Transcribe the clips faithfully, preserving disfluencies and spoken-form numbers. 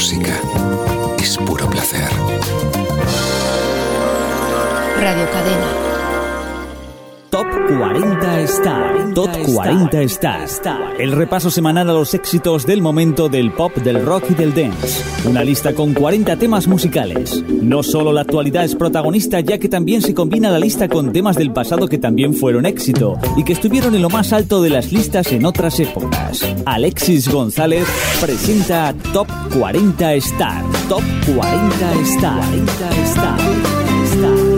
música es puro placer. Radio Cadena. Top cuarenta Star. Top cuarenta Star. El repaso semanal a los éxitos del momento del pop, del rock y del dance. Una lista con cuarenta temas musicales. No solo la actualidad es protagonista, ya que también se combina la lista con temas del pasado que también fueron éxito y que estuvieron en lo más alto de las listas en otras épocas. Alexis González presenta Top cuarenta Star. Top cuarenta Star. cuarenta Star. Star.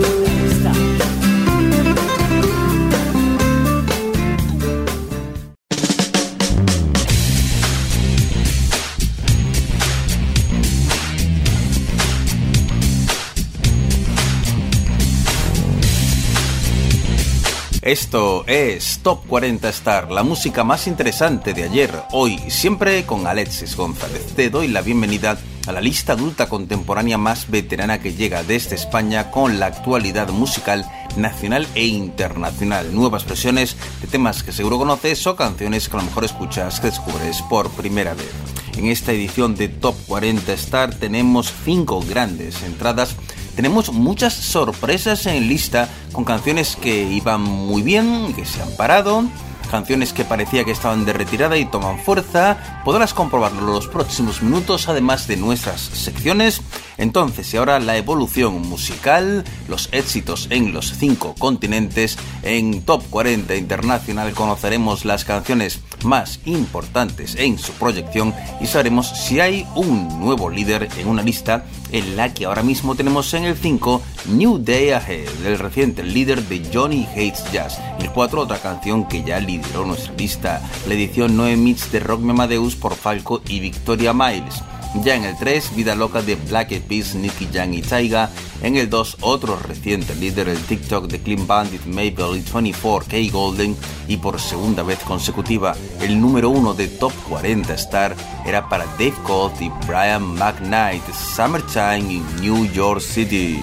Esto es Top cuarenta Star, la música más interesante de ayer, hoy, siempre con Alexis González. Te doy la bienvenida a la lista adulta contemporánea más veterana que llega desde España con la actualidad musical nacional e internacional. Nuevas versiones de temas que seguro conoces o canciones que a lo mejor escuchas, que descubres por primera vez. En esta edición de Top cuarenta Star tenemos cinco grandes entradas. Tenemos muchas sorpresas en lista con canciones que iban muy bien, que se han parado, canciones que parecía que estaban de retirada y toman fuerza. Podrás comprobarlo en los próximos minutos, además de nuestras secciones. Entonces, y ahora la evolución musical, los éxitos en los cinco continentes. En Top cuarenta Internacional conoceremos las canciones más importantes en su proyección y sabremos si hay un nuevo líder en una lista en la que ahora mismo tenemos en el cinco New Day Ahead, el reciente líder de Johnny Hates Jazz. El cuatro, otra canción que ya lideró nuestra lista, la edición nueve Mix de Rock Me Amadeus por Falco y Victoria Miles. Ya en el tres, Vida Loca de Black Eyed Peas, Nicky Jam y Tyga. En el dos, otro reciente líder, el TikTok de Clean Bandit, Mabel y veinticuatro K Golden. Y por segunda vez consecutiva, el número uno de Top cuarenta Star era para Dave Colt y Brian McKnight, Summertime in New York City.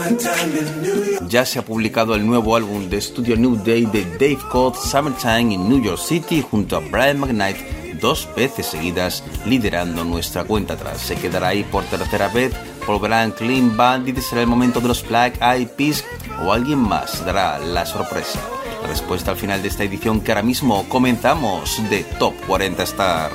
Ya se ha publicado el nuevo álbum de estudio New Day de Dave Codd, Summertime in New York City, junto a Brian McKnight, dos veces seguidas liderando nuestra cuenta atrás. Se quedará ahí por tercera vez, volverán Clean Bandit, será el momento de los Black Eyed Peas o alguien más dará la sorpresa. La respuesta al final de esta edición que ahora mismo comenzamos de Top cuarenta Star.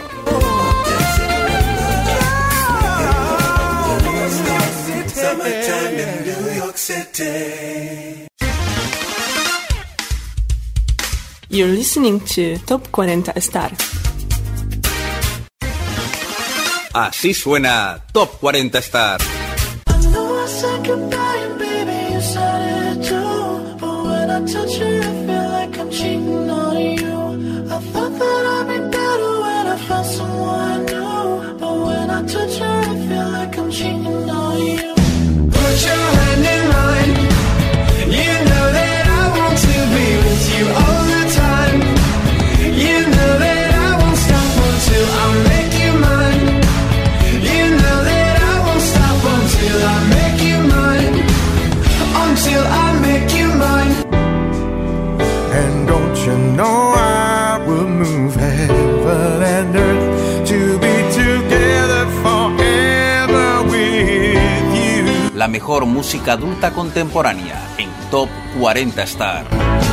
You're listening to Top cuarenta Star. Así suena Top cuarenta Star. La mejor música adulta contemporánea en Top cuarenta Star.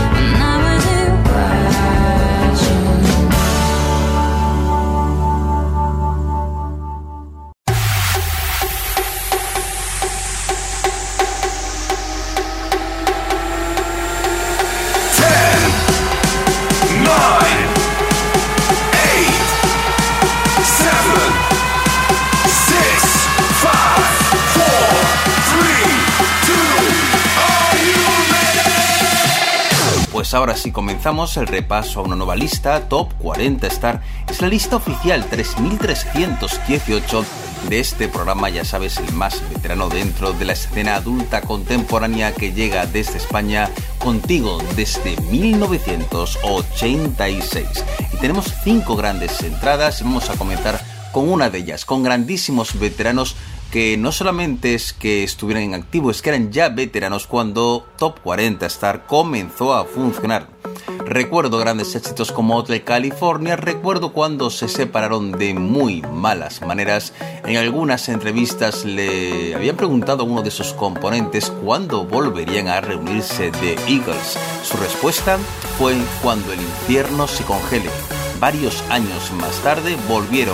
Pues ahora sí comenzamos el repaso a una nueva lista. Top cuarenta Star es la lista oficial tres mil trescientos dieciocho de este programa, ya sabes, el más veterano dentro de la escena adulta contemporánea que llega desde España contigo desde mil novecientos ochenta y seis. Y tenemos cinco grandes entradas y vamos a comenzar con una de ellas, con grandísimos veteranos que no solamente es que estuvieran en activo, es que eran ya veteranos cuando Top cuarenta Star comenzó a funcionar. Recuerdo grandes éxitos como Hotel California, recuerdo cuando se separaron de muy malas maneras. En algunas entrevistas le habían preguntado a uno de sus componentes cuándo volverían a reunirse The Eagles. Su respuesta fue cuando el infierno se congele. Varios años más tarde volvieron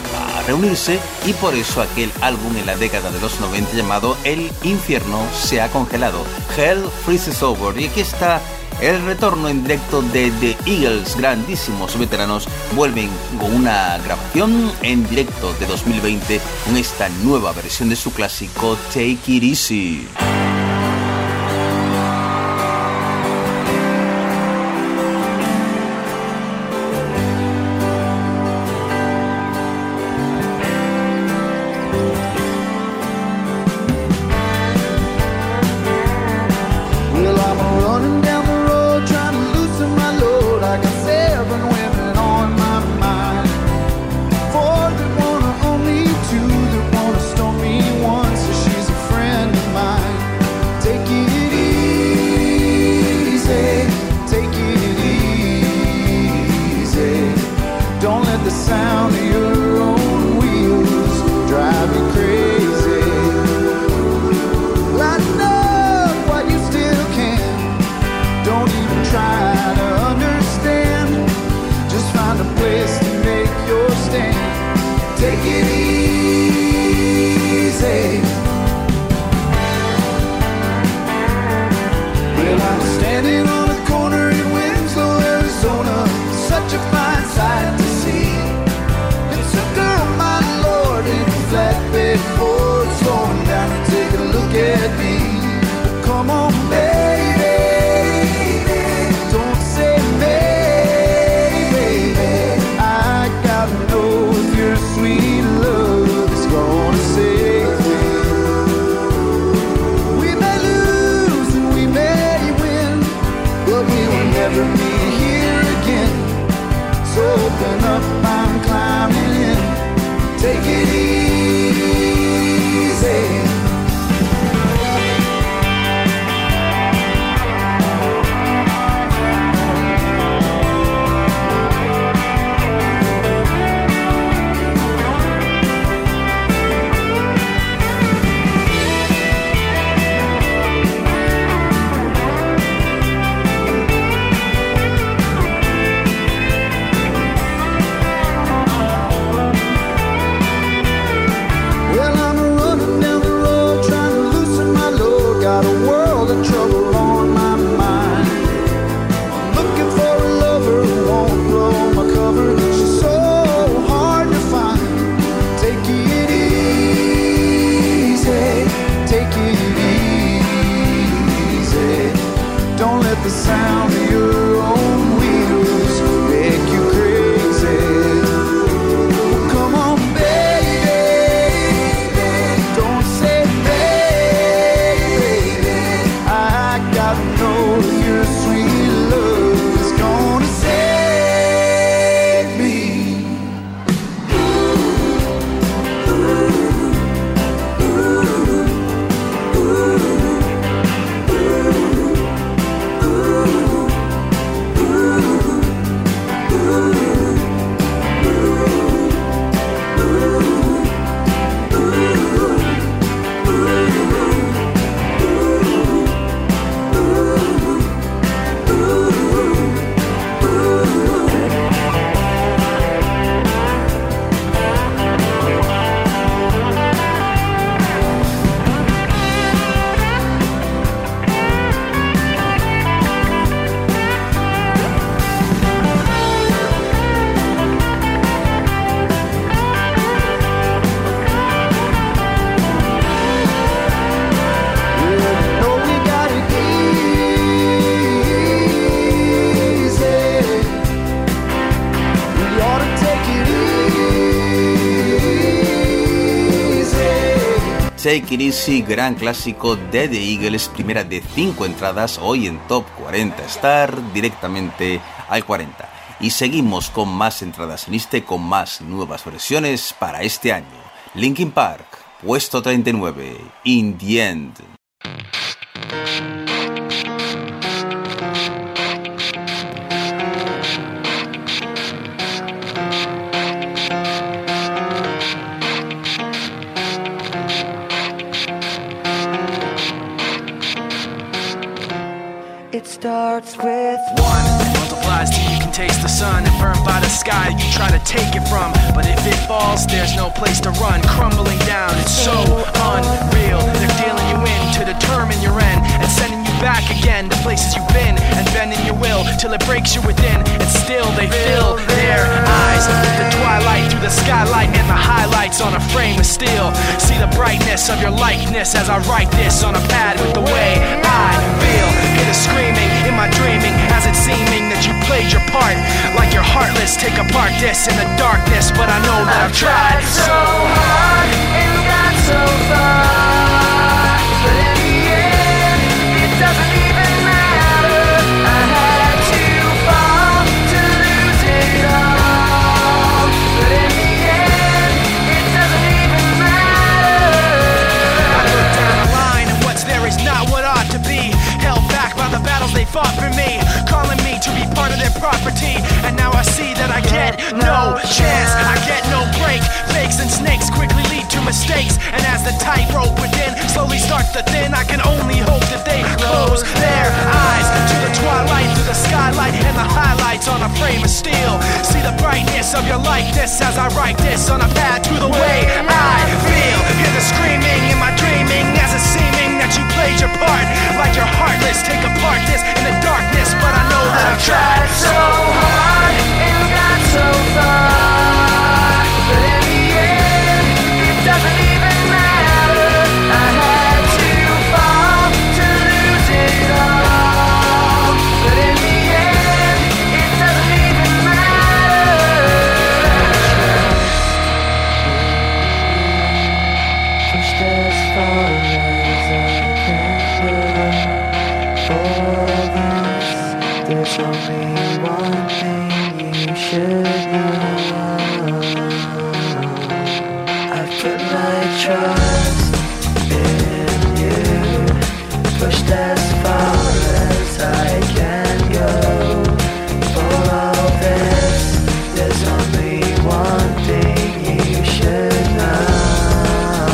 a reunirse y por eso aquel álbum en la década de los noventa llamado El infierno se ha congelado, Hell Freezes Over. Y aquí está el retorno en directo de The Eagles, grandísimos veteranos, vuelven con una grabación en directo de dos mil veinte con esta nueva versión de su clásico Take It Easy. Only two that wanna stone me once, so she's a friend of mine. Take It Easy, gran clásico de The Eagles, primera de cinco entradas hoy en Top cuarenta Star, directamente al cuarenta. Y seguimos con más entradas en este, con más nuevas versiones para este año. Linkin Park, puesto treinta y nueve, In the End. It starts with one, multiplies till you can taste the sun, and burned by the sky you try to take it from. But if it falls, there's no place to run, crumbling down. It's so unreal. They're dealing you in to determine your end, and sending you back again to places you've been, and bending your will till it breaks you within. And still they fill their eyes with the twilight through the skylight and the highlights on a frame of steel. See the brightness of your likeness as I write this on a pad with the way I feel. Hear the screaming in my dreaming as it's seeming that you played your part. Like you're heartless, take apart this in the darkness. But I know that I've tried so hard and got so far, but in the end, it doesn't even matter. I had to fall to lose it all, but in the end, it doesn't even matter. I look down the line and what's there is not what ought to be. Held back by the battles they fought for me, calling me to be part of their property. And now I see that I get no chance, I get no break. Fakes and snakes quickly lead to mistakes, and as the tightrope within slowly starts to thin, I can only hope that they close their eyes to the twilight through the skylight and the highlights on a frame of steel. See the brightness of your likeness as I write this on a pad to the way I feel. Hear the screaming in my dreaming as it's seeming that you played your part. Like you're heartless, take apart this in the darkness. But I know that I've tried so hard and got so far, but in the end, it doesn't even matter. I had to fall to lose it all, but in the end, it doesn't even matter. Pushed as far as I can go. There's only one thing you should know. I've put my trust in you, pushed as far as I can go. For all this, there's only one thing you should know.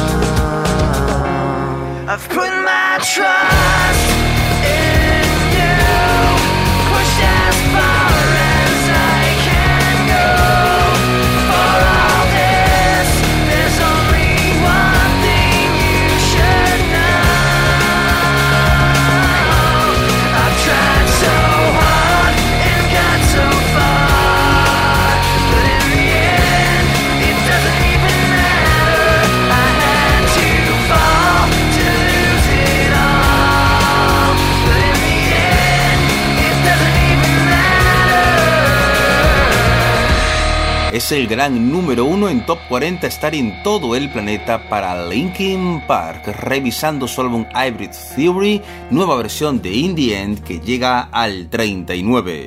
I've put my trust in you, pushed as far as I can go. For all this, there's only one thing you should know. I've tried so hard and got so far, but in the end, it doesn't even matter. I had to fall to lose it all, but in the end, it doesn't even matter. Es el gran número uno en Top cuarenta Star en todo el planeta para Linkin Park, revisando su álbum Hybrid Theory, nueva versión de In the End que llega al treinta y nueve.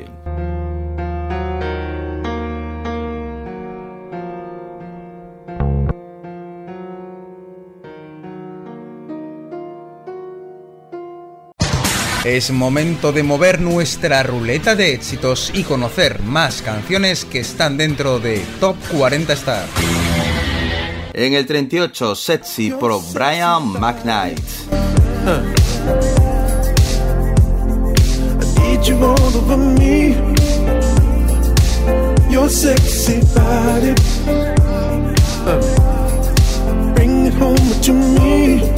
Es momento de mover nuestra ruleta de éxitos y conocer más canciones que están dentro de Top cuarenta Star. En el treinta y ocho, Sexy por Brian McKnight. I need you all over me. Your sexy body. Bring it home to me.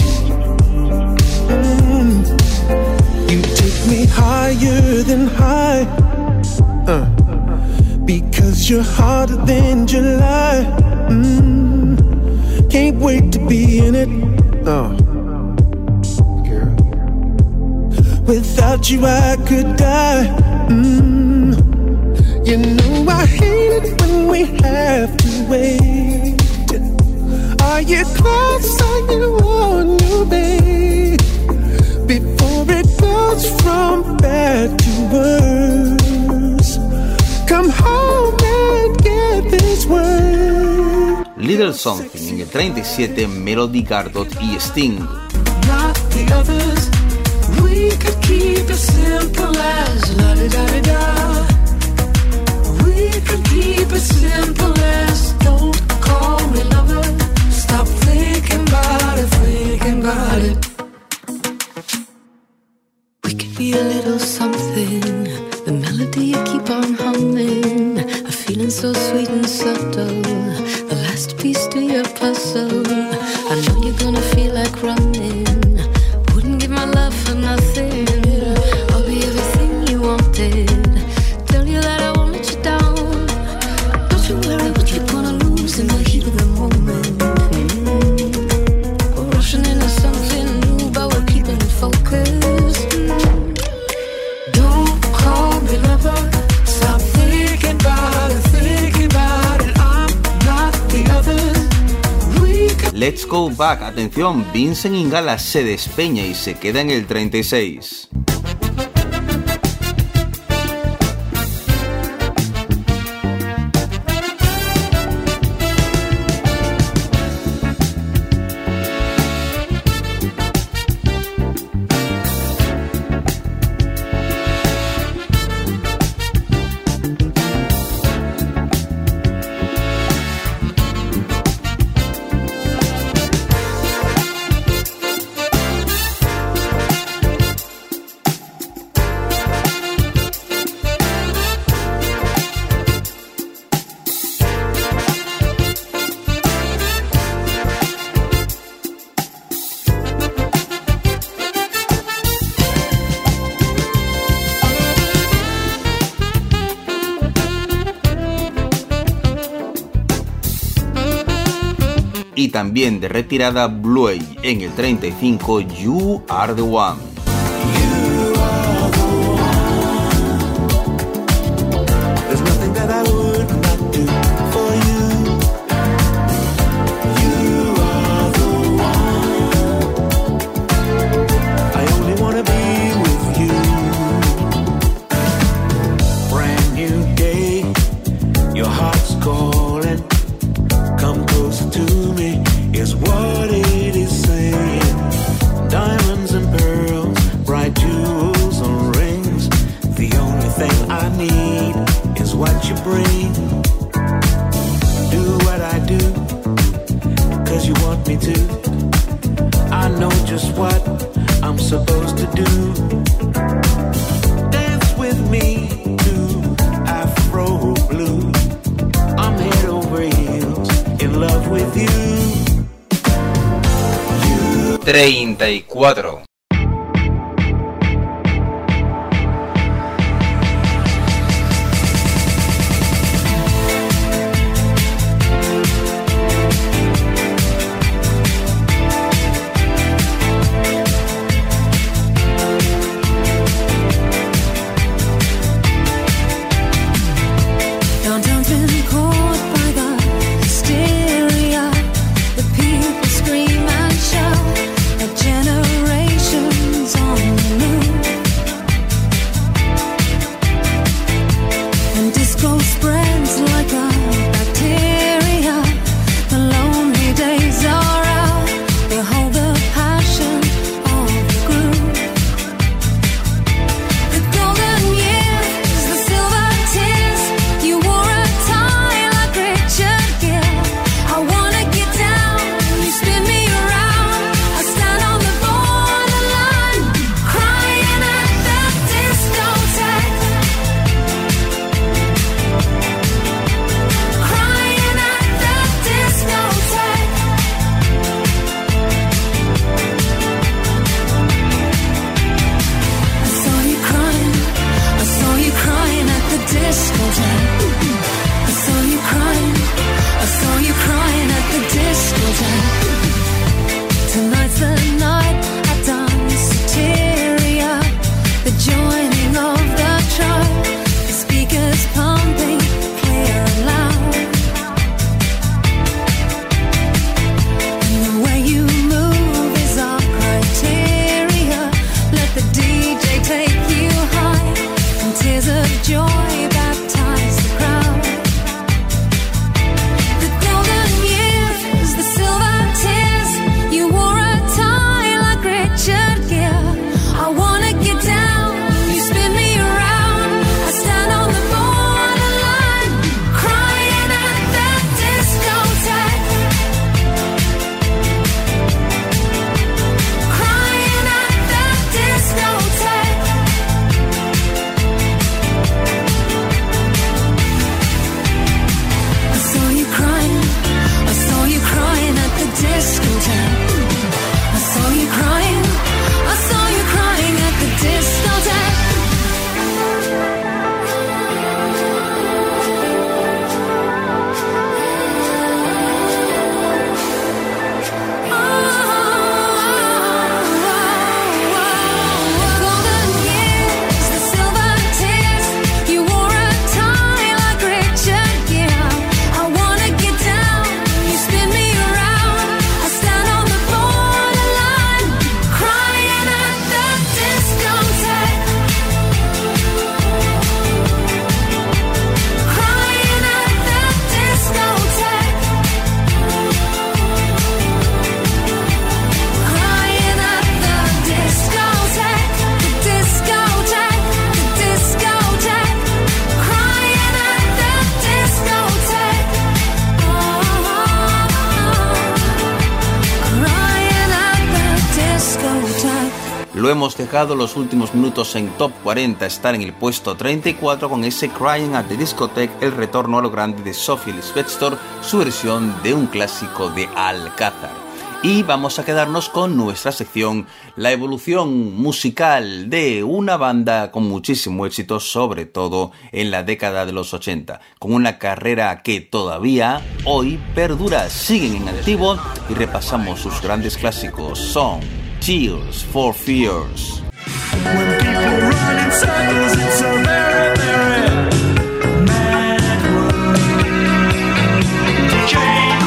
Mm. You take me higher than high, uh, because you're hotter than July. Mm, can't wait to be in it. Oh, girl. Without you I could die. Mm, you know I hate it when we have to wait. Are you close? Are you on your way? Before it goes from bad to worse, come home and get this word. Little Something en el treinta y siete, Melody Gardot y Sting. Not the others. We could keep it simple as la da da da. We could keep it simple as don't call me lover. Stop thinking about it, thinking about it. We could be a little something. The melody you keep on humming. A feeling so sweet and subtle. The last piece to your puzzle. I know you're gonna feel like running. Wouldn't give my love for nothing. I'll be everything you wanted. Tell you that I won't let you down. Don't you worry what you're gonna lose in the heat of the moment. Mm-hmm. We're rushing into something new, but we're keeping it focused. Mm-hmm. Don't call me lover. Stop thinking about it, thinking about it. I'm not the others. Let's Go Back. Atención, Vincent Ingala se despeña y se queda en el treinta y seis. Y también de retirada Bluey en el treinta y cinco, You Are The One. treinta y cuatro. Generation Lo hemos dejado los últimos minutos en Top cuarenta Star en el puesto treinta y cuatro con ese Crying at the Discotheque, el retorno a lo grande de Sophie Ellis Bextor, su versión de un clásico de Alcázar. Y vamos a quedarnos con nuestra sección, la evolución musical de una banda con muchísimo éxito, sobre todo en la década de los ochenta, con una carrera que todavía hoy perdura, siguen en activo y repasamos sus grandes clásicos. Son Tears for Fears. When people run in circles, it's a very, very mad world. Change.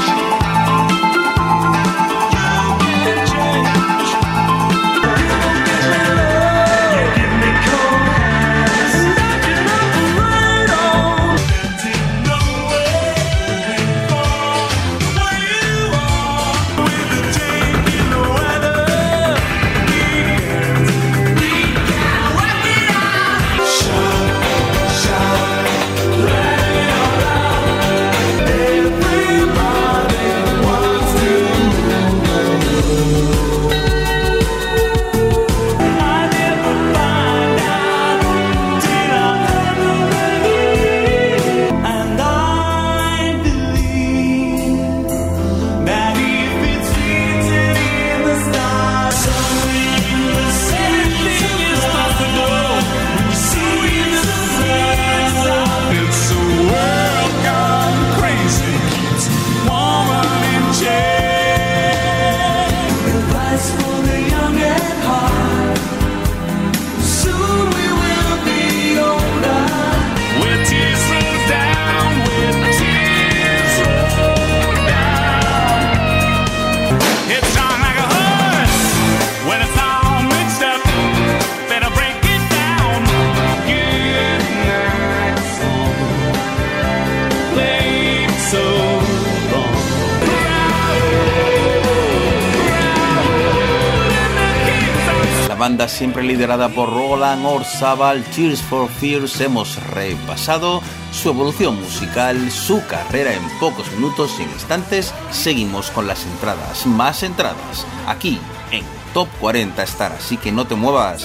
Banda siempre liderada por Roland Orzabal, Tears for Fears, hemos repasado su evolución musical, su carrera en pocos minutos y en instantes. Seguimos con las entradas, más entradas, aquí en Top cuarenta Star, así que no te muevas.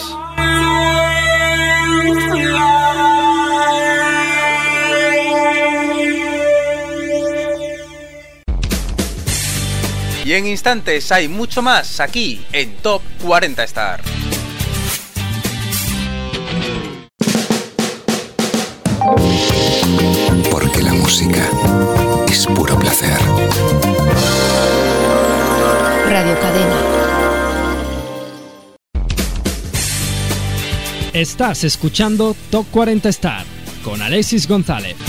Y en instantes hay mucho más aquí en Top cuarenta Star. Porque la música es puro placer. Radio Cadena. Estás escuchando Top cuarenta Star con Alexis González.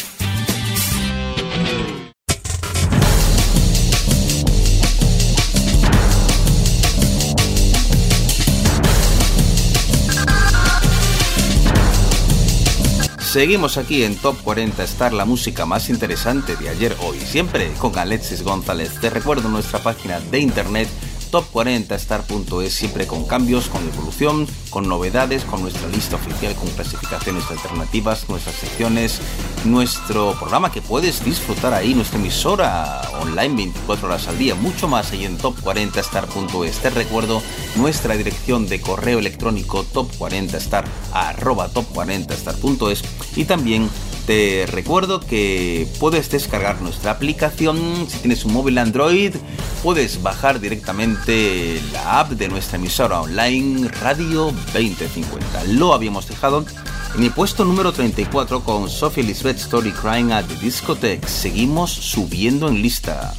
Seguimos aquí en Top cuarenta Star, la música más interesante de ayer, hoy, siempre con Alexis González. Te recuerdo nuestra página de internet top cuarenta star punto es, siempre con cambios, con evolución, con novedades, con nuestra lista oficial, con clasificaciones alternativas, nuestras secciones, nuestro programa que puedes disfrutar ahí, nuestra emisora online veinticuatro horas al día, mucho más ahí en top cuarenta star punto es. Te recuerdo nuestra dirección de correo electrónico top cuarenta star arroba top cuarenta star punto es, y también te recuerdo que puedes descargar nuestra aplicación. Si tienes un móvil Android, puedes bajar directamente la app de nuestra emisora online Radio veinte cincuenta. Lo habíamos dejado en el puesto número treinta y cuatro con Sophie Ellis Bextor, Crying at the Discotheque. Seguimos subiendo en lista.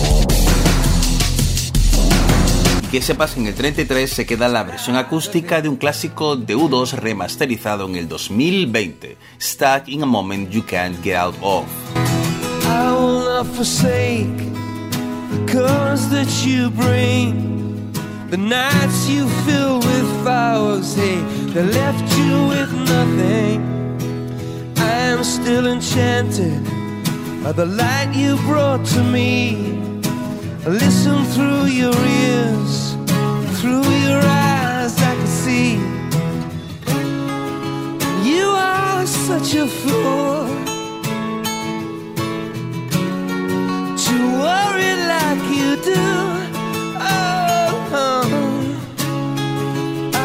Que sepas que en el treinta y tres se queda la versión acústica de un clásico de U dos remasterizado en el dos mil veinte, Stuck in a Moment You Can't Get Out Of. I will not forsake the colors that you bring, the nights you fill with flowers, hey, they left you with nothing. I am still enchanted by the light you brought to me. Listen through your ears, through your eyes I can see. You are such a fool to worry like you do. Oh,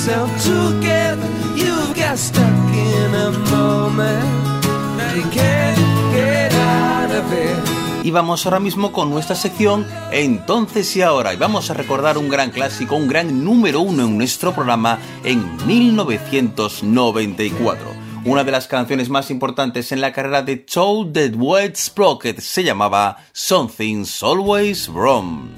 yourself together. You got stuck in a moment. Now you can't get out of it. Y vamos ahora mismo con nuestra sección Entonces y Ahora, y vamos a recordar un gran clásico, un gran número uno en nuestro programa en mil novecientos noventa y cuatro. Una de las canciones más importantes en la carrera de Toad the Wet Sprocket se llamaba Something's Always Wrong.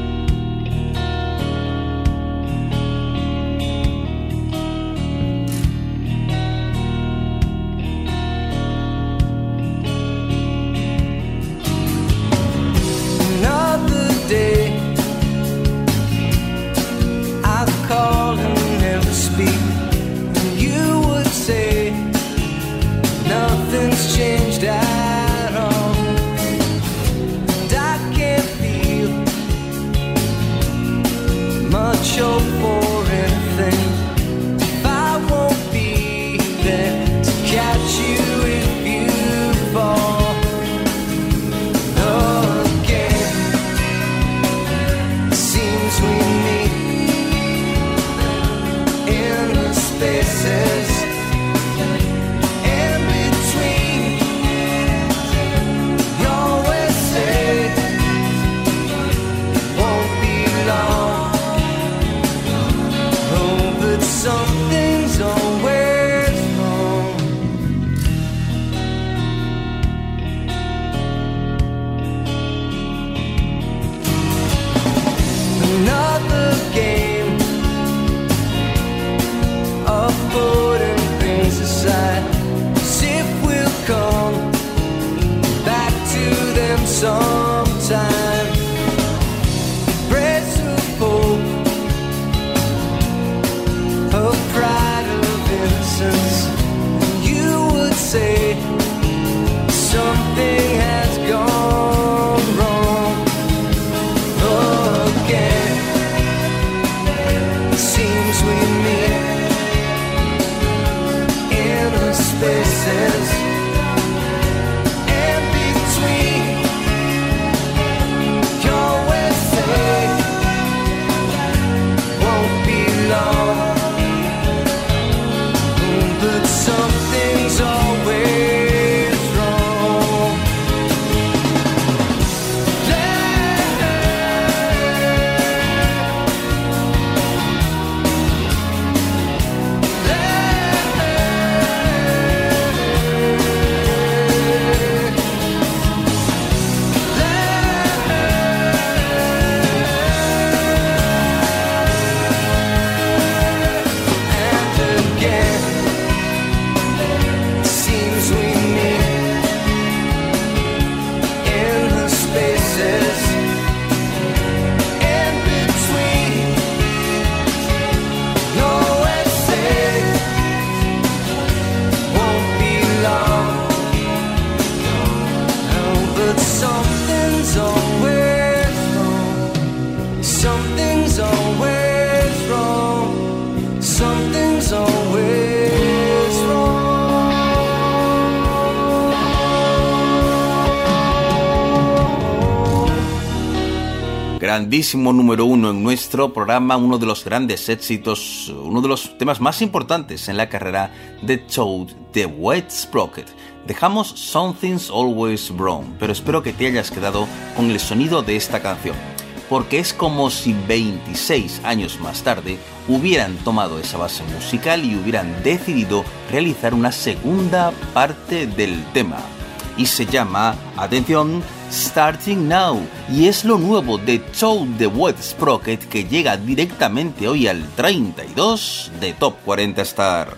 Grandísimo número uno en nuestro programa, uno de los grandes éxitos, uno de los temas más importantes en la carrera de Toad the Wet Sprocket. Dejamos Something's Always Wrong, pero espero que te hayas quedado con el sonido de esta canción, porque es como si veintiséis años más tarde hubieran tomado esa base musical y hubieran decidido realizar una segunda parte del tema. Y se llama, atención, Starting Now, y es lo nuevo de Toad the Wet Sprocket, que llega directamente hoy al treinta y dos de Top cuarenta Star.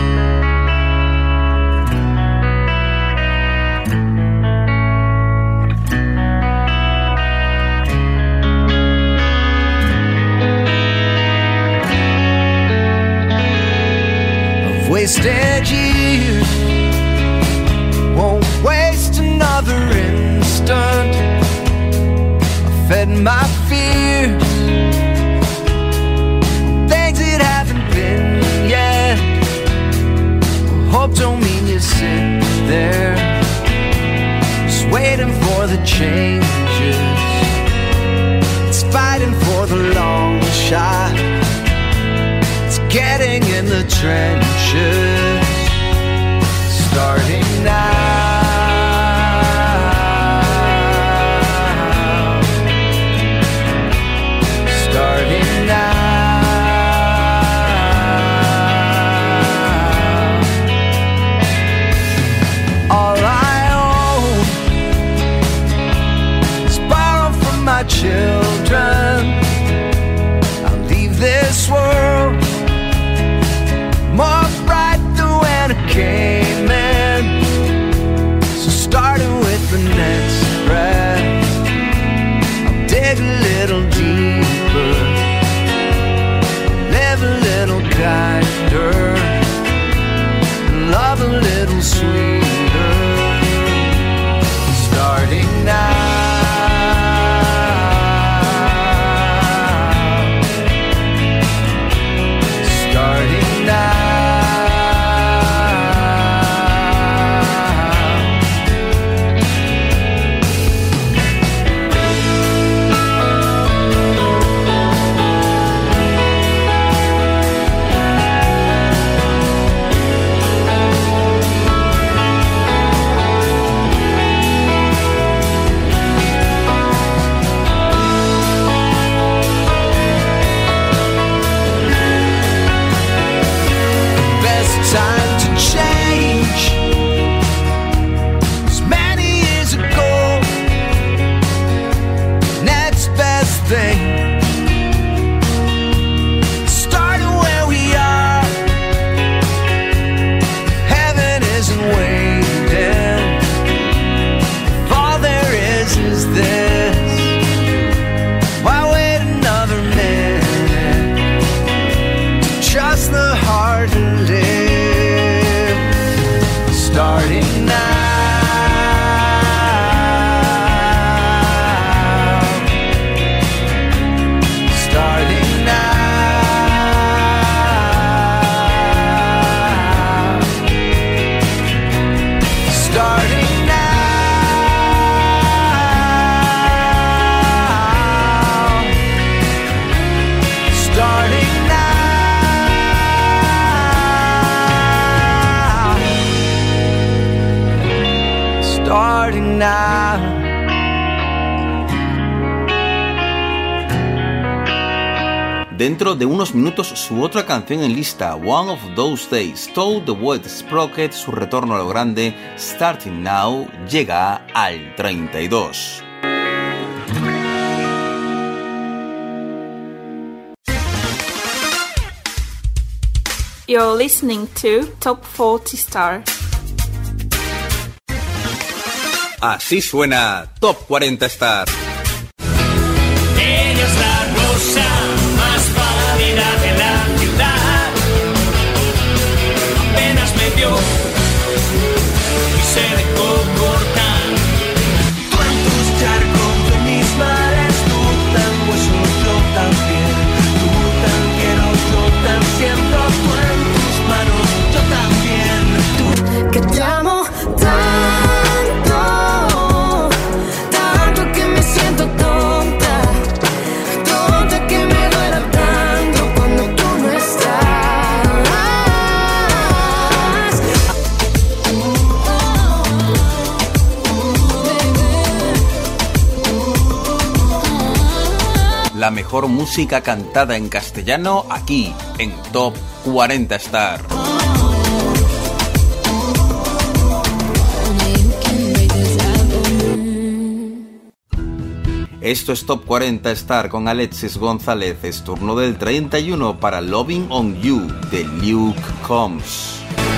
I've wasted years, won't waste another instant. I fed my fears, things that haven't been yet. Hope don't mean you sit there just waiting for the changes. It's fighting for the long shot. It's getting in the trenches, starting now, starting now. All I own is borrowed from my children. I'll leave this world more bright than when it came in. So starting with the next breath, I'll dig a little deeper, live a little kinder, and love a little sweeter. Starting now. Dentro de unos minutos su otra canción en lista, One of Those Days, Toad the Wet Sprocket, su retorno a lo grande, Starting Now, llega al treinta y dos. You're listening to Top cuarenta Star. Así suena Top cuarenta Star. Ella es la rosa más pálida de la ciudad. Apenas me vio y se dejó cortar. Tú en tus charcos, yo en mis mares, tú tan hueso, yo también. Tú tan quiero, yo tan siento. Tú en tus manos, yo también. Tú Que te amo tanto, tanto que me siento tonta, tonta que me duele tanto cuando tú no estás. La mejor música cantada en castellano aquí en Top cuarenta Star. Esto es Top cuarenta Star con Alexis González. Es turno del treinta y uno para Loving on You de Luke Combs.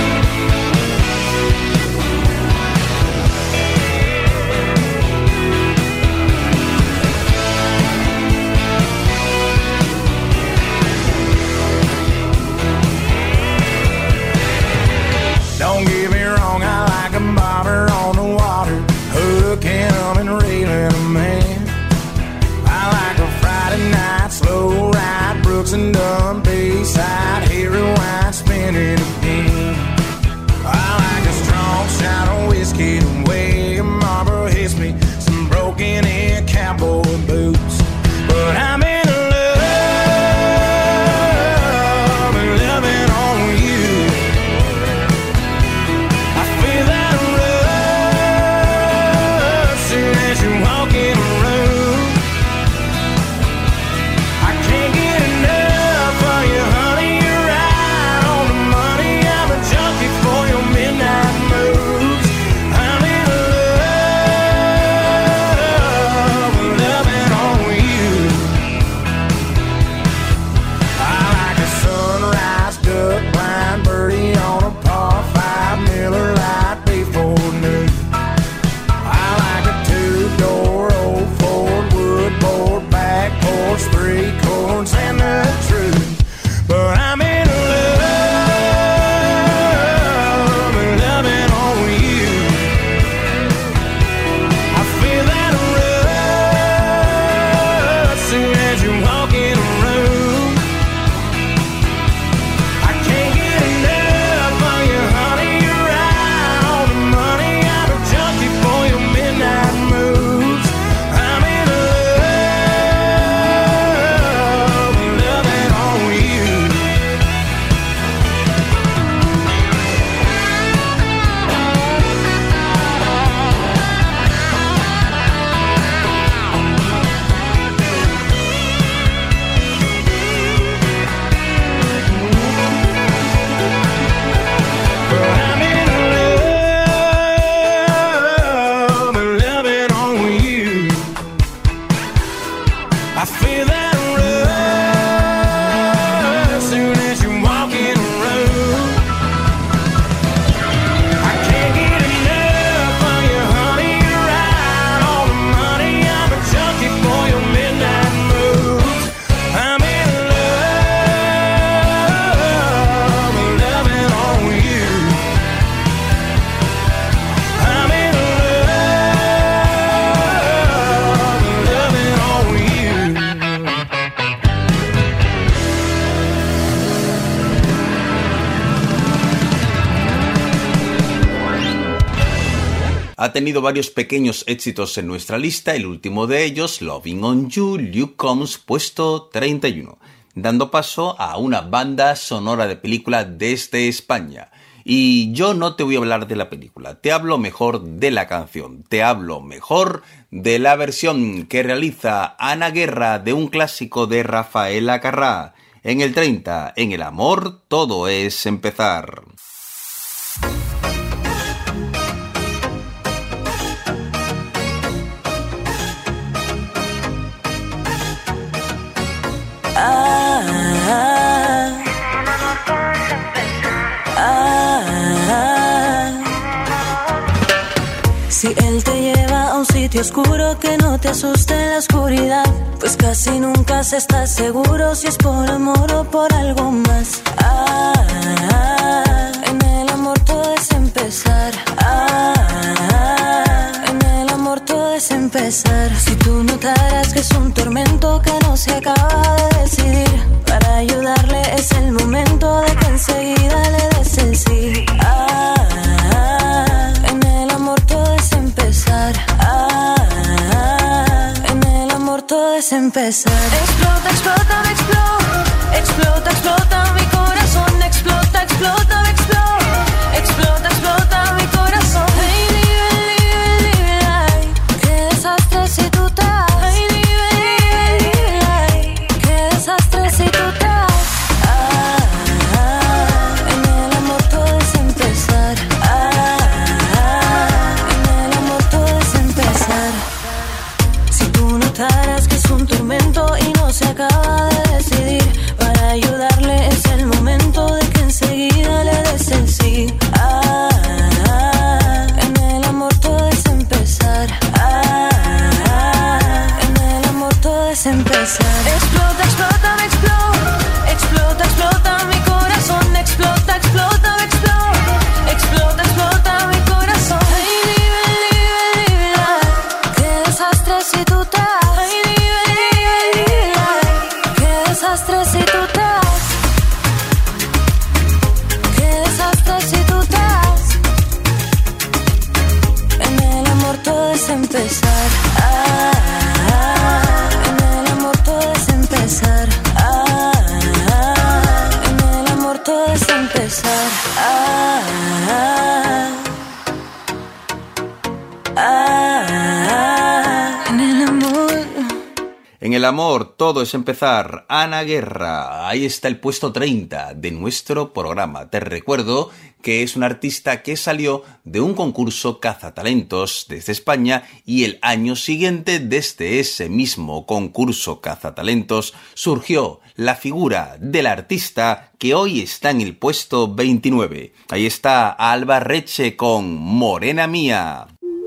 Don't get me wrong, I like a bobber on the water, hooking them and reeling them in. I like a Friday night slow ride, Brooks and Dunn Bayside, Harry White spinning again. I like a strong shot of whiskey, the way a Marlboro hits me, some broken in cowboy boots. But I'm in love, in Ha tenido varios pequeños éxitos en nuestra lista, el último de ellos, Loving on You, Luke Combs, puesto treinta y uno, dando paso a una banda sonora de película desde España. Y yo no te voy a hablar de la película, te hablo mejor de la canción, te hablo mejor de la versión que realiza Ana Guerra de un clásico de Rafael Acarrá. En el treinta, en el amor todo es empezar. Ah, ah, ah. Si él te lleva a un sitio oscuro, que no te asuste en la oscuridad, pues casi nunca se está seguro si es por amor o por algo más. Ah, ah, en el amor todo es empezar. Ah, ah, en el amor todo es empezar. Si tú notaras que es un tormento que no se acaba de decidir, para ayudarle es el momento de que enseguida le des el sí. Ah, ah, en el amor todo es empezar. Ah, ah, en el amor todo es empezar. Explota, explota, me explota. Explota, explota mi corazón. Explota, explota, me explota. Explota, explota mi corazón. Hey, live, live, live, live. Qué desastre si tú te vas. Hey, live, live, live, live. Qué desastre si tú te vas. Ah, ah, en el amor todo es empezar. Ah, ah, en el amor todo es empezar. Si tú notaras que es un tormento y no se acaba de decidir, para ayudarle es el momento de que enseguida le des el sí. Ah, ah, en el amor todo es empezar. Ah, ah, en el amor todo es empezar. Explota, explota, me explota. Explota, explota mi corazón. Explota, explota, me explota. Explota, explota mi corazón. Hey, live, live, live, live. Qué desastre si tú te vas. Hey, live, live, live, live. Qué desastre si tú te vas. Qué desastre si tú te vas. En el amor todo es empezar. Ah, ah, en el amor todo es empezar. Ah, ah, en el amor todo es empezar. Ah, ah, ah, ah, en el amor. En el amor todo es empezar, Ana Guerra. Ahí está el puesto treinta de nuestro programa. Te recuerdo que es un artista que salió de un concurso Cazatalentos desde España y el año siguiente, desde ese mismo concurso Cazatalentos, surgió la figura del artista que hoy está en el puesto veintinueve. Ahí está Alba Reche con Morena Mía.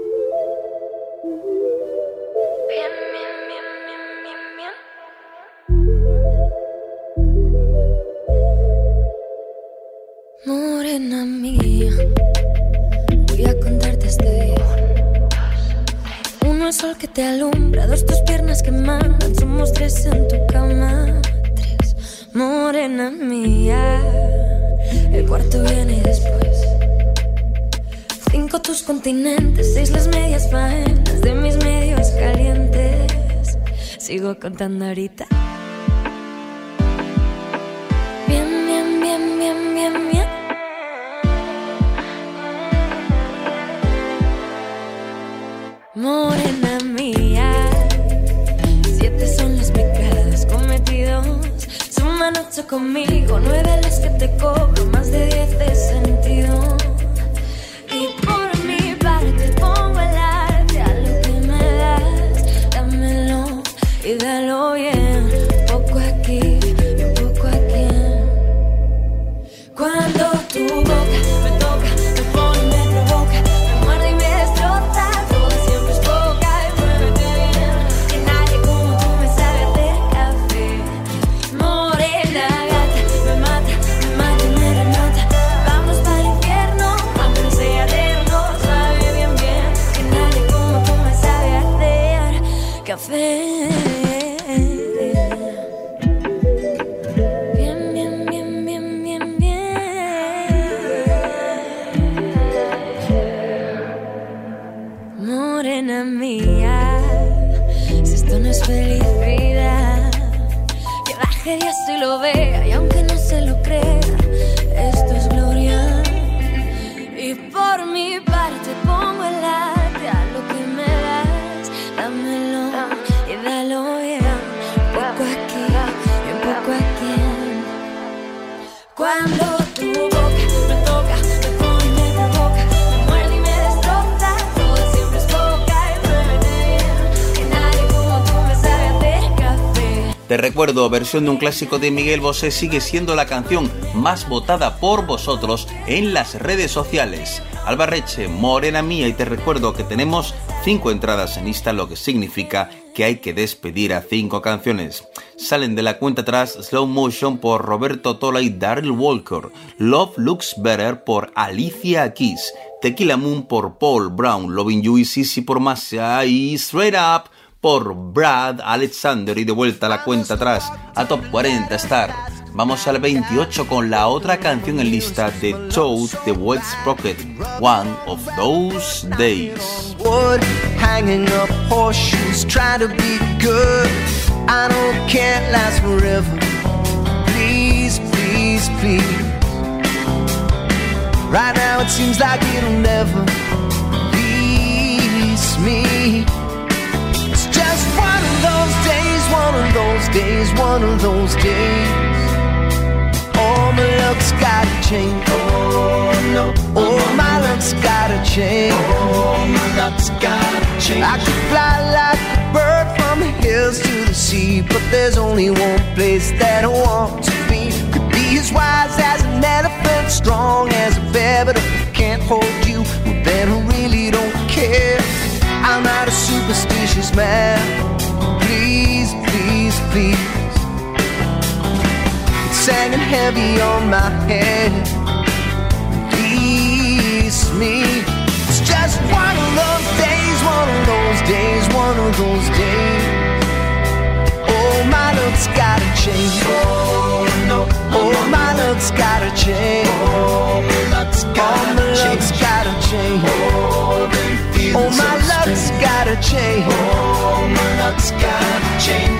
Morena mía, voy a contarte este día. Uno el sol que te alumbra, dos tus piernas que mandan, somos tres en tu cama, tres. Morena mía, el cuarto viene después. Cinco tus continentes, seis las medias faenas de mis medios calientes. Sigo contando ahorita. Bien, bien, bien, bien, bien, bien. Morena mía, siete son las pecados cometidos. Suman ocho conmigo, nueve las que te cobro, más de diez de sentido. Y por mi parte pongo el arte a lo que me das. Dámelo y dalo bien, un poco aquí y un poco aquí. Cuando tu boca me toca, me pone, me provoca, me muerde y me destroza. Todo siempre es poca y muévete bien, que nadie como tú me sabe hacer café. Morena gata, me mata, me mata y me renota. Vamos para el infierno y lo vea, y aunque no se lo crea, esto es gloria. Y por mi parte pongo el arte a lo que me das, dámelo y dalo bien, poco aquí y un poco aquí. Cuando tu boca me toca, me pone y me provoca, me muerde y me destroza, todo siempre es poca y me bien, que nadie como tú me sabe hacer café. Te recuerdo, versión de un clásico de Miguel Bosé sigue siendo la canción más votada por vosotros en las redes sociales. Alba Reche, Morena Mía, y te recuerdo que tenemos cinco entradas en lista, lo que significa que hay que despedir a cinco canciones. Salen de la cuenta atrás Slow Motion por Roberto Tola y Darryl Walker, Love Looks Better por Alicia Keys, Tequila Moon por Paul Brown, Loving You y Sissy por Masha y Straight Up por Brad Alexander. Y de vuelta a la cuenta atrás a Top cuarenta Star. Vamos al veintiocho con la otra canción en lista de Toad de Wet Sprocket, One of Those Days. Wood hanging up horseshoes, trying to be good. I know can't last forever. Please, please, please. Right now it seems like it'll never release me. It's just one of those days, one of those days, one of those days. Oh, my luck's gotta change. Oh, no. Oh, my luck's gotta change. Oh, my luck's gotta change. I could fly like a bird from the hills to the sea, but there's only one place that I want to be. Could be as wise as an elephant, strong as a bear, but if I can't hold you, well, then I really don't care. I'm not a superstitious man. Please, please, please. Hanging heavy on my head, release me. It's just one of those days, one of those days, one of those days. Oh, my luck's gotta change. Oh, no. Oh, my luck's gotta change. Oh, my luck's gotta change. Oh, my luck's gotta change. Oh, my luck's gotta change.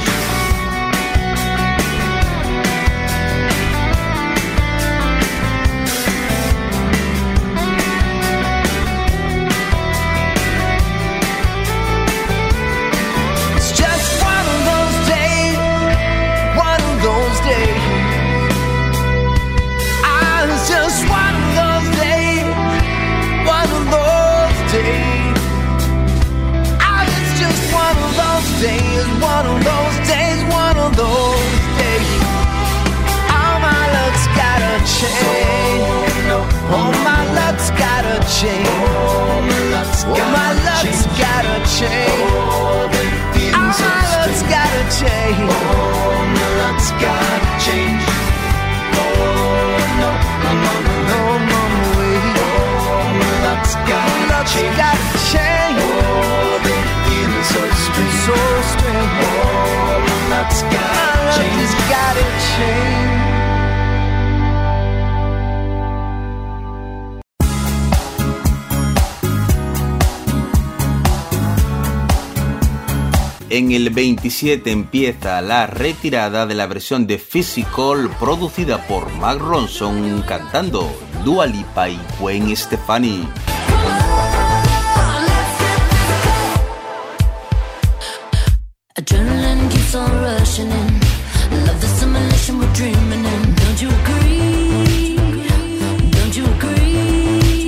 Days, one of those days, one of those days. Oh, my luck's gotta change. Oh, my luck's gotta change. Oh, my luck's gotta change. Oh, my luck's gotta change. Oh, my luck's gotta change. Oh, no, no, no, no, no, no way. Oh, my luck's gotta change. Oh, so strange, so strange. Oh, my luck's gotta change. My luck has gotta change. En el veintisiete empieza la retirada de la versión de Physical producida por Mark Ronson cantando Dua Lipa y Gwen Stefani. Adrenaline keeps on rushing in. Love the simulation we're dreaming in. Don't you agree? Don't you agree?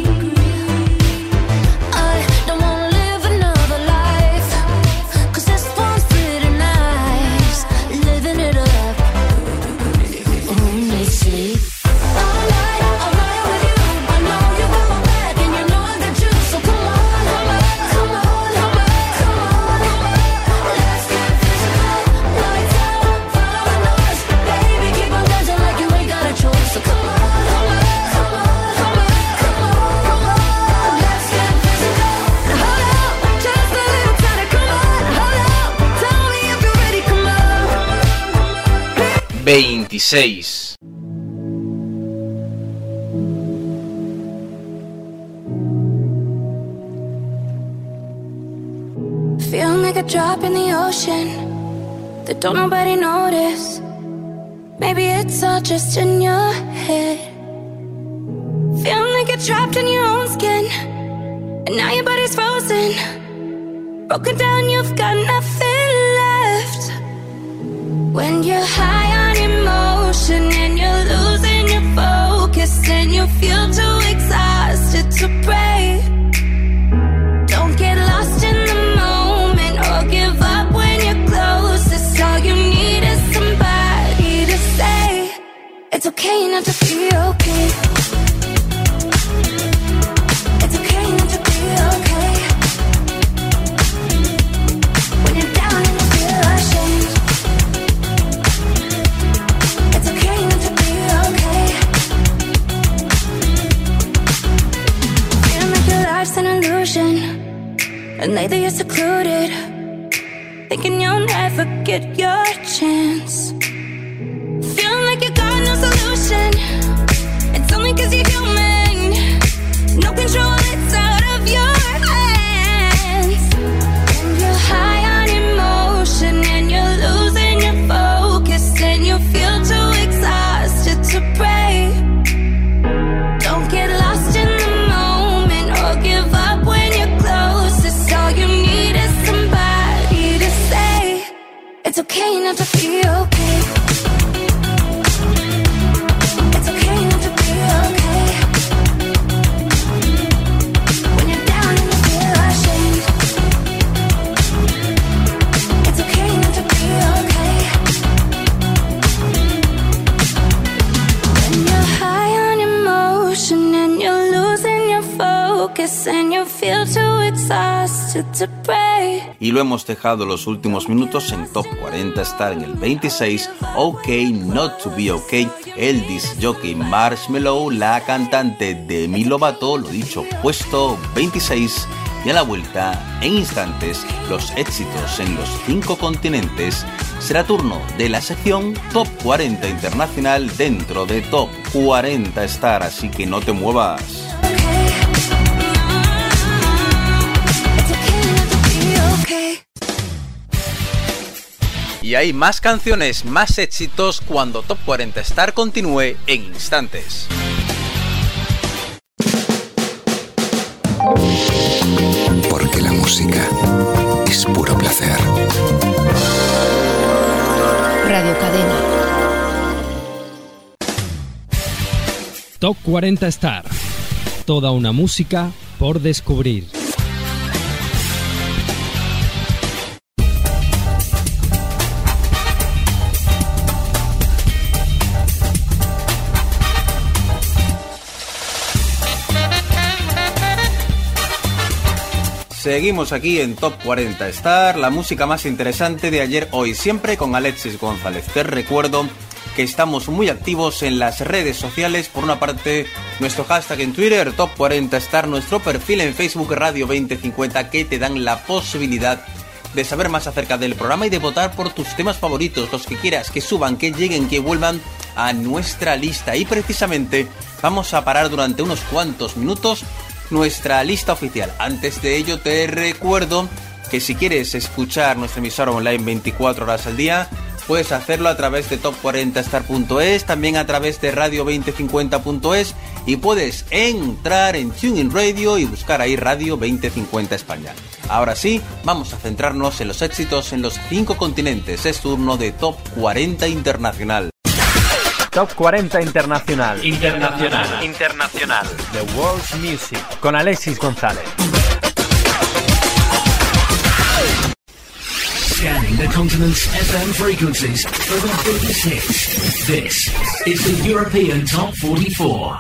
I don't wanna live another life, 'cause this one's pretty nice. Living it up. Who needs sleep? All night, all night with you. I know you got my back and you know I got you. So come on, come on, come on, come on, come on, come on. Let's get physical. Lights out, follow the noise. Baby, keep on dancing like you ain't got a choice. So come on, come on, come on, come on, come on, come on. Let's get physical. Now hold up, just a little tighter. Come on, hold up. Tell me if you're ready. Come on. veintiséis. Feeling like a drop in the ocean that don't nobody notice. Maybe it's all just in your head. Feeling like you're trapped in your own skin, and now your body's frozen. Broken down, you've got nothing left. When you're high on emotion and you're losing your focus, and you feel too exhausted to pray. Don't get lost in the moment or give up when you're closest. All you need is somebody to say it's okay not to be okay. It's okay not to be okay. When you're down and you feel ashamed, it's okay not to be okay. Feeling like your life's an illusion, and lately you're secluded, thinking you'll never get your chance. Feeling like you got no solution, it's only cause you're human. No control, it's out of your hands. And you're high on emotion and you're losing your focus, and you feel too exhausted to pray. Don't get lost in the moment or give up when you're closest. All you need is somebody to say it's okay not to be okay. It's okay not to be okay. When you're down and you feel ashamed, it's okay not to be okay. When you're high on emotion and you're losing your focus, and you feel too exhausted to pray. Y lo hemos dejado los últimos minutos en Top cuarenta Star en el veintiséis, OK Not To Be OK, el disc jockey Marshmello, la cantante Demi Lovato, lo dicho, puesto veintiséis. Y a la vuelta, en instantes, los éxitos en los cinco continentes. Será turno de la sección Top cuarenta Internacional dentro de Top cuarenta Star, así que no te muevas. Y hay más canciones, más éxitos cuando Top cuarenta Star continúe en instantes. Porque la música es puro placer. Radio Cadena. Top cuarenta Star. Toda una música por descubrir. Seguimos aquí en Top cuarenta Star, la música más interesante de ayer, hoy, siempre con Alexis González. Te recuerdo que estamos muy activos en las redes sociales. Por una parte, nuestro hashtag en Twitter, Top cuarenta Star, nuestro perfil en Facebook, Radio veinte cincuenta, que te dan la posibilidad de saber más acerca del programa y de votar por tus temas favoritos, los que quieras, que suban, que lleguen, que vuelvan a nuestra lista. Y precisamente vamos a parar durante unos cuantos minutos nuestra lista oficial. Antes de ello, te recuerdo que si quieres escuchar nuestra emisora online veinticuatro horas al día, puedes hacerlo a través de top cuarenta star punto es, también a través de radio veinte cincuenta punto es, y puedes entrar en TuneIn Radio y buscar ahí Radio veinte cincuenta España. Ahora sí, vamos a centrarnos en los éxitos en los cinco continentes. Es turno de Top cuarenta Internacional. Top cuarenta Internacional. Internacional. Internacional. The World's Music. Con Alexis González. Scanning the continent's F M frequencies for the biggest hits. This is the European Top forty-four.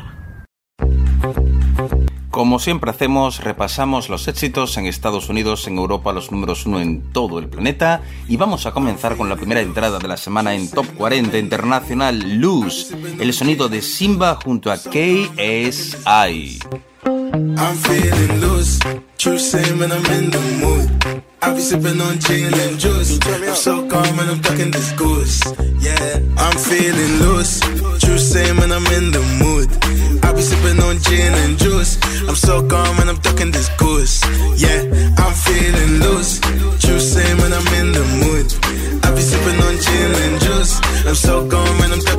Como siempre hacemos, repasamos los éxitos en Estados Unidos, en Europa, los números uno en todo el planeta. Y vamos a comenzar con la primera entrada de la semana en Top cuarenta Internacional, Loose, el sonido de Simba junto a K S I. I'm feeling loose, true same when I'm in the mood. I be sipping on gin and juice. I'm so calm and I'm ducking this goose. Yeah, I'm feeling loose, true same when I'm in the mood. I be sipping on gin and juice. I'm so calm and I'm ducking this goose. Yeah, I'm feeling loose, true same when I'm in the mood. I be sipping on gin and juice. I'm so calm and I'm ducking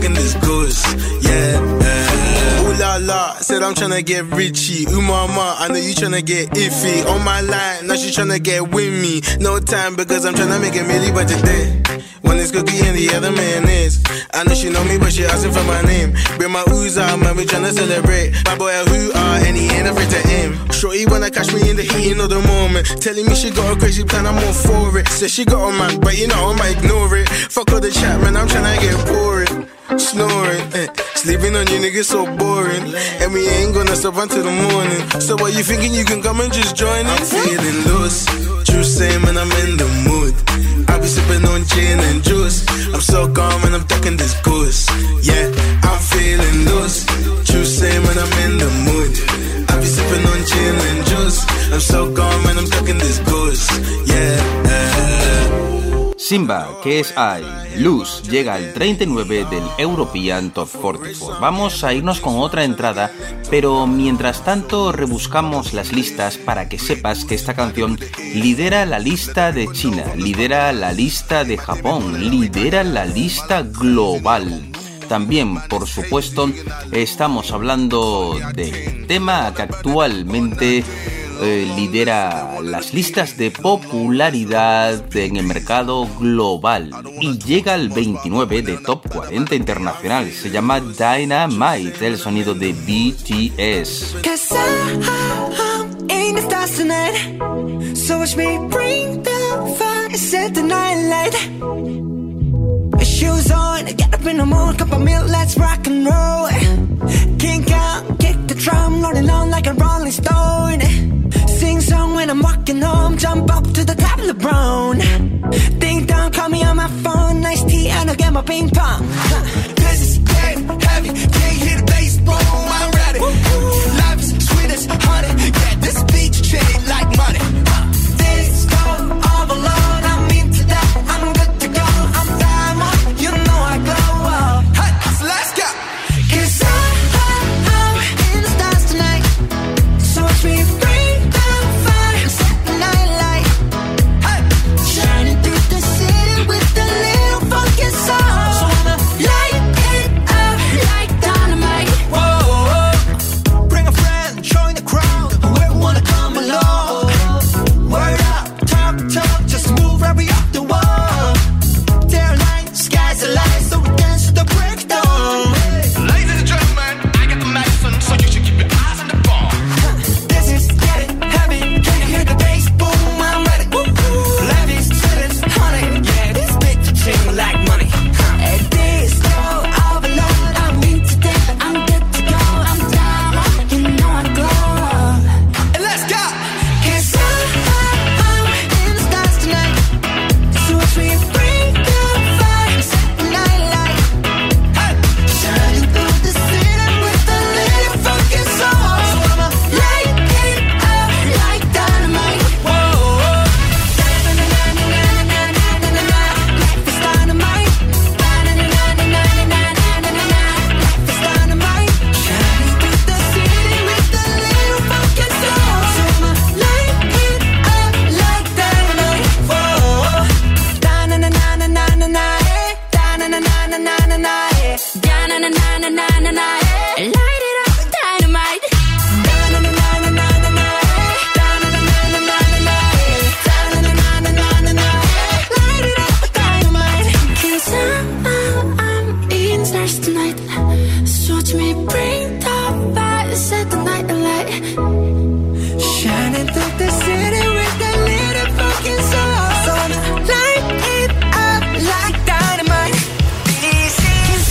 goods. Yeah, uh, ooh la la, said I'm tryna get richy. Ooh mama, I know you tryna get iffy. On my line, now she tryna get with me. No time because I'm tryna make a milli by today. One is cookie and the other man is. I know she know me, but she asking for my name. Bring my ooze out, man, we tryna celebrate. My boy a who are, and he ain't afraid to aim. Shorty wanna catch me in the heat of the moment. Telling me she got a crazy plan, I'm all for it. Says she got a man, but you know I might ignore it. Fuck all the chat, man, I'm tryna get boring. Snoring, eh. Sleeping on you niggas so boring. And we ain't gonna stop until the morning. So what you thinking you can come and just join in? I'm feeling loose, true same and I'm in the mood. I be sipping on gin and juice. I'm so calm and I'm talking this goose. Yeah, I'm feeling loose, true same and I'm in the mood. I be sipping on gin and juice. I'm so calm and I'm talking this goose. Yeah, uh. Simba, que es I, Luz, llega al treinta y nueve del European Top cuarenta y cuatro. Vamos a irnos con otra entrada, pero mientras tanto rebuscamos las listas para que sepas que esta canción lidera la lista de China, lidera la lista de Japón, lidera la lista global. También, por supuesto, estamos hablando del tema que actualmente eh, lidera las listas de popularidad en el mercado global y llega al veintinueve de Top cuarenta internacional. Se llama Dynamite, el sonido de B T S. Shoes on, get up in the mood, cup of milk, let's rock and roll. Kink out, kick the drum, rolling on like a rolling stone. Sing song when I'm walking home, jump up to the top of the brown. Ding dong, call me on my phone, nice tea and I'll get my ping pong. This is dead heavy, can't hear the bass boom, I'm ready. Life is sweet as honey, yeah, this beach chain like money. This go all alone, I'm into that, I'm good to go, I'm diamond, you know I glow up. Hey, so let's go. Cause I, I, I'm in the stars tonight, so watch me bring the fire, set the night light. Hey, shining through the city with a little funky soul. So I'ma light it up like dynamite. Whoa, whoa. Bring a friend, join the crowd, whoever wanna come along. Word up, talk, talk, just move right up the wall. They're light, sky's the light, so we dance to the breakdown. Ladies and gentlemen, I got the medicine, so you should keep your eyes on the ball. This is getting heavy, can you hear the bass boom? I'm ready. Life is sweet as honey, yeah, this bitch ching like money. At this go all alone, I'm into that, I'm good to go, I'm down, you know I glow. And let's go. Cause I, I, I'm in the stars tonight, so watch me bring the fire, set the night light. Hey, shining through the city with a little funky soul. So I'ma light it up like dynamite. Whoa, whoa. Da-na-na-na-na-na-na-na-na-na. Life is dynamite. Da-na-na-na-na-na-na-na-na-na. Life is dynamite. Shining through the city with a little funky soul. So I'ma light it up like dynamite. Whoa, da-na-na-na-na-na-na-na. Da-na-na-na-na-na-na. Da-na-na-na-na-na-na. Light it up, dynamite. Da-na-na-na-na-na-na. Da-na-na-na-na-na-na. Da-na-na-na-na-na-na. Light it up, dynamite. 'Cause I'm, I'm, I'm in stars tonight. So watch me bring the fire, set the night alight. Shining through the city with a little fucking soul. So I'ma light it up like dynamite. This is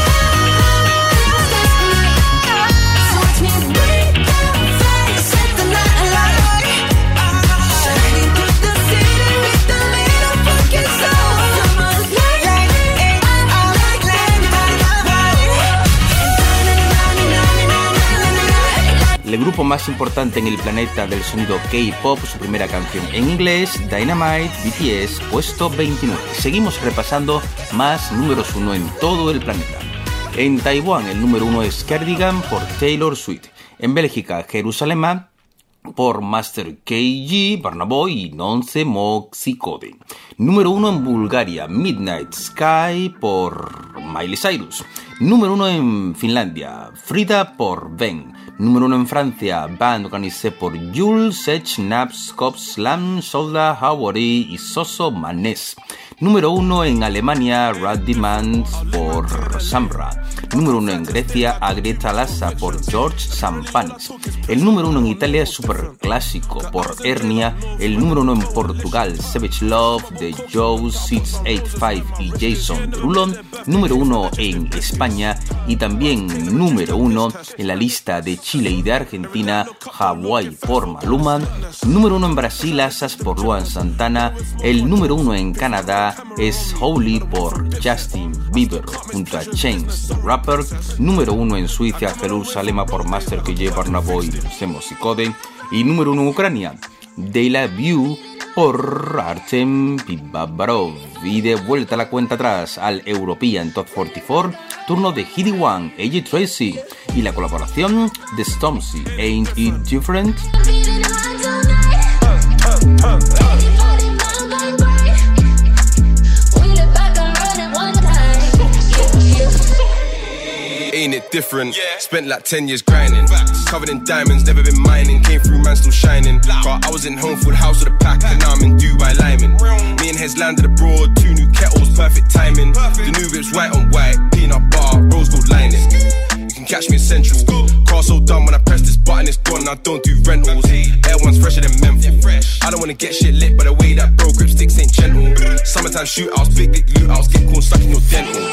so watch me bring the fire, set the night alight. Shining through the city with a little fucking soul. So I'ma light it up like dynamite. El grupo más importante en el planeta del sonido K-pop, su primera canción en inglés, Dynamite, B T S, puesto veintinueve. Seguimos repasando más números uno en todo el planeta. En Taiwán, el número uno es Cardigan por Taylor Swift. En Bélgica, Jerusalema por Master K G, Burna Boy y Nonce Moxicode. Número uno en Bulgaria, Midnight Sky por Miley Cyrus. Número uno en Finlandia, Frida por Ben. Número uno en Francia, Band Organisé por Jules, Sech, Naps, Cops, Slam, Solda, Hawari y Soso Manés. Número uno en Alemania, Rad Demands por Samra. Número uno en Grecia, Agreta Lassa por George Sampanis. El número uno en Italia es Super Clásico por Hernia. El número uno en Portugal, Savage Love de Joe seis ochenta y cinco y Jason Derulo. Número uno en España y también número uno en la lista de Chile y de Argentina, Hawaii por Maluma. Número uno en Brasil, Asas por Luan Santana. El número uno en Canadá es Holy por Justin Bieber junto a Chains the Rapper. Número uno en Suiza, Jerusalema por Master K J Barnaboy y Semos y Code. Y número uno en Ucrania, De La View por Artem Pibabarov. Y de vuelta a la cuenta atrás al European Top cuarenta y cuatro, turno de Heedy One, A J Tracy y la colaboración de Stormzy, Ain't It Different? Ain't it different? Yeah. Spent like ten years grinding. Facts. Covered in diamonds, never been mining. Came through, man, still shining. Car, I was in home, full house with a pack, and now I'm in Dubai Lyman. Me and Hez landed abroad, two new kettles, perfect timing. Perfect. The new whip's white on white, peanut bar, rose gold lining. You can catch me in Central. Car so done when I press this button, it's gone. I don't do rentals. Air one's fresher than menthol. I don't wanna get shit lit, but the way that bro grip sticks ain't gentle. Summertime shootouts, big dick loot outs, get corn stuck in your dental.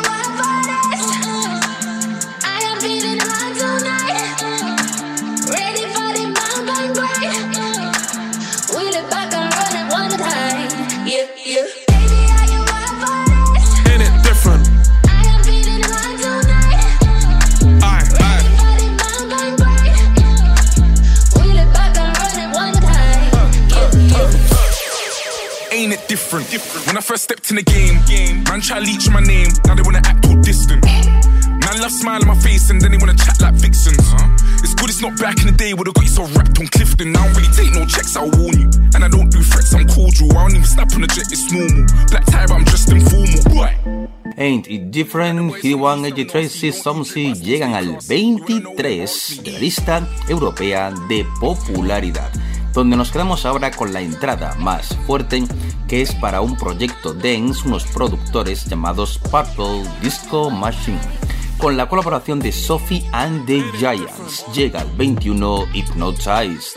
Different. Different. When I first stepped in the game, game, man try to leech my name, now they wanna act all distant. Man love smile on my face and then they wanna chat like vixens. Uh-huh. It's good it's not back in the day where they got you so wrapped on Clifton. I don't really take no checks, I'll warn you. And I don't do threats, I'm cordial. I don't even snap on the jet, it's normal. Black tie but I'm just informal. Right. Ain't It Different, Heedy One, A J Tracy, Stormzy llegan al veintitrés de la lista europea de popularidad, donde nos quedamos ahora con la entrada más fuerte, que es para un proyecto dance, unos productores llamados Purple Disco Machine, con la colaboración de Sophie and the Giants. Llega al veintiuno Hypnotized.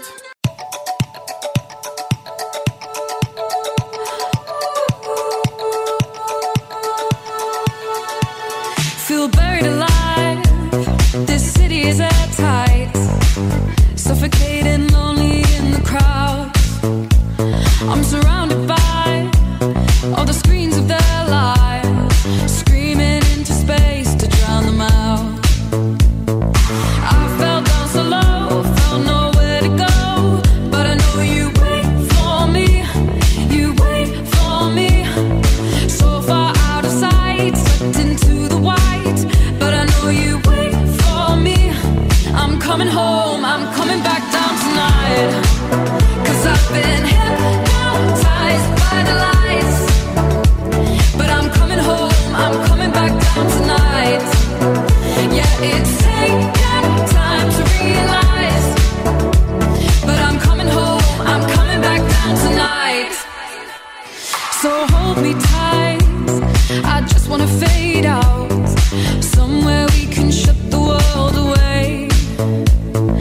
Feel buried alive, this city is at tight, suffocating, lonely in the crowd. I'm surrounded by all the screens of their lives, screaming into space to drown them out. I fell down so low, felt nowhere to go, but I know you wait for me, you wait for me. So far out of sight, sucked into the white, but I know you wait for me. I'm coming home, I'm coming back down tonight, 'cause I've been hypnotized by the lights. But I'm coming home, I'm coming back down tonight. Yeah, it's taken time to realize, but I'm coming home, I'm coming back down tonight. So hold me tight, I just wanna fade out, somewhere we can shut the world away.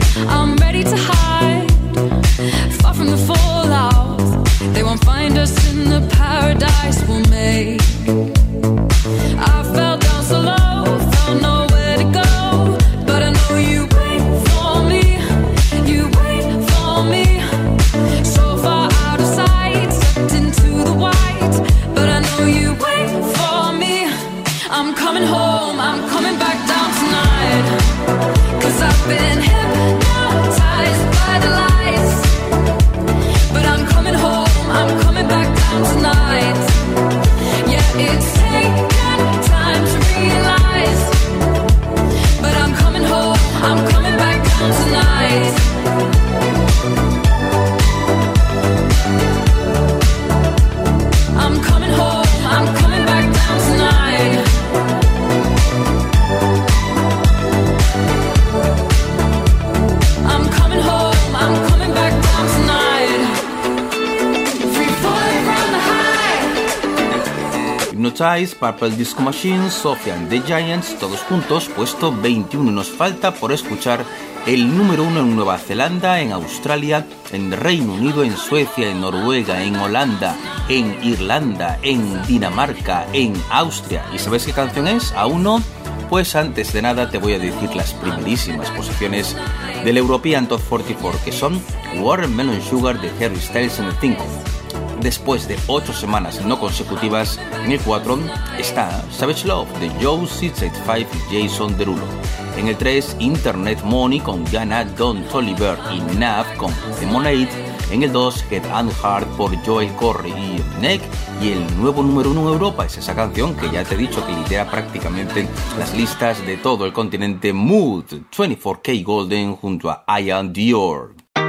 Hypnotize, Purple Disco Machine, Sophia and the Giants, todos juntos, puesto veintiuno. Nos falta por escuchar el número uno en Nueva Zelanda, en Australia, en Reino Unido, en Suecia, en Noruega, en Holanda, en Irlanda, en Dinamarca, en Austria. ¿Y sabes qué canción es? ¿Aún no? Pues antes de nada te voy a decir las primerísimas posiciones del European Top cuarenta y cuatro, que son Watermelon Sugar de Harry Styles en el cinco. Después de ocho semanas no consecutivas, en el cuatro está Savage Love de Joe seis ochenta y cinco y Jason Derulo. En el tres, Internet Money con Jana, Don Toliver y Nav con Lemonade. En el dos, Head and Heart por Joel Corry y Neck. Y el nuevo número uno en Europa es esa canción que ya te he dicho que lidera prácticamente las listas de todo el continente, Mood, veinticuatro K Golden junto a Ian Dior.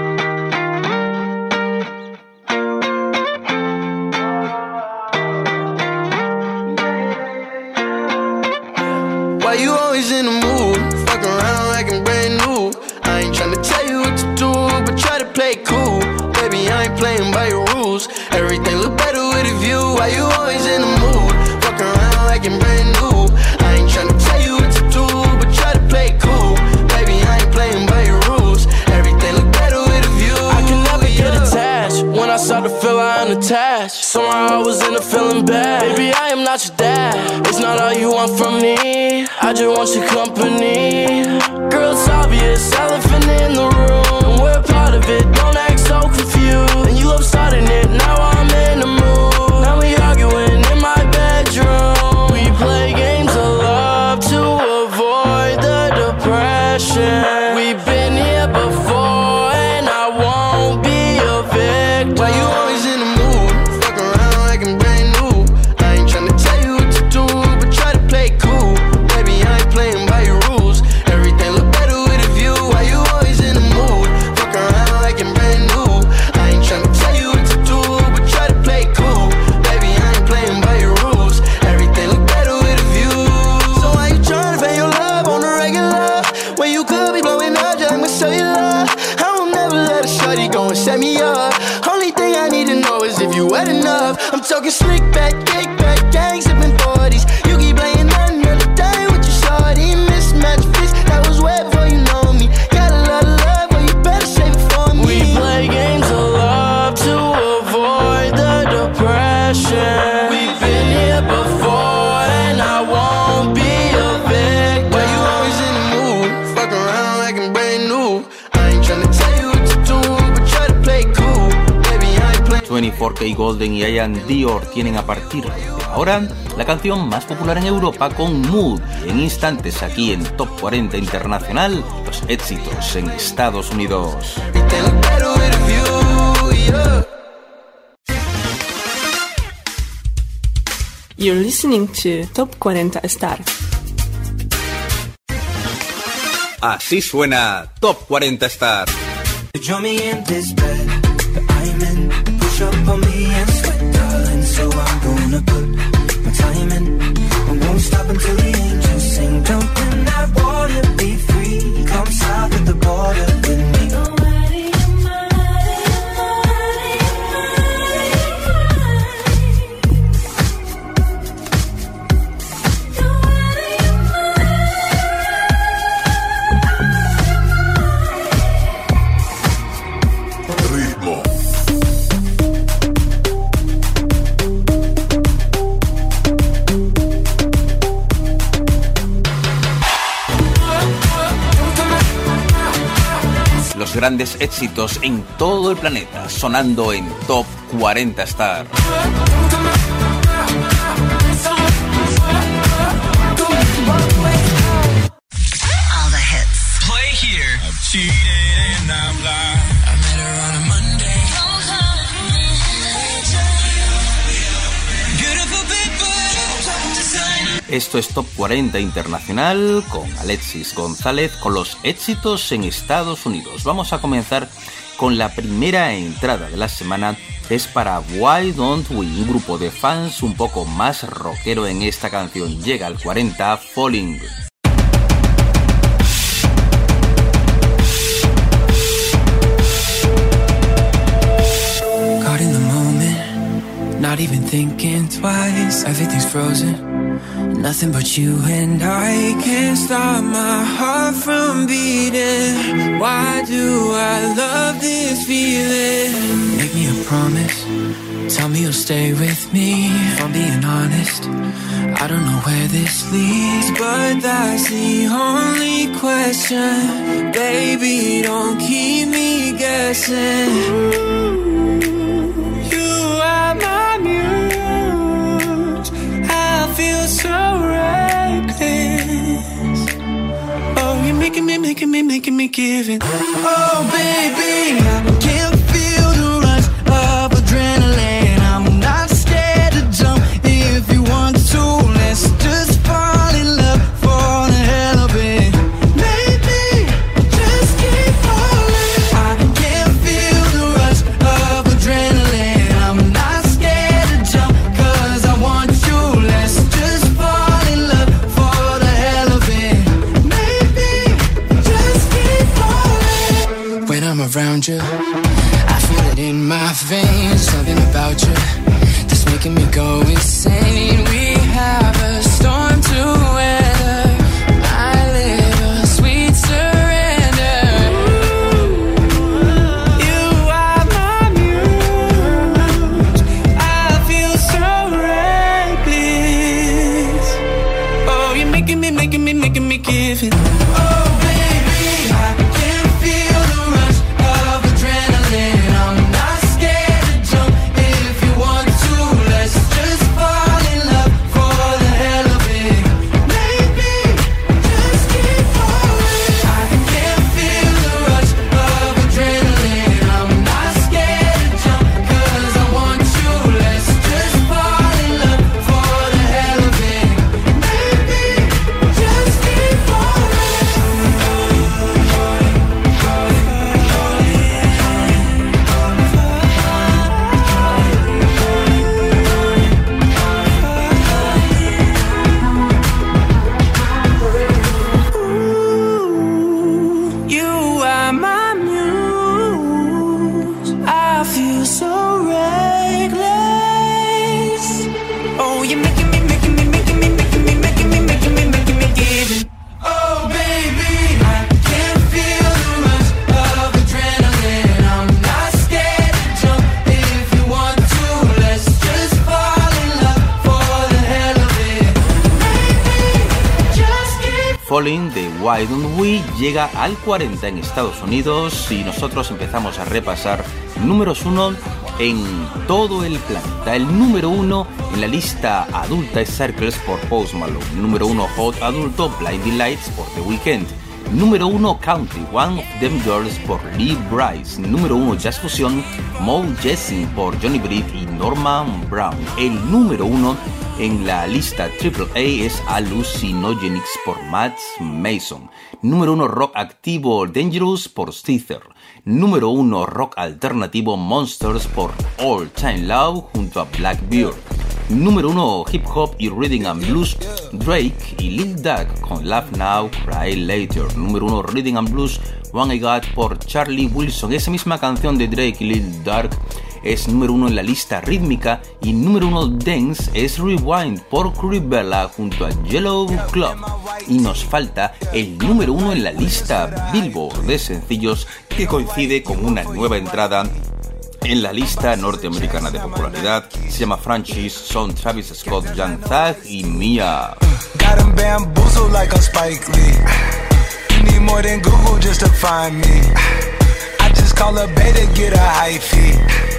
Why you always in the mood? Fuck around like I'm brand new. I ain't tryna tell you what to do, but try to play cool. Baby, I ain't playing by your rules. Everything look better with a view. Why you always in the mood? Fuck around like I'm brand new. I ain't tryna tell you what to do, but try to play cool. Baby, I ain't playing by your rules. Everything look better with a view. I can never yeah. get attached. When I start to feel I'm attached, somehow I was in a feeling bad. Baby, I am not your dad. It's not all you want from me. I just want your company. Girl, it's obvious, elephant in the room, and we're part of it, don't act so confused. And you love starting it, now I'm in the mood. Now we arguing in my bedroom. We play games of love to avoid the depression. We've been here before, and I won't be a victim. Why you always in the mood? Fuck around like I'm brand new. I ain't tryna tell you what to do, but try to play cool. Baby, I ain't playing by your rules. Everything look better with a view. Why you always in the mood? Fuck around like I'm brand new. I ain't tryna tell you what to do, but try to play cool. Baby, I ain't playing by your rules. Everything look better with a view. So why you tryna pay your love on the regular when you could be blowing up just like cellular? I will never let a shorty go and set me up. Only thing I need to know is if you wet enough. I'm talking slick back, kick back, gang sipping forties. You keep playing another day with your shorty. Mismatch fits, that was way before you know me. Got a lot of love, but you better save it for me. We play games of love to avoid the depression. We've been here before, and I won't be a victim. Why you always in the mood? Fuck around like I'm brand new. I ain't tryna tell you what to do, but try to play cool. Baby, I ain't playing. veinticuatro K Golden y Ian Dior tienen a partir de ahora la canción más popular en Europa con Mood. En instantes aquí en Top cuarenta Internacional, los éxitos en Estados Unidos. You're listening to Top cuarenta Star. Así suena Top cuarenta Star. Join me in this bed that I'm in. Push up on me and sweat, darling. So I'm gonna put my time in. I won't stop until the angels sing. Jump in that water, be free. Come south of the border with me. Los grandes éxitos en todo el planeta sonando en Top cuarenta Star. All the hits. Play here. I've cheated and I'm lied. I met her on a Monday. Esto es Top cuarenta Internacional con Alexis González con los éxitos en Estados Unidos. Vamos a comenzar con la primera entrada de la semana. Es para Why Don't We, un grupo de fans un poco más rockero en esta canción. Llega al cuarenta, Falling. Caught in the moment, not even thinking twice. Everything's frozen, nothing but you and I. Can't stop my heart from beating. Why do I love this feeling? Make me a promise, tell me you'll stay with me. If I'm being honest, I don't know where this leads, but that's the only question. Baby, don't keep me guessing. You are my muse. I feel so reckless. Oh, you're making me, making me, making me give it. Oh, baby, I can feel the rush of adrenaline. I'm not scared to jump if you want to. Let's just fall in love for the hell of it. Maybe just keep falling. I can feel the rush of adrenaline. I'm not scared to jump 'cause I want you. Let's just fall in love for the hell of it. Maybe just keep falling. When I'm around you, I feel it in my veins. Something about you that's making me go insane. We have a storm to weather. I live a sweet surrender. You are my muse. I feel so reckless. Oh, you're making me, making me, making me give it. Oh, baby, I can feel the rush of adrenaline. I'm not scared to jump if you want to. Let's just fall in love for the hell of it. Maybe just keep falling. I can feel the rush of adrenaline. I'm not scared to jump 'cause I want you. Let's just fall in love for the hell of it. Maybe just keep falling. You are my muse. I feel so reckless. Oh, you're making me, making me, making me, making me, making me, making me, making me give it. Oh, baby, I can feel the rush of adrenaline. I'm not scared to jump if you want to. Let's just fall in love for the hell of it. Maybe just keep. Falling de Why Don't We llega al cuarenta en Estados Unidos y nosotros empezamos a repasar números uno en todo el planeta. El número uno en la lista adulta es Circles por Post Malone. Número uno Hot adulto Blinding Lights por The Weeknd. Número uno Country One of Them Girls por Lee Brice. Número uno Jazz Fusion Mo Jessin por Johnny Britt y Norman Brown. El número uno en la lista triple A es Hallucinogenics por Matt Mason. Número uno Rock activo Dangerous por Steether. Número uno Rock alternativo Monsters por All Time Low junto a Blackbeard. Número uno Hip Hop y Rhythm and Blues Drake y Lil Durk con Laugh Now, Cry Later. Número uno Rhythm and Blues One I Got por Charlie Wilson. Esa misma canción de Drake y Lil Durk es número uno en la lista rítmica y número uno Dance es Rewind por Cribella junto a Yellow Club. Y nos falta el número uno en la lista Billboard de sencillos que coincide con una nueva entrada en la lista norteamericana de popularidad. Se llama Franchise, son Travis Scott, Young Thug y Mia. Got 'em bamboozled like a Spike Lee. You need more than Google just to find me. I just call a beta, get a high fee.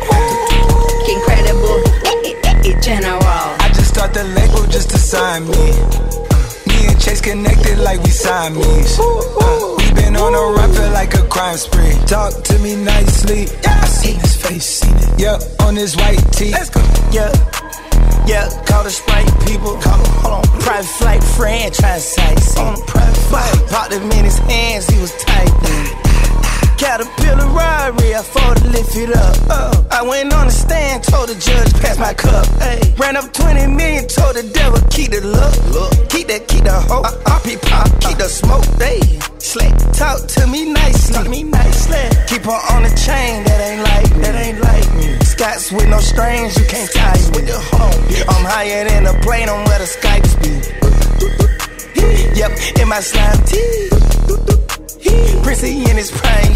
Incredible, general. I just start the label just to sign me. Me and Chase connected like we Siamese. Uh, we been on a run, feel like a crime spree. Talk to me nicely. Yeah. I seen his face, seen it. Yeah, on his white tee. Let's go. Yeah, yeah. Call the Sprite people. Call him, hold on. Private flight franchise sites. On a private flight. Popped him in his hands, he was tight. Caterpillar robbery, I fought to lift it up. Uh, I went on the stand, told the judge, pass my cup. Ay. Ran up twenty million, told the devil, keep the look. look. Keep that, keep the hope. Uh, R P pop, keep the smoke. Ay. Slick, talk to me nicely. Talk to me nicely. Keep her on the chain, that ain't like me. That ain't like me. Scots with no strings, you can't tie me. With the home, I'm higher than a plane on where the Skypes be. Yep, in my slime tee. Prissy in his prime.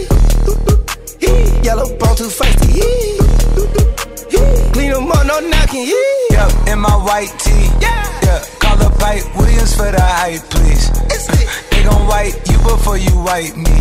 Yellow bone too feisty. Clean them up, no knocking. Yep, in my white tee. Yeah, yeah. Call up White Williams for the hype, please. They gon' white you before you white me.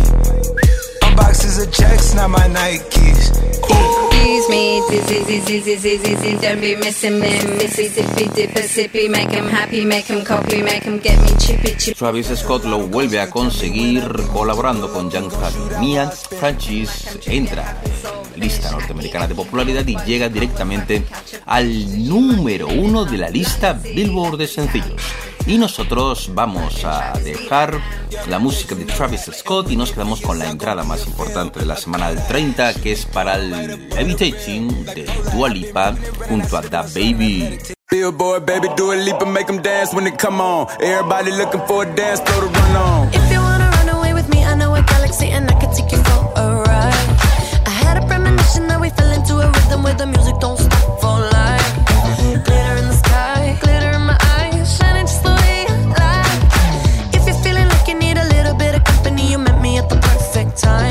Unboxes of checks, not my Nikes. Excuse me, dizzy, dizzy, dizzy, dizzy, don't be missing me. Missy, dippy, dipper, sippy, make him happy, make him copy, make him get me chippy, chippy. Travis Scott lo vuelve a conseguir colaborando con Young Thug. Mia Francis entra en la lista norteamericana de popularidad y llega directamente al número uno de la lista Billboard de sencillos. Y nosotros vamos a dejar la música de Travis Scott y nos quedamos con la entrada más importante de la semana del treinta, que es para el Levitating de Dua Lipa junto a DaBaby. Billboard, baby, do a leap and make them dance when they come on. Everybody looking for a dance floor to run on. If you wanna run away with me, I know a galaxy and I can take you for a ride. I had a premonition that we fell into a rhythm where the music don't stop for life. Glitter in the sky, glitter in my eyes, shining just the way I like. If you're feeling like you need a little bit of company, you met me at the perfect time.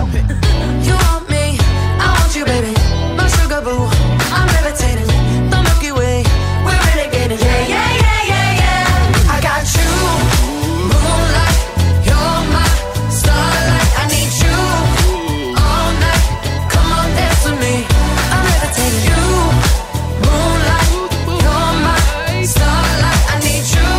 You want me, I want you, baby, my sugar boo. I'm levitating, the Milky Way, we're renegading. Yeah, yeah, yeah, yeah, yeah. I got you, moonlight, you're my starlight. I need you all night. Come on, dance with me. I'm levitating. You, moonlight, you're my starlight. I need you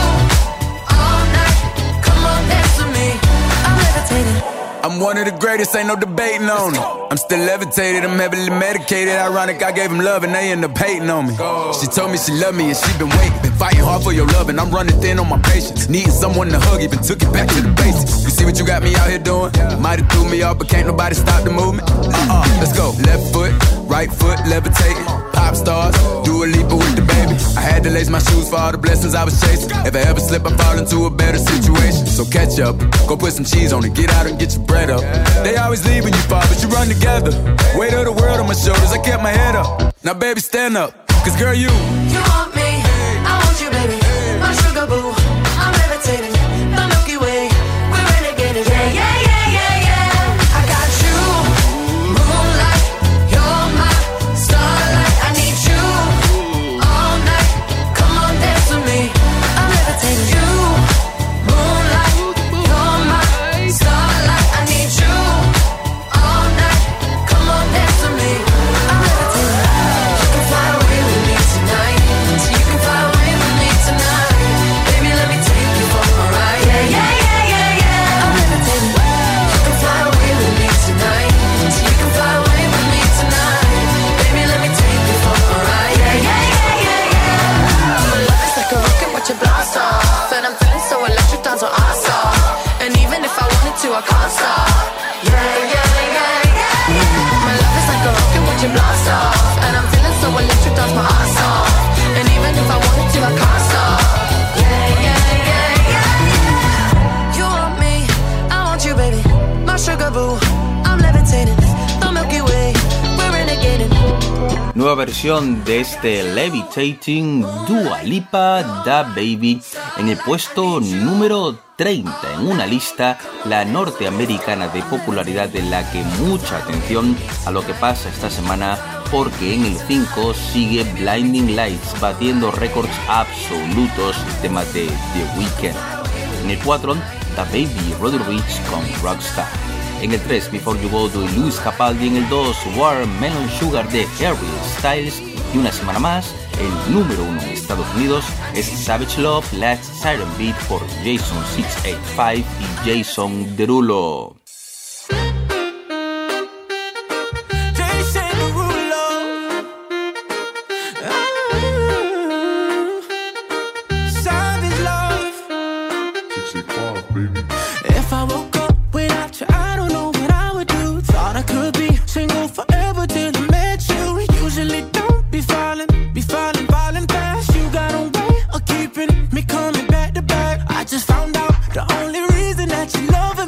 all night. Come on, dance with me. I'm levitating. I'm one of the greatest, ain't no debating on it. I'm still levitated, I'm heavily medicated. Ironic, I gave him love and they end up hating on me. She told me she loved me and she been waiting. Been fighting hard for your love and I'm running thin on my patience. Needing someone to hug, even took it back to the basics. You see what you got me out here doing? Might have threw me off, but can't nobody stop the movement. Uh-uh, let's go. Left foot, right foot, levitating. Pop stars, do a leap with the baby. I had to lace my shoes for all the blessings I was chasing. If I ever slip, I fall into a better situation. So catch up, go put some cheese on it, get out and get your bread up. They always leave when you fall, but you run together. Weight of the world on my shoulders, I kept my head up. Now baby, stand up, cause girl, you You want me, I want you, baby, my sugar boo. I'm levitating, the Milky Way, we're renegading. Yeah, yeah, yeah, yeah, yeah. I got you, moonlight, you're my starlight. I need you all night. Come on, dance with me. I'm levitating. You, moonlight, you're my starlight. I need you all night. Come on, dance with me. I'm levitating. You can fly away with me tonight. You can fly away with me tonight. Baby, let me take you for a ride. Yeah, yeah, yeah, yeah, yeah. I'm levitating. You can fly away with me tonight. You can fly away with me tonight. Baby, let me take you for a ride. Yeah, yeah, yeah, yeah, yeah. My love is like a rocket, watch it blast off. And I'm feeling so electric, down so awesome. And even if I wanted to, I can't stop. Yeah, yeah, yeah, yeah. My love is like a rocket, watch it blast off. And I'm feeling so electric, down my ass off. And even if I wanted to, I can't stop. Yeah, yeah, yeah, yeah. You want me, I want you, baby, my sugar boo. I'm levitating, the Milky Way, we're renegading. Nueva versión de este Levitating, Dua Lipa, DaBaby, en el puesto número treinta en una lista, la norteamericana de popularidad, en la que mucha atención a lo que pasa esta semana, porque en el cinco sigue Blinding Lights batiendo récords absolutos, tema de The Weeknd. En el cuatro, DaBaby y Roddy Ricch con Rockstar. En el tres, Before You Go de Luis Capaldi. En el dos, Watermelon Sugar de Harry Styles. Y una semana más, el número uno en Estados Unidos es Savage Love, Last Siren Beat por Jason seis ochenta y cinco y Jason Derulo. If I woke up without you, I don't know what I would do. Thought I could be single forever till I met you. Usually don't be falling, be falling, falling fast. You got a way of keeping me coming back to back. I just found out the only reason that you love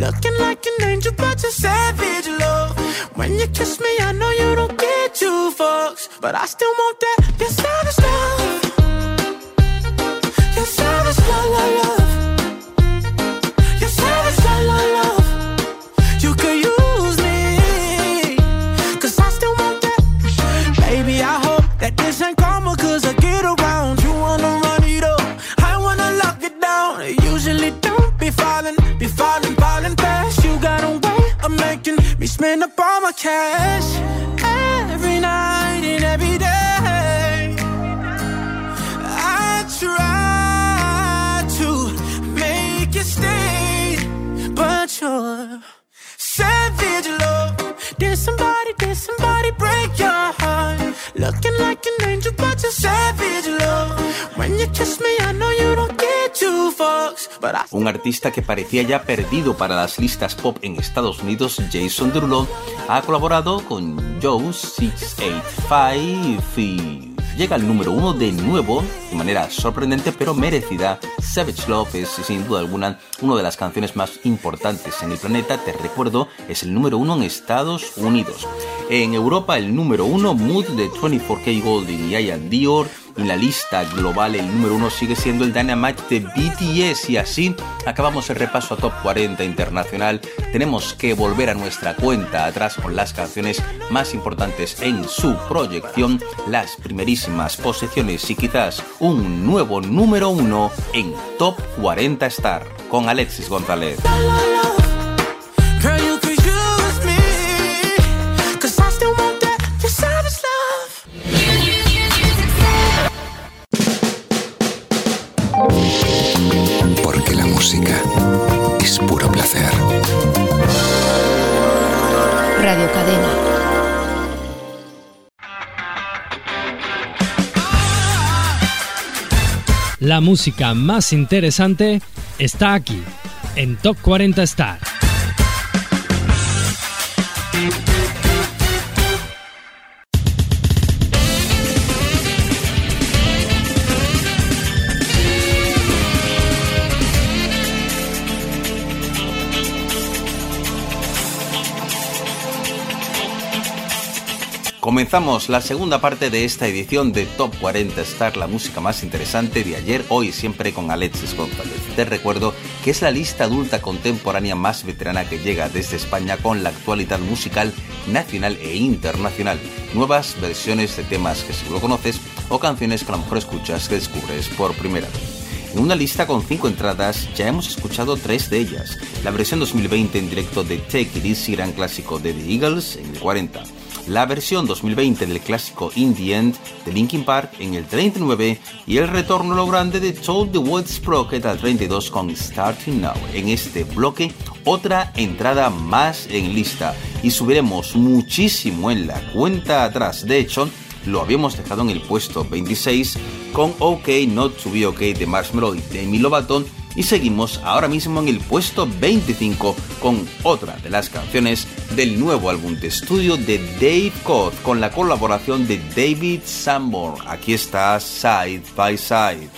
looking like an angel, but you're savage, love. When you kiss me, I know you don't get two fucks, but I still want that. You're savage, love. You're savage, love, love, love. You're savage, love, love, love. You could use me, cause I still want that. Baby, I hope that this ain't karma, cause I get around. You wanna run it up, I wanna lock it down. I usually don't be falling, be falling, falling fast. You got a way of making me spend up all my cash. Every night and every day I try to make you stay, but you're savage, love. Did somebody, did somebody break your heart? Looking like an angel, but you're savage, love. When you kiss me, I know you don't get two fucks, but I... Un artista que parecía ya perdido para las listas pop en Estados Unidos, Jason Derulo, ha colaborado con Joe seis ocho cinco y llega al número uno de nuevo, de manera sorprendente pero merecida. Savage Love es sin duda alguna una de las canciones más importantes en el planeta. Te recuerdo, es el número uno en Estados Unidos. En Europa el número uno, Mood de veinticuatro K Golden y Ian Dior. En la lista global el número uno sigue siendo el Dynamite de B T S, y así acabamos el repaso a Top cuarenta Internacional. Tenemos que volver a nuestra cuenta atrás con las canciones más importantes en su proyección, las primerísimas posiciones y quizás un nuevo número uno en Top cuarenta Star con Alexis González. Porque la música es puro placer. Radio Cadena. La música más interesante está aquí, en Top cuarenta Star. Comenzamos la segunda parte de esta edición de Top cuarenta Star, la música más interesante de ayer, hoy y siempre con Alexis González. Te recuerdo que es la lista adulta contemporánea más veterana que llega desde España con la actualidad musical nacional e internacional. Nuevas versiones de temas que seguro conoces o canciones que a lo mejor escuchas que descubres por primera vez. En una lista con cinco entradas ya hemos escuchado tres de ellas. La versión dos mil veinte en directo de Take It Easy, gran clásico de The Eagles, en el cuarenta. La versión dos mil veinte del clásico In The End de Linkin Park en el treinta y nueve, y el retorno a lo grande de Told the World Sprocket al treinta y dos con Starting Now. En este bloque, otra entrada más en lista y subiremos muchísimo en la cuenta atrás. De hecho, lo habíamos dejado en el puesto veintiséis con OK Not To Be OK de Marshmello y Demi Lovato, y seguimos ahora mismo en el puesto veinticinco con otra de las canciones del nuevo álbum de estudio de Dave Koz con la colaboración de David Sanborn. Aquí está Side by Side.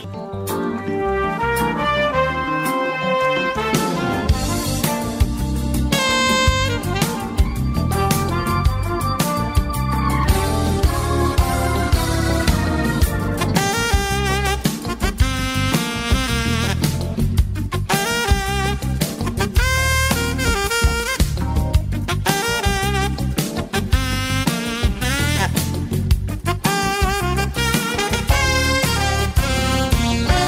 Bye.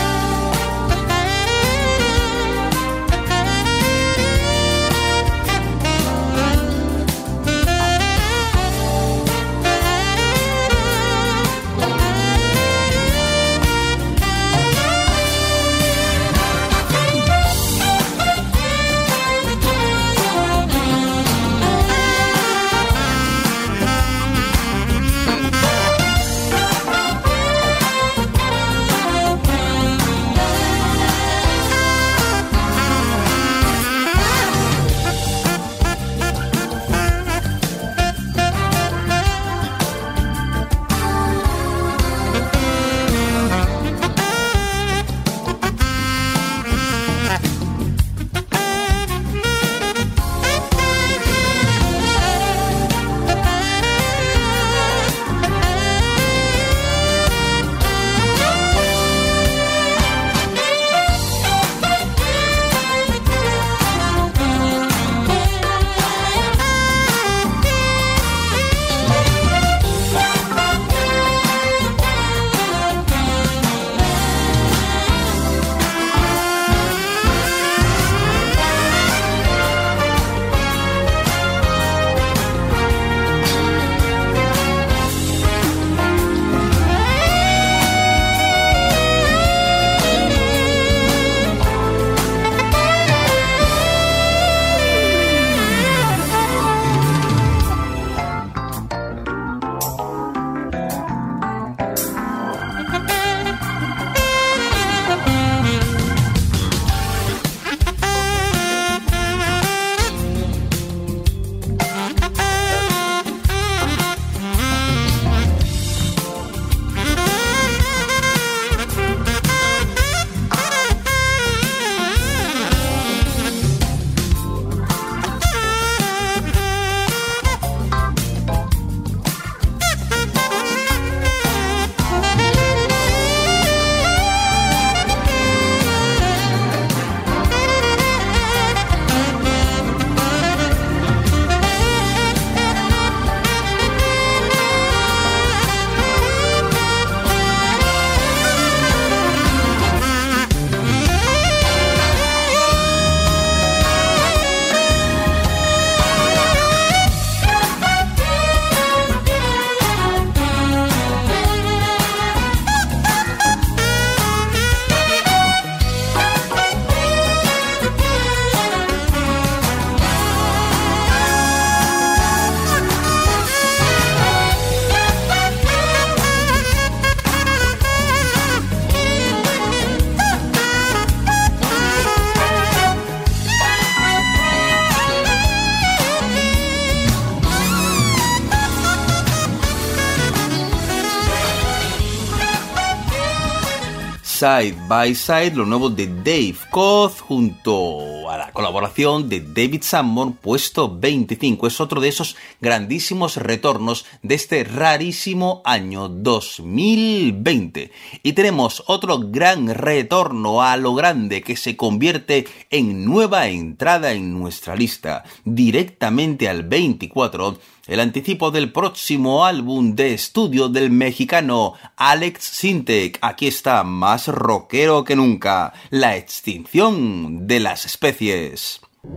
Side by Side, lo nuevo de Dave Koz junto a la colaboración de David Sanborn, puesto veinticinco. Es otro de esos grandísimos retornos de este rarísimo año dos mil veinte. Y tenemos otro gran retorno a lo grande que se convierte en nueva entrada en nuestra lista, directamente al veinticuatro. El anticipo del próximo álbum de estudio del mexicano Alex Sintek. Aquí está, más rockero que nunca, La extinción de las especies.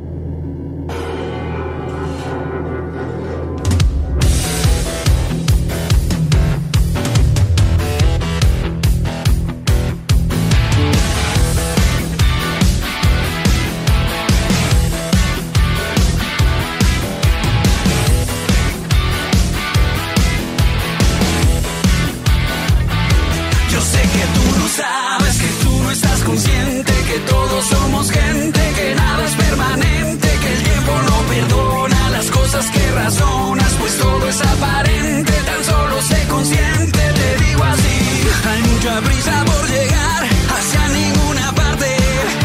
Sabes que tú no estás consciente, que todos somos gente, que nada es permanente, que el tiempo no perdona las cosas que razonas, pues todo es aparente, tan solo sé consciente, te digo así, hay mucha prisa por llegar hacia ninguna parte,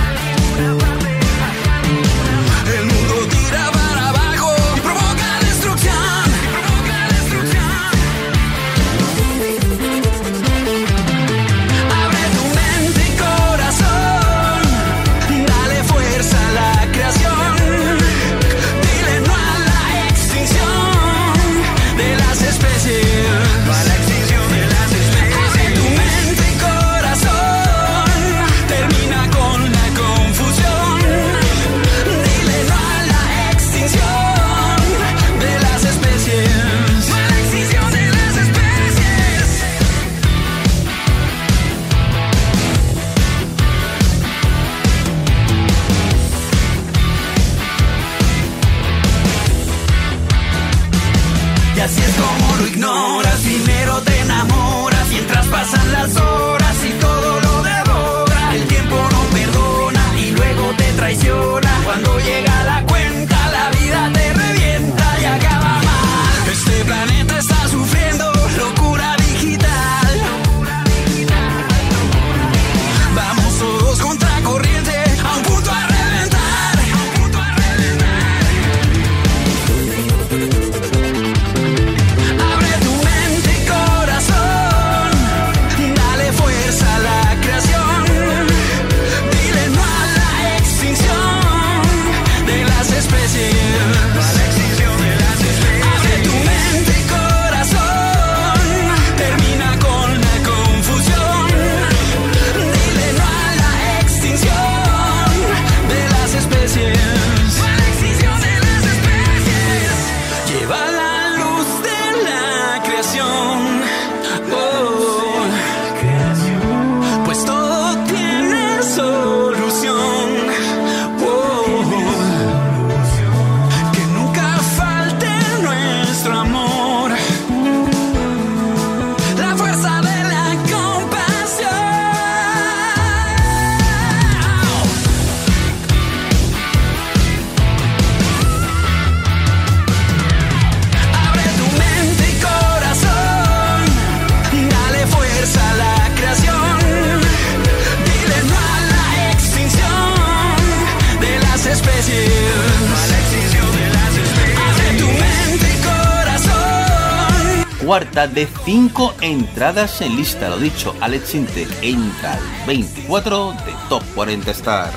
el mundo tira para abajo y provoca destrucción, provoca destrucción. Y así es como lo ignoras, primero te enamoras, mientras pasan las horas y todo lo devora. El tiempo no perdona y luego te traiciona. Cuando llega la cuenta, la vida te revienta y acaba mal. Este planeta está sufriendo locura digital. Vamos todos contra corriente, a un punto a reventar, a un punto a reventar. Cuarta de cinco entradas en lista, lo dicho, Alex Sintek entra al veinticuatro de Top cuarenta Star.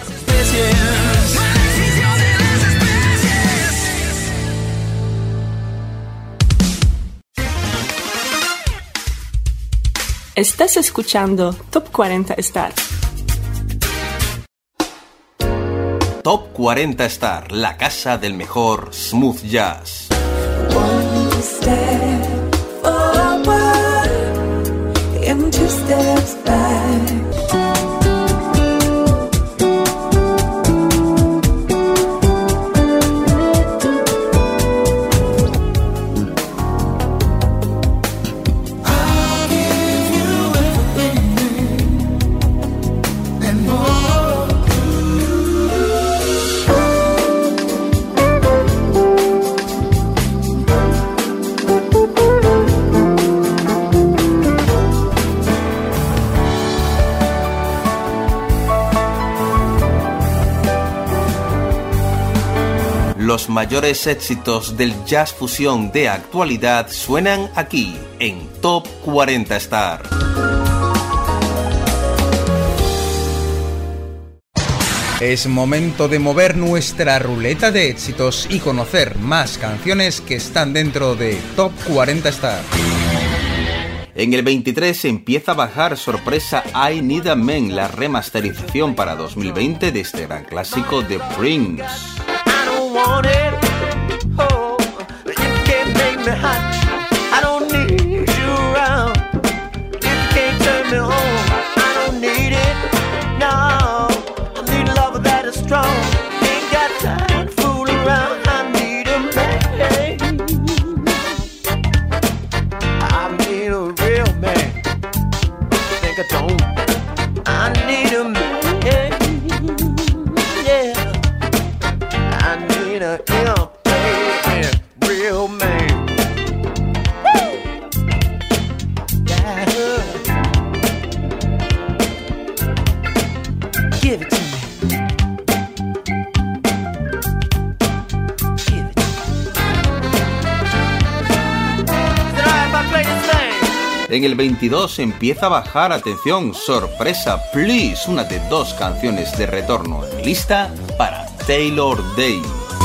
Estás escuchando Top cuarenta Star. Top cuarenta Star, la casa del mejor smooth jazz. One step forward and two steps back. Los mayores éxitos del jazz fusión de actualidad suenan aquí, en Top cuarenta Star. Es momento de mover nuestra ruleta de éxitos y conocer más canciones que están dentro de Top cuarenta Star. En el veintitrés empieza a bajar sorpresa I Need a Man, la remasterización para dos mil veinte de este gran clásico de Prince. I don't want it, oh, you can't make me hot. I don't need you around. You can't turn me on. I don't need it, no. I need love that is strong. Ain't got time to fool around. I need a man. I need a real man. Think I don't. I need a man. Yeah. I need a ill man, real man. Woo! Yeah. Give it to me. Give it to me. Is it alright if I play this thing? En el veintidós empieza a bajar, atención, sorpresa, Please, una de dos canciones de retorno en mi lista para Taylor Day.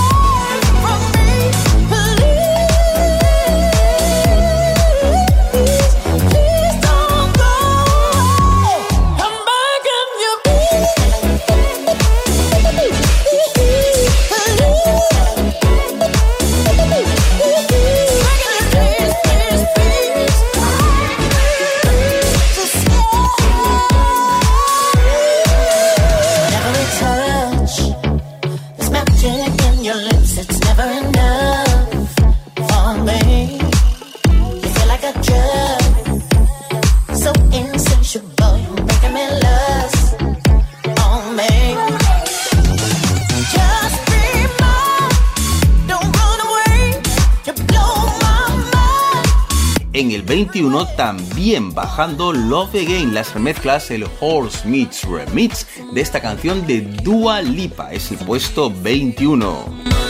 En el veintiuno también bajando Love Again, las remezclas, el Horse Meets Remix de esta canción de Dua Lipa, es el puesto veintiuno.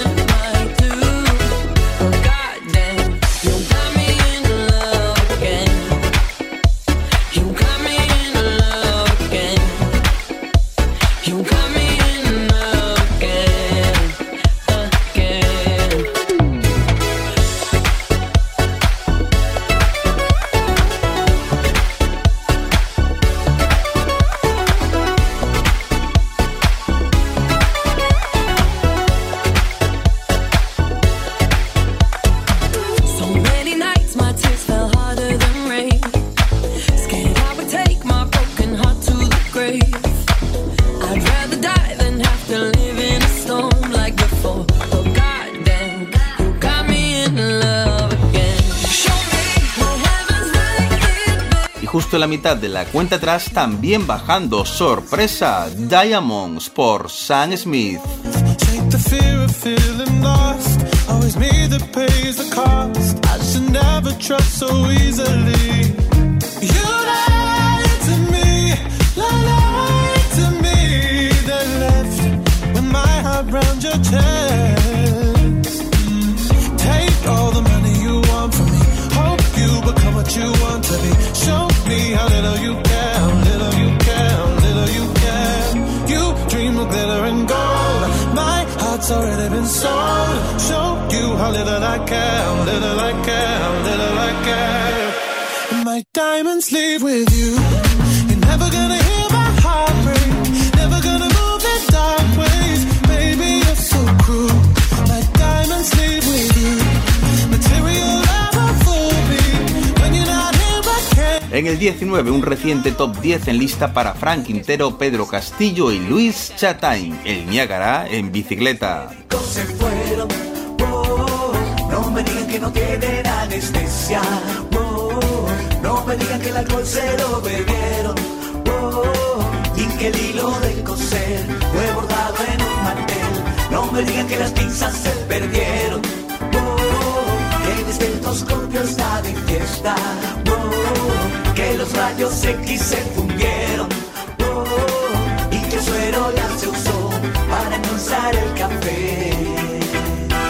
Justo en la mitad de la cuenta atrás también bajando, sorpresa, Diamonds por Sam Smith. Take the fear of feeling lost. Always me that pays the cost. I should never trust so easily. You lied to me, lied to me. Then left with my heart round your chest. Take all the money you want from me. Hope you become what you want to be. Show me how little you care, how little you care, how little you care. You dream of glitter and gold. My heart's already been sold. Show you how little I care, how little I care, how little I care. And my diamonds leave with you. You're never gonna hear my heart break. Never gonna move in dark ways. Baby, you're so cruel. My diamonds leave with you. Material never fool me. When you're not here, I can't. En el diecinueve, un reciente top diez en lista para Frank Quintero, Pedro Castillo y Luis Chatain, el Niágara en bicicleta. Se fueron, oh, no me digan que no tienen anestesia, oh, no me digan que el alcohol se lo bebieron, oh, y que el hilo de coser fue bordado en un mantel, no me digan que las pinzas se perdieron, oh, que el estetoscopio está de fiesta, oh, que los rayos X se fundieron, oh, y que el suero ya se usó para endulzar el café.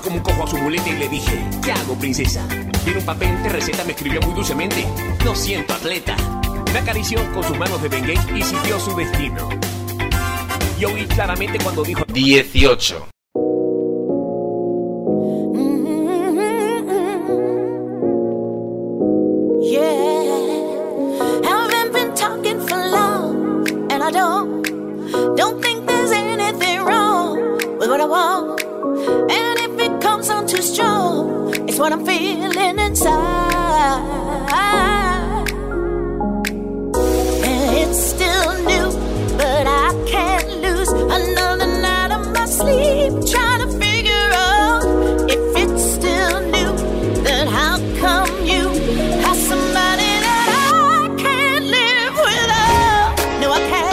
como un cojo a su muleta y le dije, ¿qué hago, princesa? Y en un papel de receta me escribió muy dulcemente, lo siento, atleta. Me acarició con sus manos de Bengay y siguió su destino. Y oí claramente cuando dijo dieciocho. I don't, don't think there's anything wrong with what I want. And if it comes on too strong, it's what I'm feeling inside. And it's still new, but I can't lose another night of my sleep trying to figure out if it's still new, then how come you have somebody that I can't live without? No, I can't.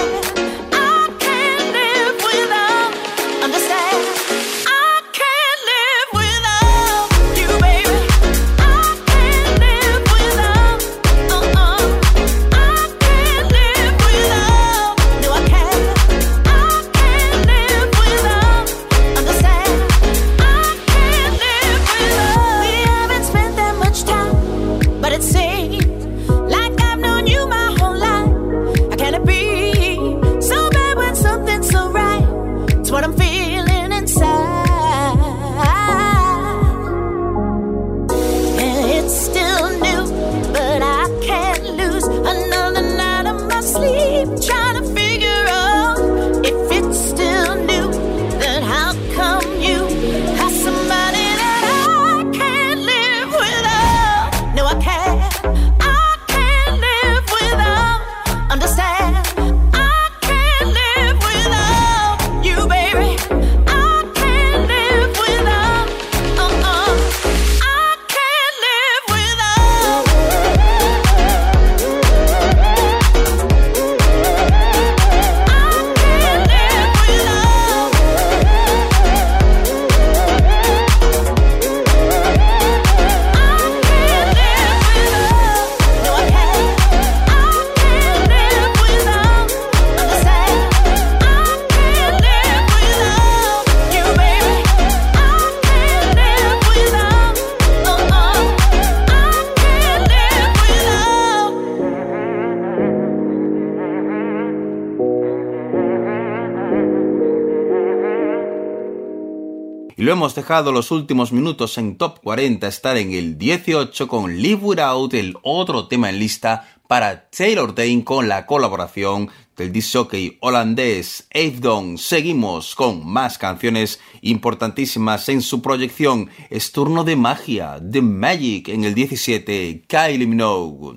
Y lo hemos dejado los últimos minutos en Top cuarenta estar en el dieciocho con Live Without, el otro tema en lista para Taylor Dayne con la colaboración del disc jockey holandés Afdon. Seguimos con más canciones importantísimas en su proyección. Es turno de Magia, The Magic en el diecisiete, Kylie Minogue.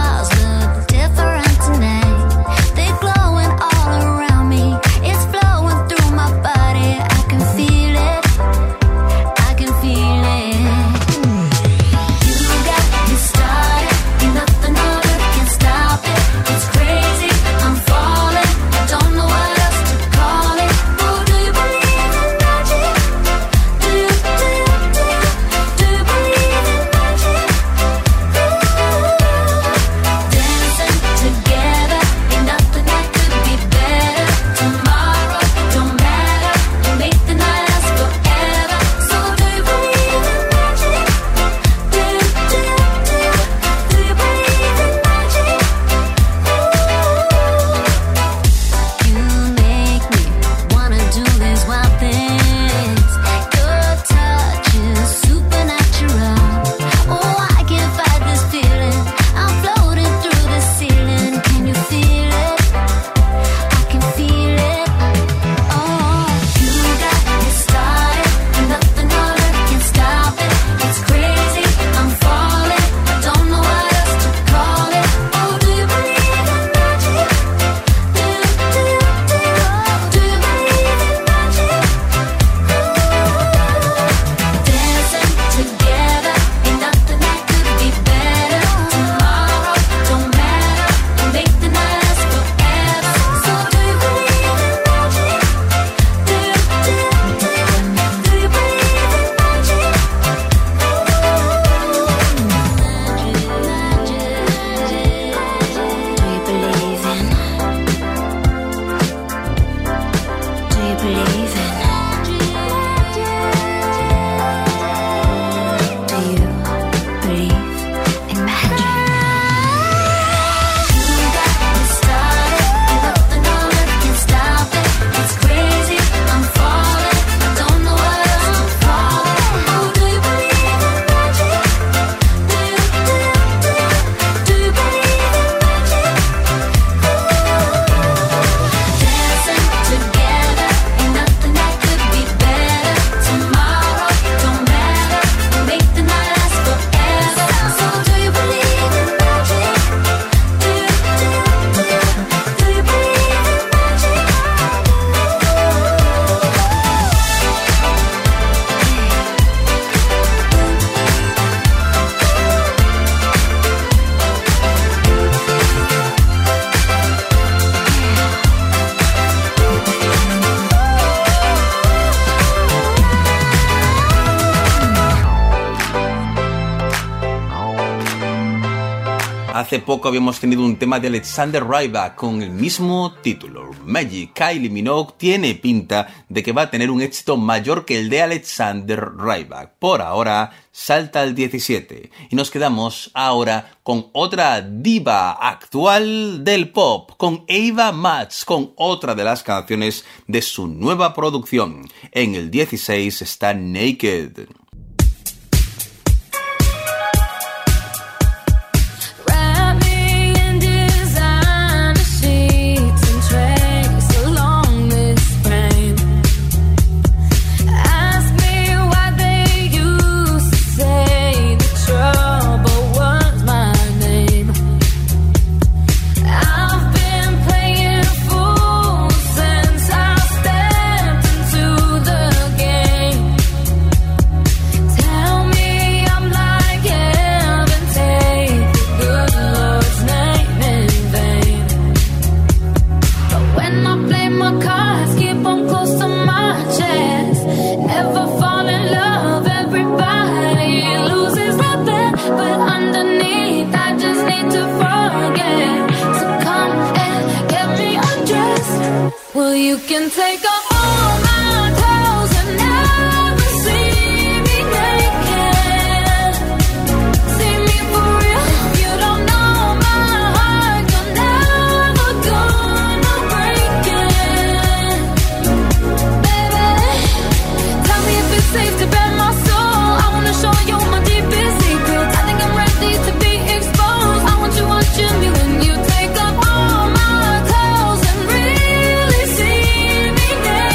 Flowing Hace poco habíamos tenido un tema de Alexander Rybak con el mismo título, Magic. Kylie Minogue tiene pinta de que va a tener un éxito mayor que el de Alexander Rybak. Por ahora salta al diecisiete y nos quedamos ahora con otra diva actual del pop, con Ava Max, con otra de las canciones de su nueva producción. En el dieciséis está Naked. You can take off all my clothes and never see me naked. See me for real. You don't know my heart. You're never gonna break it. Baby, tell me if it's safe to bare my soul. I wanna show you my deepest secrets. I think I'm ready to be exposed. I want you watching me when you take off all my clothes and really see me naked.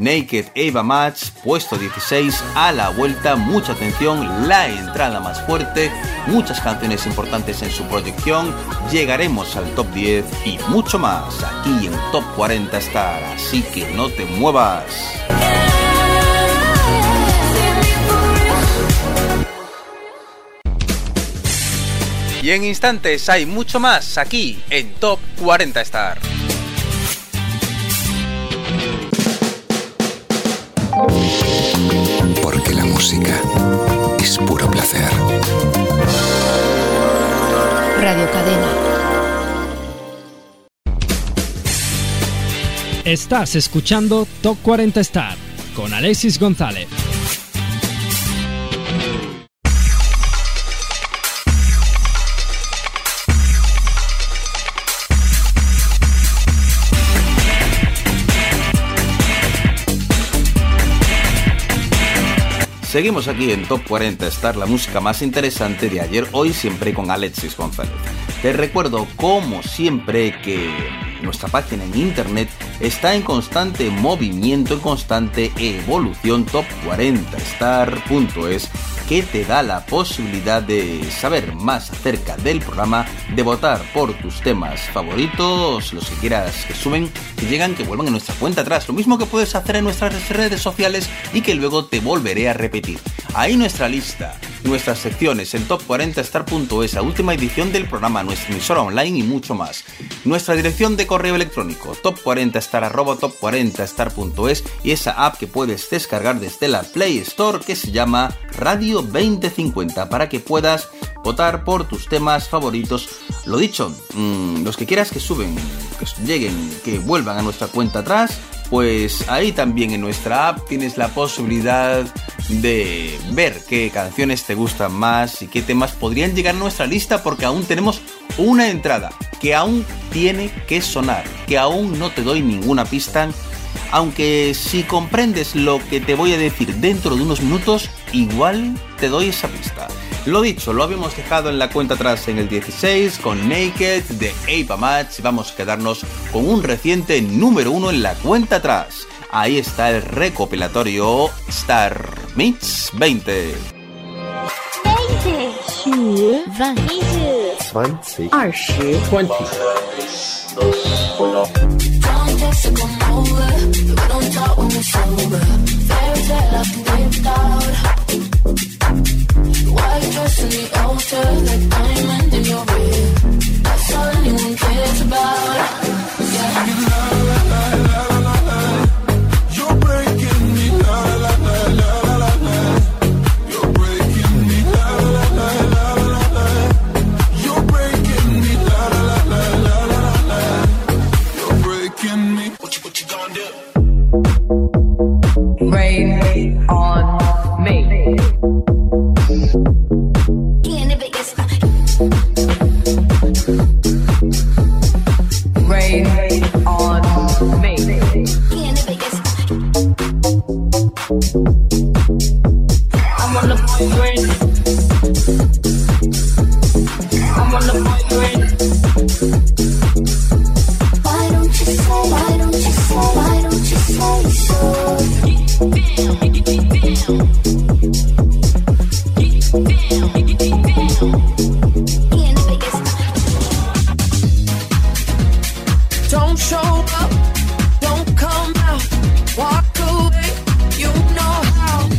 Naked Ava Max, puesto dieciséis. A la vuelta, mucha atención, la entrada más fuerte, muchas canciones importantes en su proyección, llegaremos al top diez y mucho más aquí en Top cuarenta Star, así que no te muevas. Y en instantes hay mucho más aquí en Top cuarenta Star. Porque la música es puro placer. Radio Cadena. Estás escuchando Top cuarenta Star con Alexis González. Seguimos aquí en Top cuarenta Star, la música más interesante de ayer, hoy, siempre con Alexis González. Te recuerdo, como siempre, que nuestra página en internet está en constante movimiento, en constante evolución, top cuarenta star punto es, que te da la posibilidad de saber más acerca del programa, de votar por tus temas favoritos, los que quieras que suben, que llegan, que vuelvan a nuestra cuenta atrás. Lo mismo que puedes hacer en nuestras redes sociales y que luego te volveré a repetir. Ahí nuestra lista, nuestras secciones en top cuarenta star punto es, la última edición del programa, nuestra emisora online y mucho más. Nuestra dirección de correo electrónico, top cuarenta star arroba top cuarenta star punto es, y esa app que puedes descargar desde la Play Store que se llama Radio veinte cincuenta para que puedas votar por tus temas favoritos. Lo dicho, mmm, los que quieras que suben, que lleguen, que vuelvan a nuestra cuenta atrás, pues ahí también en nuestra app tienes la posibilidad de ver qué canciones te gustan más y qué temas podrían llegar a nuestra lista, porque aún tenemos una entrada que aún tiene que sonar, que aún no te doy ninguna pista, aunque si comprendes lo que te voy a decir dentro de unos minutos, igual te doy esa pista. Lo dicho, lo habíamos dejado en la cuenta atrás en el dieciséis con Naked de Ava Max. Vamos a quedarnos con un reciente número uno en la cuenta atrás. Ahí está el recopilatorio Star Mix veinte. veinte, veinte, veinte, White dress in the altar, like diamond in your ring. That's all anyone cares about. Yeah. You're breaking me, la la la la la la. You're breaking me, la la la la la la. You're breaking me, la la la la la la. You're breaking me. What you what you gonna do? Rain on me. Rain on me. I'm on the point grid. I'm on the point grid. Why don't you say, why don't you say, why don't you say so? Get down, get down. Get down, get down. Don't show up, don't come out, walk away, you know how.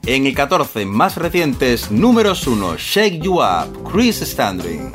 En el catorce, más recientes, números uno, Shake You Up, Chris Standring.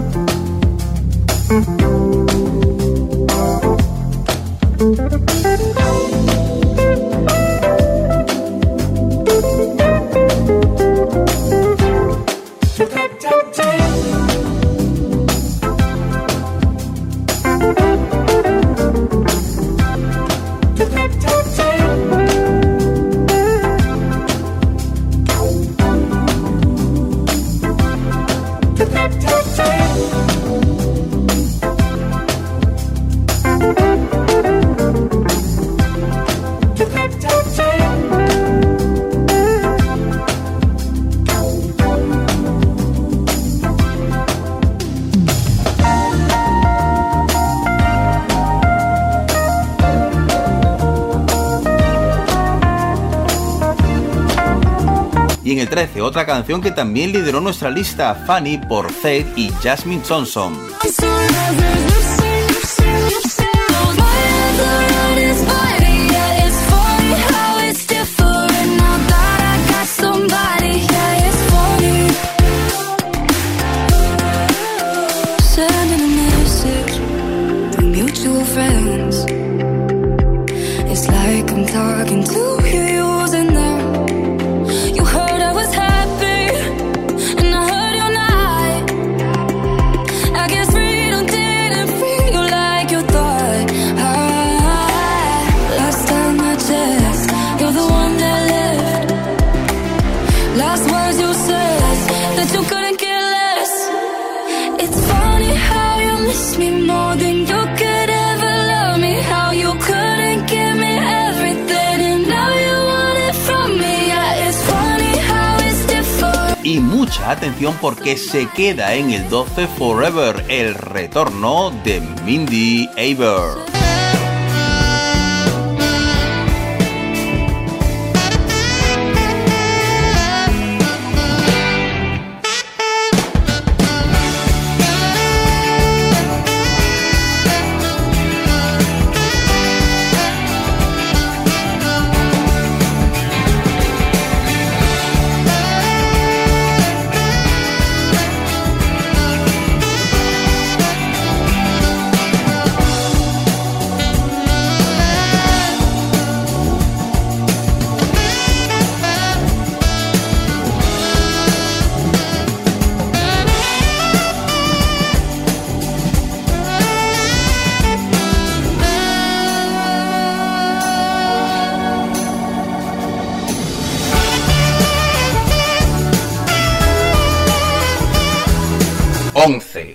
Y en el trece, otra canción que también lideró nuestra lista, Funny por Zed y Jasmine Thompson. Y mucha atención porque se queda en el doce Forever, el retorno de Mindy Aber. once.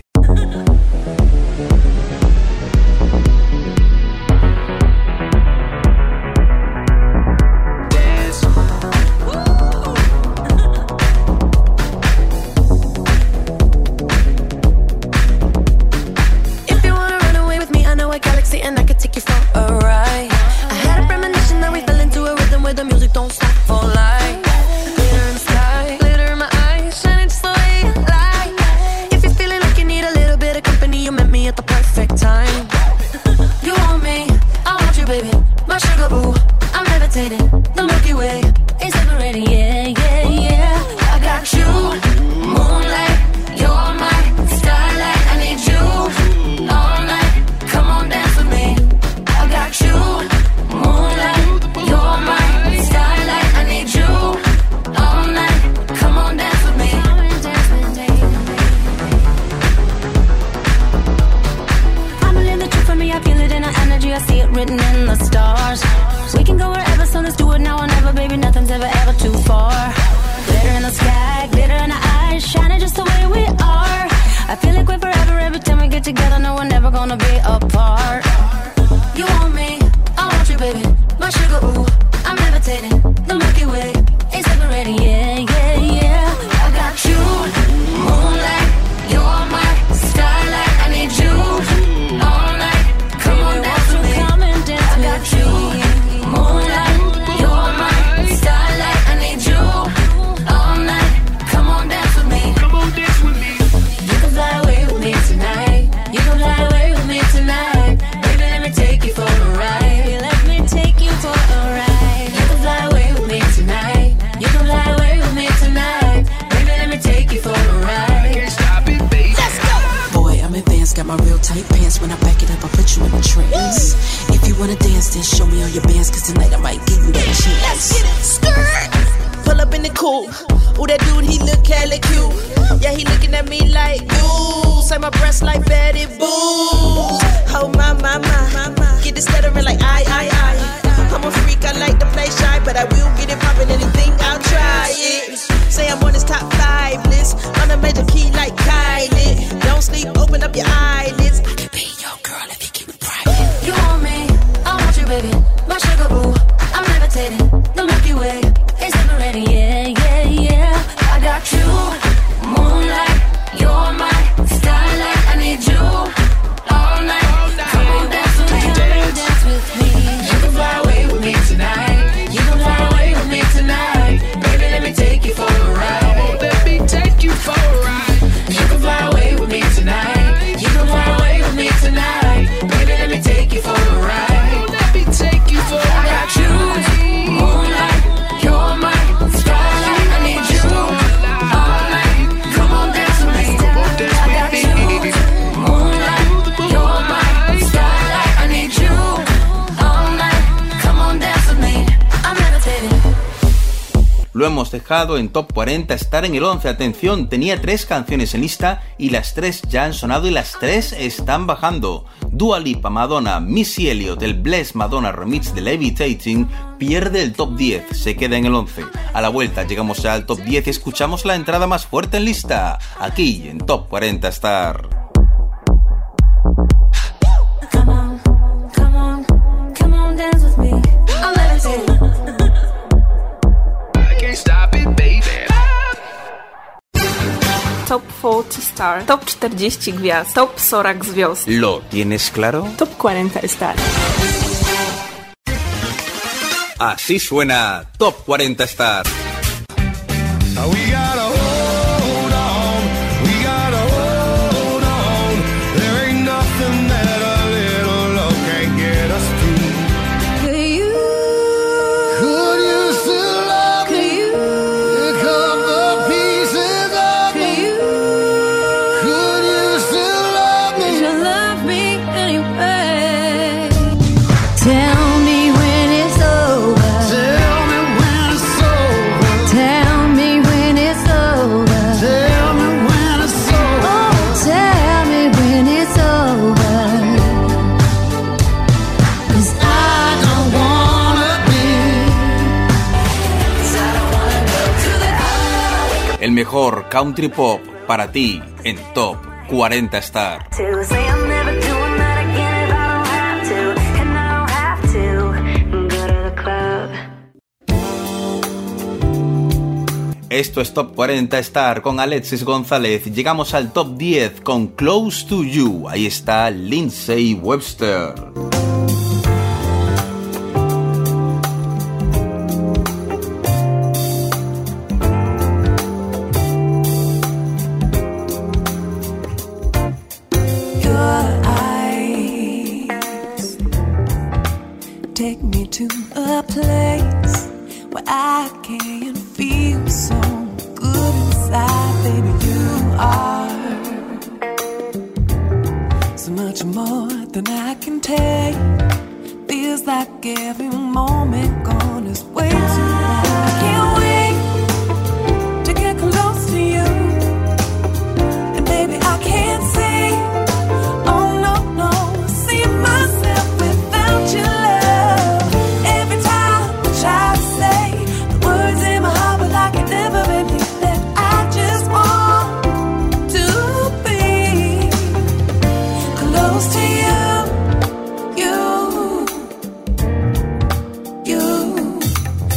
Tonight, you can fly away with me tonight. Baby, let me take you for a ride. your bands, cause tonight I might give you that chance. Let's get it, skirt. Pull up in the coupe. Ooh, that dude, he look hella cute. Yeah, he looking at me like, ooh, say my breasts like Betty Boo. Oh my, my, my, my, get it stuttering like I, I, I. I'm a freak, I like to play shy, but I will get it poppin', anything, I'll try it. Say I'm on this top five list, on a major key like Kylie. Don't sleep, open up your eyelids. I can be your girl if you keep it private. You want me, I want you, baby. My sugar boo, I'm levitating. The Milky Way is separating, yeah, yeah, yeah. I got you, moonlight, you're my starlight. I need you all night. Come on, dance with me, dance with me. You can fly away with me tonight. You can fly away with me tonight. Baby, let me take you for a ride. Let me take you for a ride. You can fly away with me tonight. You can fly away with me tonight. Baby, let me take you for a ride. Let me take you for a ride. I got you, moonlight, you're my starlight. I need you all night. Come on, dance with me. I got you, moonlight, you're my starlight. I need you all night. Come on, dance with me. I'm levitating. Lo hemos dejado en Top cuarenta, estar en el once. Atención, tenía tres canciones en lista y las tres ya han sonado y las tres están bajando. Dua Lipa, Madonna, Missy Elliott, el Bless Madonna remix de Levitating, pierde el top diez, se queda en el once. A la vuelta llegamos ya al top diez y escuchamos la entrada más fuerte en lista, aquí en Top cuarenta Star. Come on, come on, come on, dance with me. I'm levitating. Stop it, baby. Top czterdzieści Star, Top czterdzieści gwiazd, Top сорок gwiazd. ¿Lo tienes claro? Top cuarenta Star. Así suena Top cuarenta Star. We gotta hold on, we gotta hold on. There ain't nothing that a little love can't get us through. Could you, Could you still love could me? you, Pick up the pieces of could me. you, Could you still love could me? you love me anyway? Tell me when it's over. Tell me when it's over. Tell me when it's over. Tell me when it's over. Oh, tell me when it's over. 'Cause I don't wanna be. 'Cause I don't wanna go to the El mejor country pop para ti en Top cuarenta Star. to say I'm never doing that again if I don't have to, and I don't have to go to the club. Esto es Top cuarenta Star con Alexis González. Llegamos al Top diez con Close to You. Ahí está Lindsay Webster. Your eyes take me to a place where I can feel so good inside, baby. You are so much more than I can take. Feels like every moment gone is way too long. I can't wait to get close to you, and baby I can't say, oh no, no, see myself without your love. Every time I try to say the words in my heart, but I can never believe that I just want to be close to you, you, you.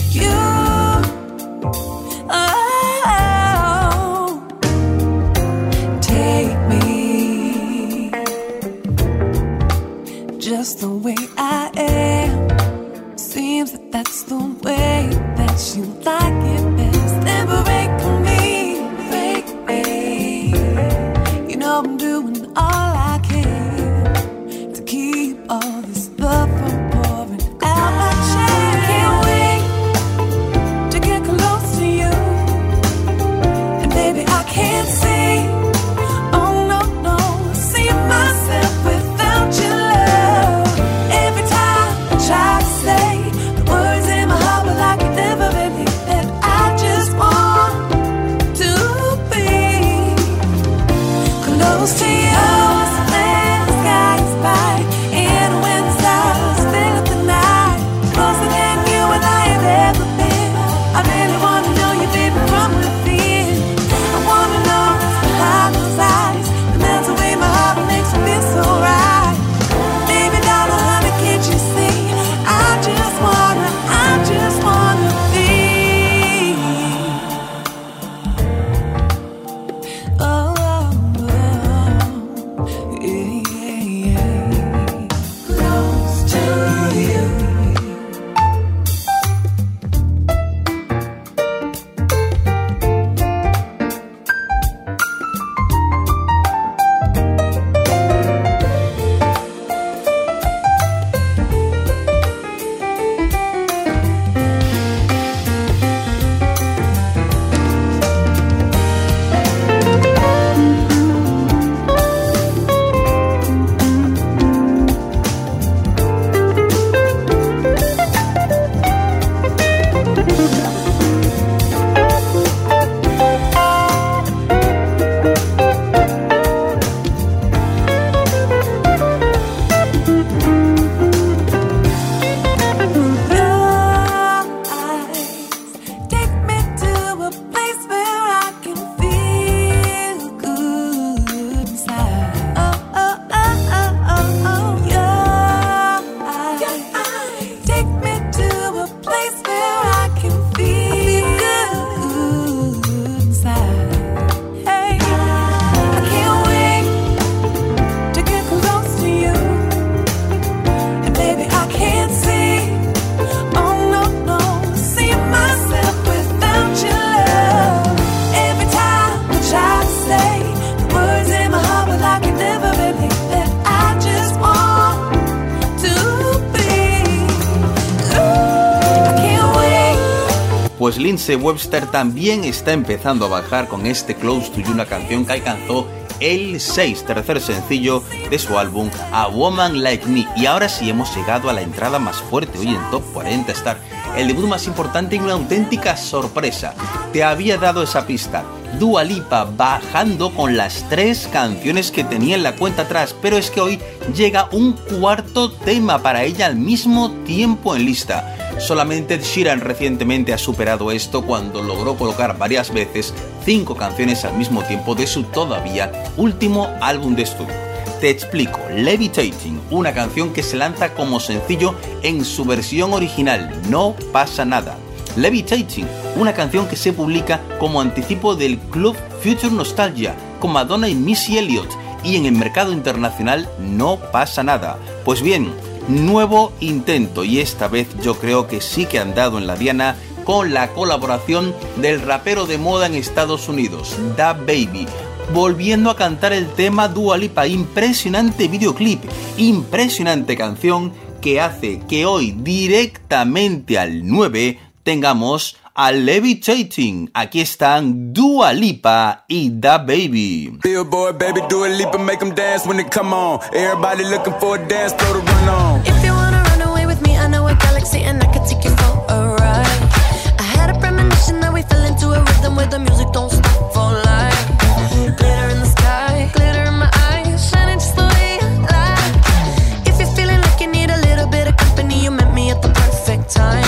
Pues Lindsey Webster también está empezando a bajar con este Close to You, una canción que alcanzó el seis, tercer sencillo de su álbum A Woman Like Me. Y ahora sí hemos llegado a la entrada más fuerte hoy en Top cuarenta Star, el debut más importante y una auténtica sorpresa. Te había dado esa pista, Dua Lipa bajando con las tres canciones que tenía en la cuenta atrás, pero es que hoy llega un cuarto tema para ella al mismo tiempo en lista. Solamente Ed Sheeran recientemente ha superado esto cuando logró colocar varias veces cinco canciones al mismo tiempo de su todavía último álbum de estudio. Te explico, Levitating, una canción que se lanza como sencillo en su versión original, No pasa nada. Levitating, una canción que se publica como anticipo del club Future Nostalgia con Madonna y Missy Elliott, y en el mercado internacional No pasa nada. Pues bien, nuevo intento, y esta vez yo creo que sí que han dado en la diana con la colaboración del rapero de moda en Estados Unidos, DaBaby, volviendo a cantar el tema Dua Lipa. Impresionante videoclip, impresionante canción que hace que hoy directamente al nueve tengamos a Levitating. Aquí están Dua Lipa y DaBaby. Billboard, baby, Dua Lipa, make them dance when they come on. Everybody looking for a dance floor to run on. If you wanna run away with me, I know a galaxy and I can take you for a ride. I had a premonition that we fell into a rhythm where the music don't stop for life. Glitter in the sky, glitter in my eyes, shining just the way I like. If you're feeling like you need a little bit of company, you met me at the perfect time.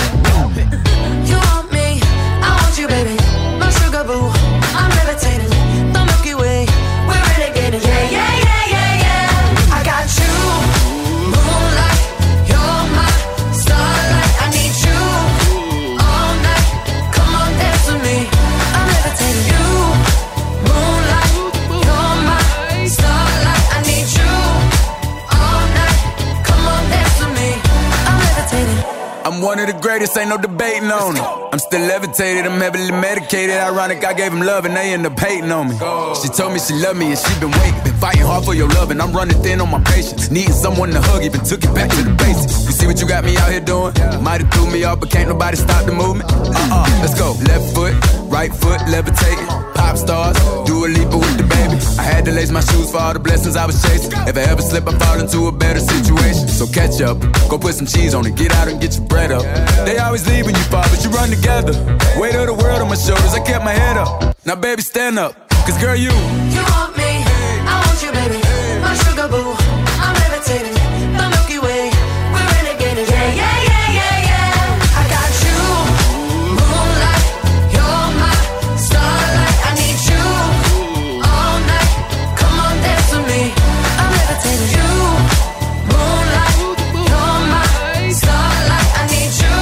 You want me, I want you, baby, my sugar boo. I'm levitating, the Milky Way, we're renegading. Yeah, yeah, yeah, yeah, yeah. I got you, moonlight, you're my starlight. I need you all night. Come on, dance with me. I'm levitating. You, moonlight, you're my starlight. I need you all night. Come on, dance with me. I'm levitating. I'm one of the greatest, ain't no debating on it. I'm still levitated, I'm heavily medicated. Ironic, I gave him love and they end up hating on me. She told me she loved me and she been waiting. Been fighting hard for your love and I'm running thin on my patience. Needing someone to hug, even took it back to the basics. You see what you got me out here doing? Might have threw me off, but can't nobody stop the movement. Uh-uh, let's go. Left foot, right foot, levitating. Pop stars, Dua Lipa with the baby. I had to lace my shoes for all the blessings I was chasing. If I ever slip, I fall into a better situation. So catch up, go put some cheese on it, get out and get your bread up. They always leave when you fall, but you run together. Weight of the world on my shoulders, I kept my head up. Now baby, stand up, cause girl, you You want me, I want you, baby, my sugar boo. I'm levitating, the Milky Way, we're renegading. Yeah, yeah, yeah, yeah, yeah. I got you, moonlight, you're my starlight. I need you all night. Come on, dance with me. I'm levitating. You, moonlight, you're my starlight. I need you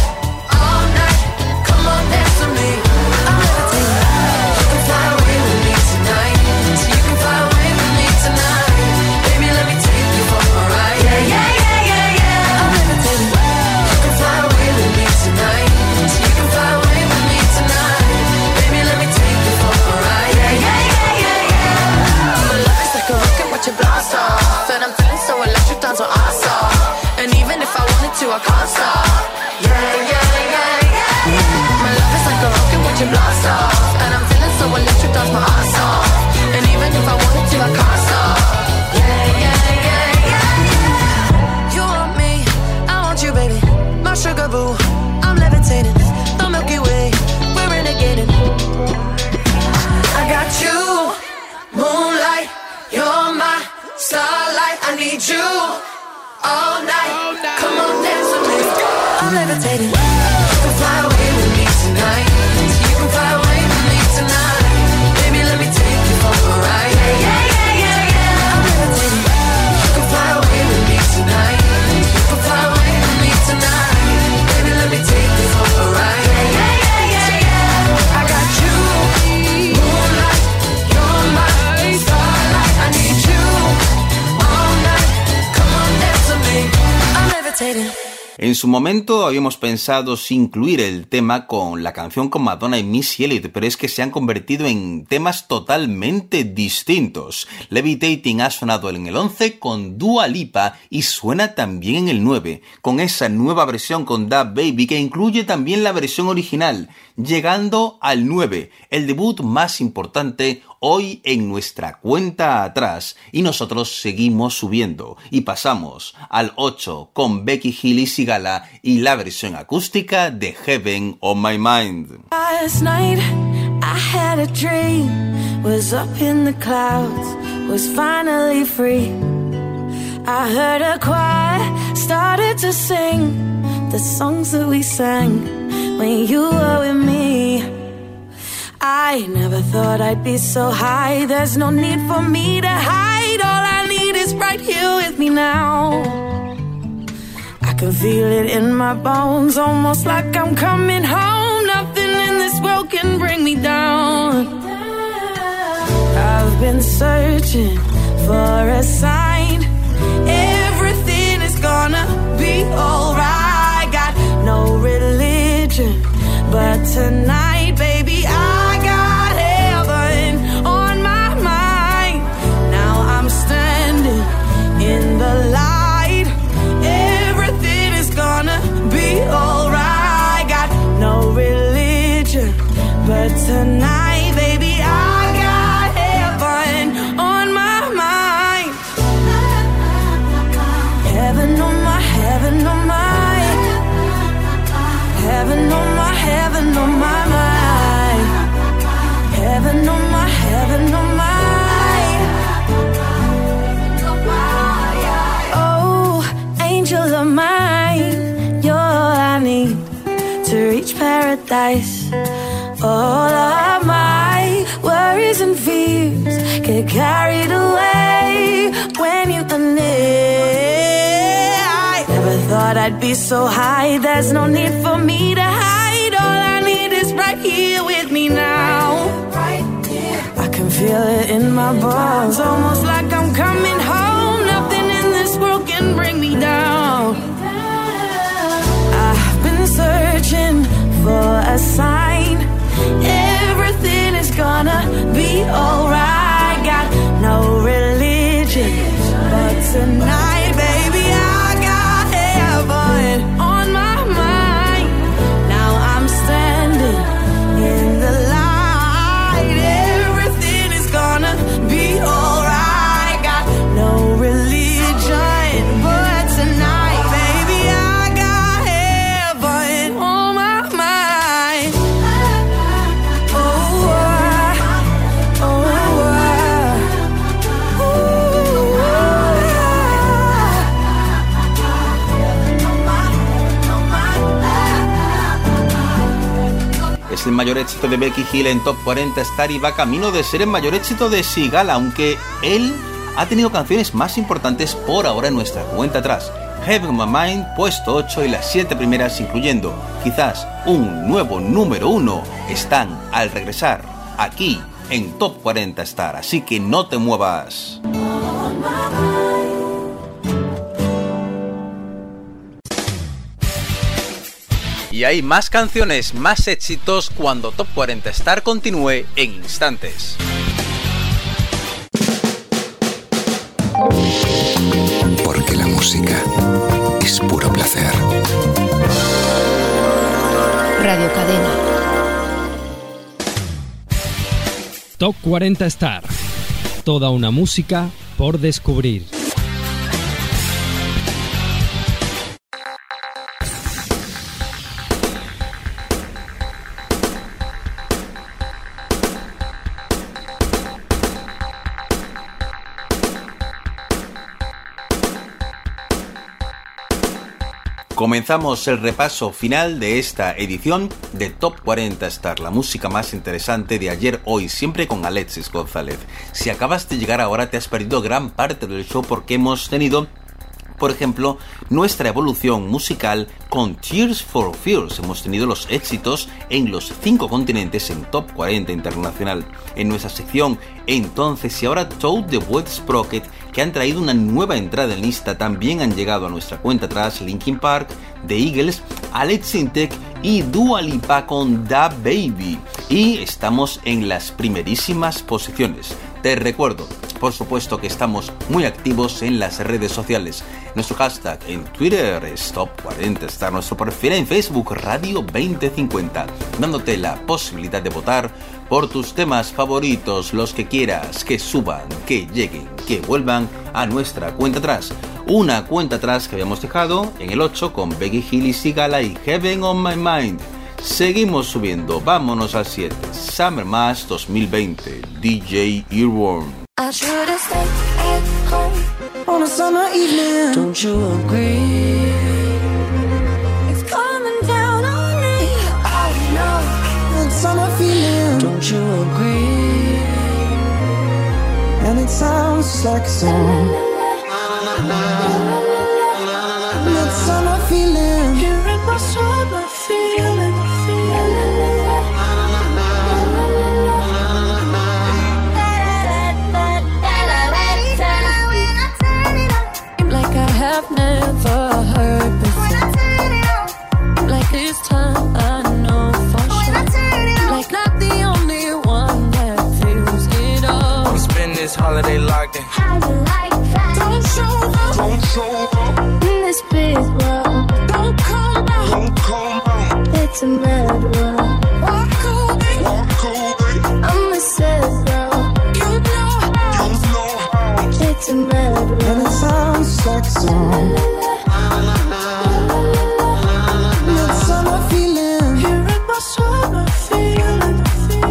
all night. Come on, dance with me. I'm levitating. You can fly away with me tonight. So you can fly away with me tonight. Baby, let me take you for a ride. Yeah, yeah, yeah, yeah, yeah. I'm levitating. You can fly away with me tonight. So you can fly away with me tonight. Baby, let me take you for a ride. Yeah, yeah, yeah, yeah, yeah. My love is like a rocket, watch it blast off. And I'm feeling so electric, dance on our off. And even if I wanted to, I can't stop. Yeah, yeah, yeah, yeah. My love is like a rocket, watch it blast off. And I'm feeling so electric, dance my ass off. And even if I wanted to, I can't stop. Yeah, yeah, yeah, yeah. You want me, I want you, baby, my sugar boo. I'm levitating, the Milky Way, we're renegading. I got you, moonlight, you're my starlight. I need you all night. Come on, dance with me. I'm levitating. You can fly away with me tonight. You can fly away with me tonight. Baby, let me take you for a ride. Yeah, yeah, yeah, yeah, yeah. I'm levitating. You can fly away with me tonight. You can fly away with me tonight. Baby, let me take you for a ride. Yeah, yeah, yeah, yeah, yeah. I got you, moonlight, you're my starlight. I need you all night. Come on, dance with me. I'm levitating. En su momento habíamos pensado si incluir el tema con la canción con Madonna y Missy Elliott, pero es que se han convertido en temas totalmente distintos. Levitating ha sonado en el once con Dua Lipa y suena también en el nueve, con esa nueva versión con Da Baby que incluye también la versión original, llegando al nueve, el debut más importante hoy en nuestra cuenta atrás, y nosotros seguimos subiendo y pasamos al ocho con Becky Hill y Sigala y la versión acústica de Heaven on My Mind. Last night I had a dream, was up in the clouds, was finally free. I heard a choir, started to sing the songs that we sang when you were with me. I never thought I'd be so high, there's no need for me to hide, all I need is right here with me now. I can feel it in my bones, almost like I'm coming home, nothing in this world can bring me down. I've been searching for a sign, everything is gonna be alright, got no religion, but tonight, baby, I in the light, everything is gonna be alright. Got no religion, but tonight, baby, I got heaven on my mind. Heaven on my, heaven on my, heaven on my, heaven on my mind. Heaven on my, heaven on my. Angel of mine, you're all I need to reach paradise. All of my worries and fears get carried away when you are near. I never thought I'd be so high, there's no need for me to hide. All I need is right here with me now. I can feel it in my bones, almost like I'm coming home. Nothing in this world can bring me down. I've been searching for a sign, everything is gonna be alright. Got no religion, but tonight, baby, I got heaven on my mind. Now I'm standing in the light, everything is gonna be alright. Got no religion, but tonight, baby, I got heaven on my mind. Oh, uh, oh, uh, ooh, uh. Es el mayor éxito de Becky Hill en Top cuarenta Star y va camino de ser el mayor éxito de Sigala, aunque él ha tenido canciones más importantes por ahora en nuestra cuenta atrás. Heaven on My Mind, puesto ocho, y las siete primeras, incluyendo quizás un nuevo número uno, están al regresar aquí en Top cuarenta Star, así que no te muevas. Y hay más canciones, más éxitos cuando Top cuarenta Star continúe en instantes. Porque la música es puro placer. Radio Cadena. Top cuarenta Star. Toda una música por descubrir. Comenzamos el repaso final de esta edición de Top cuarenta Star, la música más interesante de ayer, hoy, siempre con Alexis González. Si acabas de llegar ahora te has perdido gran parte del show porque hemos tenido, por ejemplo, nuestra evolución musical con Tears for Fears. Hemos tenido los éxitos en los cinco continentes en Top cuarenta Internacional. En nuestra sección Entonces y Ahora, Toad the Wet Sprocket, que han traído una nueva entrada en lista, también han llegado a nuestra cuenta atrás Linkin Park, The Eagles, Alex Intec y Dua Lipa con Da Baby. Y estamos en las primerísimas posiciones. Te recuerdo, por supuesto, que estamos muy activos en las redes sociales. Nuestro hashtag en Twitter es Top cuarenta Star, nuestro perfil en Facebook Radio veinte cincuenta, dándote la posibilidad de votar por tus temas favoritos, los que quieras que suban, que lleguen, que vuelvan a nuestra cuenta atrás. Una cuenta atrás que habíamos dejado en el ocho con Becky Hill y Sigala y Heaven on My Mind. Seguimos subiendo, vámonos al siete. Summer Mass dos mil veinte, D J Earworm. I should have stayed at home on a summer evening. Don't you agree? It's coming down on me. I know that summer feeling. Don't you agree? And it sounds just like a song. That summer feeling. Here in my summer feeling. I've never heard before. Like this time I know for sure. Like not the only one that feels it all. I'm spending this holiday locked in. How you like that? Don't show up. Don't show up. In this big world. Don't come out. Don't come out. It's a mad world. Walk away. Walk away. I'm a sad girl. You know how. You know how. It's a mad world. And it sounds like a song. That summer feeling. Here in my summer feeling.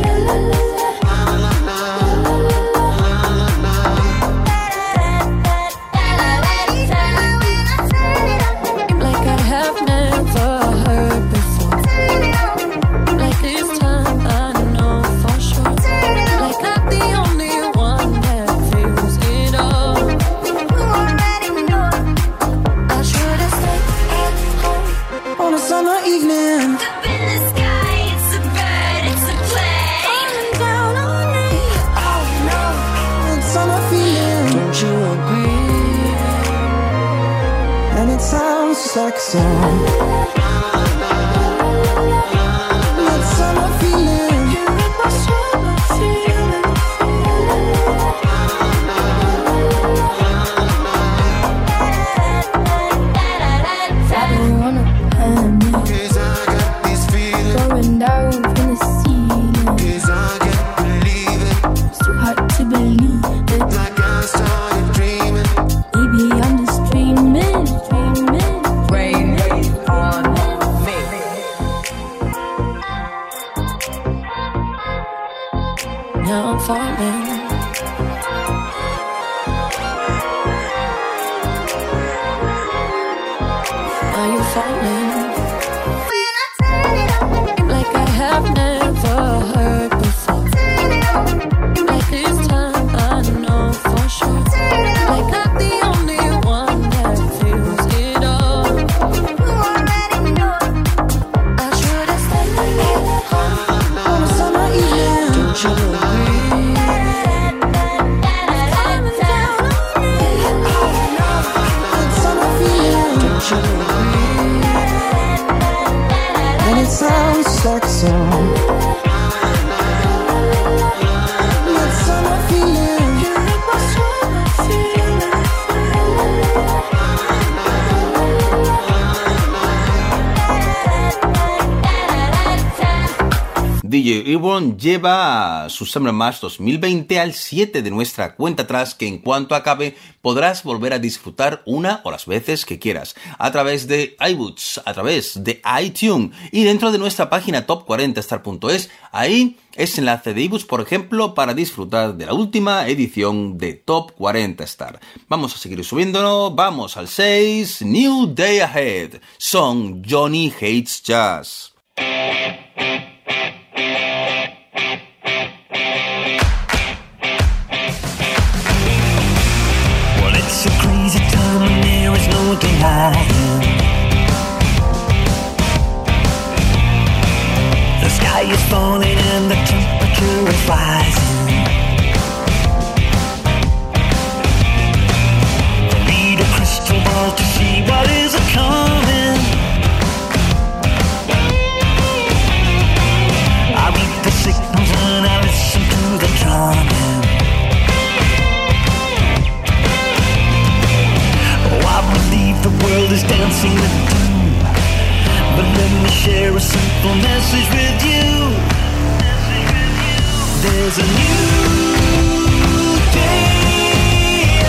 Like I have never heard before. Like this time I know for sure. Like not the only one that feels it all. I should have stayed at home On a summer evening. Up in the sky, it's a bird, it's a plane. Coming down on me. Oh no, That summer feeling. don't you agree? And it sounds just like a song. That summer feeling. Here in my summer feeling. I've been running behind me. Cause I got this feeling. Going down from the ceiling. Cause I can't believe it. It's too hard to believe it. Like I started dreaming. Maybe I'm just dreaming, dreaming. Rain on me. Now I'm falling. Are you falling? Like I have never heard before. Like this time I know for sure. Like not the only one that feels it all. I should have stayed at home On a summer evening. Don't you agree? Coming down on me. Oh no, That summer feeling. don't you agree? And it sounds just like a song. That summer feeling. Here in my summer feeling. D J Earworm lleva su Summer Mass dos mil veinte al siete de nuestra cuenta atrás, que en cuanto acabe podrás volver a disfrutar una o las veces que quieras, a través de iBooks, a través de iTunes y dentro de nuestra página top cuarenta star punto es. Ahí es enlace de iBooks, por ejemplo, para disfrutar de la última edición de Top cuarenta Star. Vamos a seguir subiéndolo, vamos al seis, New Day Ahead, son Johnny Hates Jazz. Well, it's a crazy time and there is no denying. The sky is falling and the temperature is rising. Need a crystal ball to see what is coming. share a simple message with you. There's a new day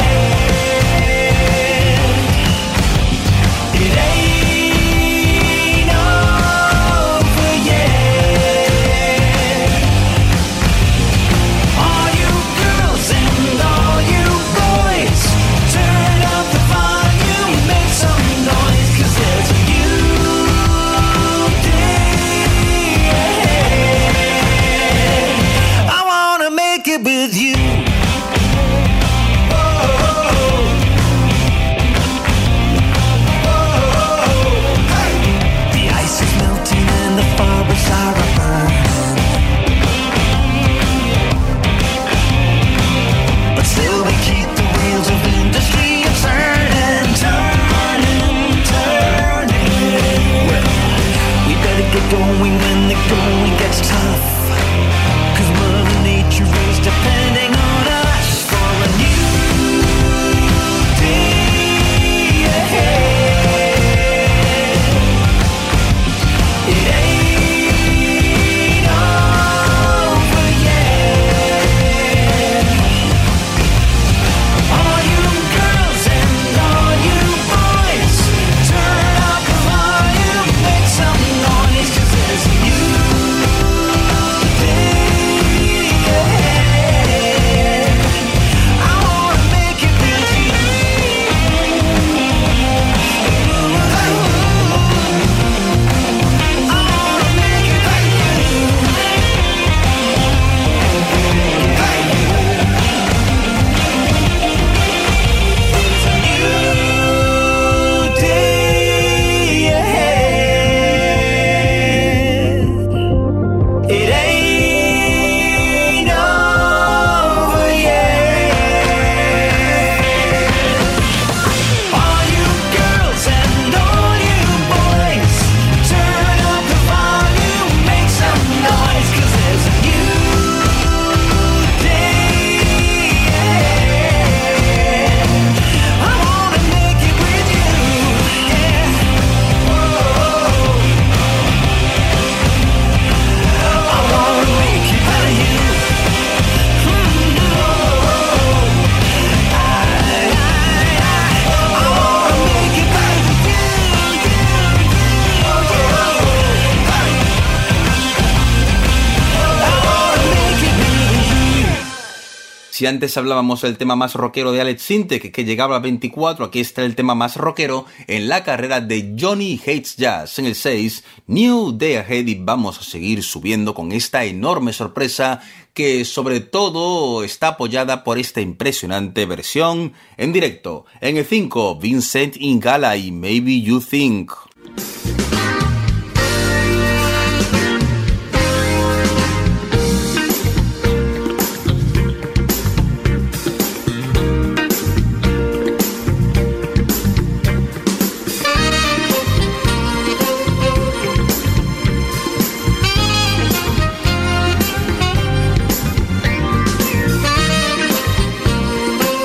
ahead. It ain't over yet. All you girls and all you boys, turn up the volume, make some noise, 'cause there's a new day ahead. I wanna make it with you. The ice is melting and the forest are burning, but still we keep the wheels of industry turning, turning, turning. Well, we better get going when the going gets tough, 'cause Mother Nature is depending on us for a new day ahead. It ain't over yet. All you girls and all you boys, turn up the volume, make some noise, 'cause there's a new day ahead. I wanna make it with you. I wanna make it with you. There's a new day ahead. It ain't over yet. All you girls and all you boys, turn up the volume, make some noise, 'cause there's a new day ahead. I wanna make it with you, yeah. Whoa. I wanna make it with you. Si antes hablábamos del tema más rockero de Alex Sintek, que llegaba a veinticuatro, aquí está el tema más rockero en la carrera de Johnny Hates Jazz en el seis, New Day Ahead, y vamos a seguir subiendo con esta enorme sorpresa que sobre todo está apoyada por esta impresionante versión en directo. En el cinco, Vincent Ingala y Maybe You Think.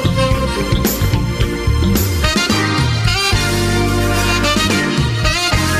Thank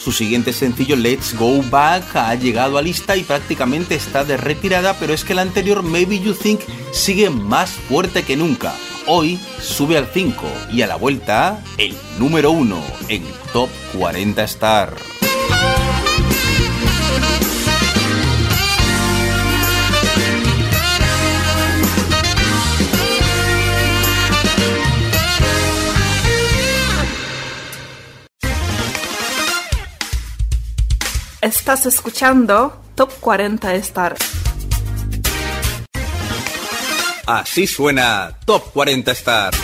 Su siguiente sencillo, Let's Go Back, ha llegado a lista y prácticamente está de retirada, pero es que el anterior, Maybe You Think, sigue más fuerte que nunca. Hoy sube al cinco y a la vuelta, el número uno en Top cuarenta Star. Estás escuchando Top cuarenta Star. Así suena Top cuarenta Star.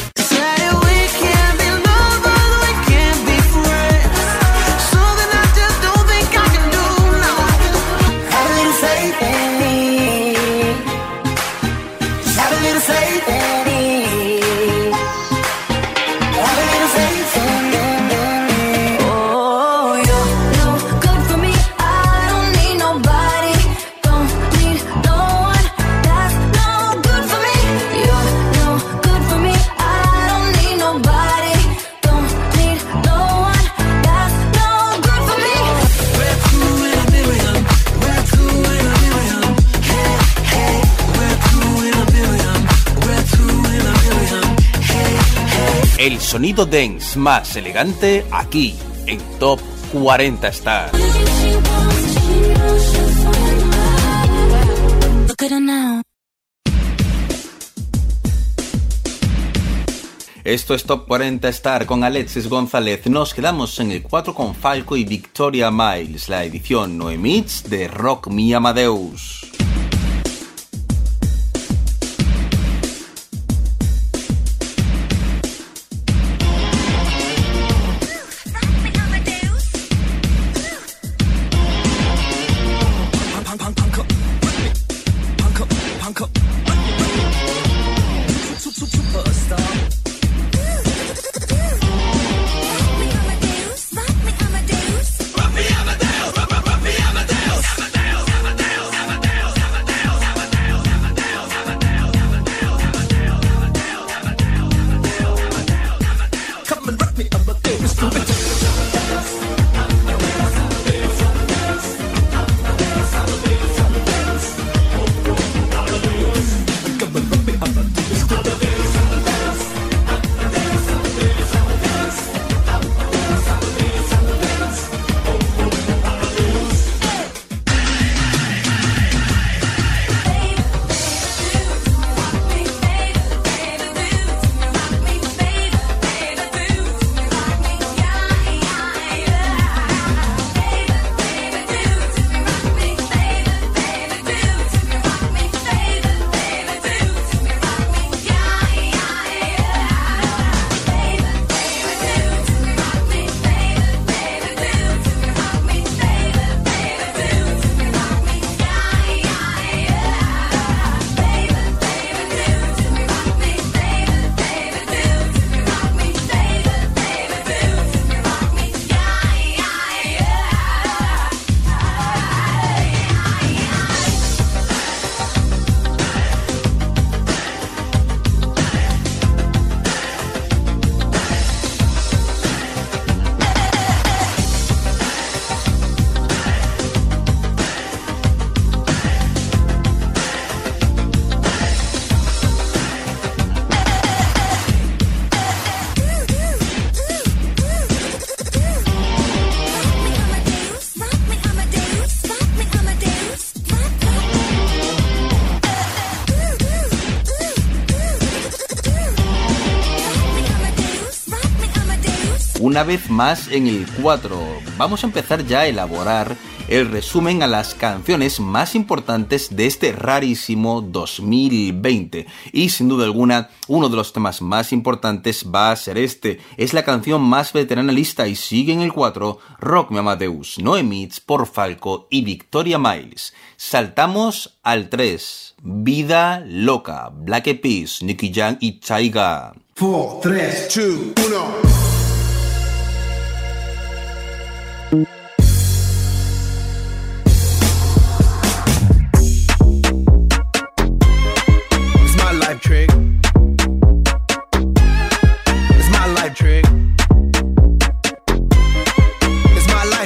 El sonido dance más elegante aquí en Top cuarenta Star. Esto es Top cuarenta Star con Alexis González. Nos quedamos en el cuatro con Falco y Victoria Miles, la edición No Emits de Rock Me Amadeus. Una vez más en el cuatro, vamos a empezar ya a elaborar el resumen a las canciones más importantes de este rarísimo dos mil veinte. Y sin duda alguna, uno de los temas más importantes va a ser este. Es la canción más veterana lista y sigue en el cuatro, Rock Me Amadeus, No Emits por Falco y Victoria Miles. Saltamos al tres, Vida Loca, Black Eyed Peas, Nicky Jam y Tyga. cuatro, tres, dos, uno. Trick. It's my life trick. It's my life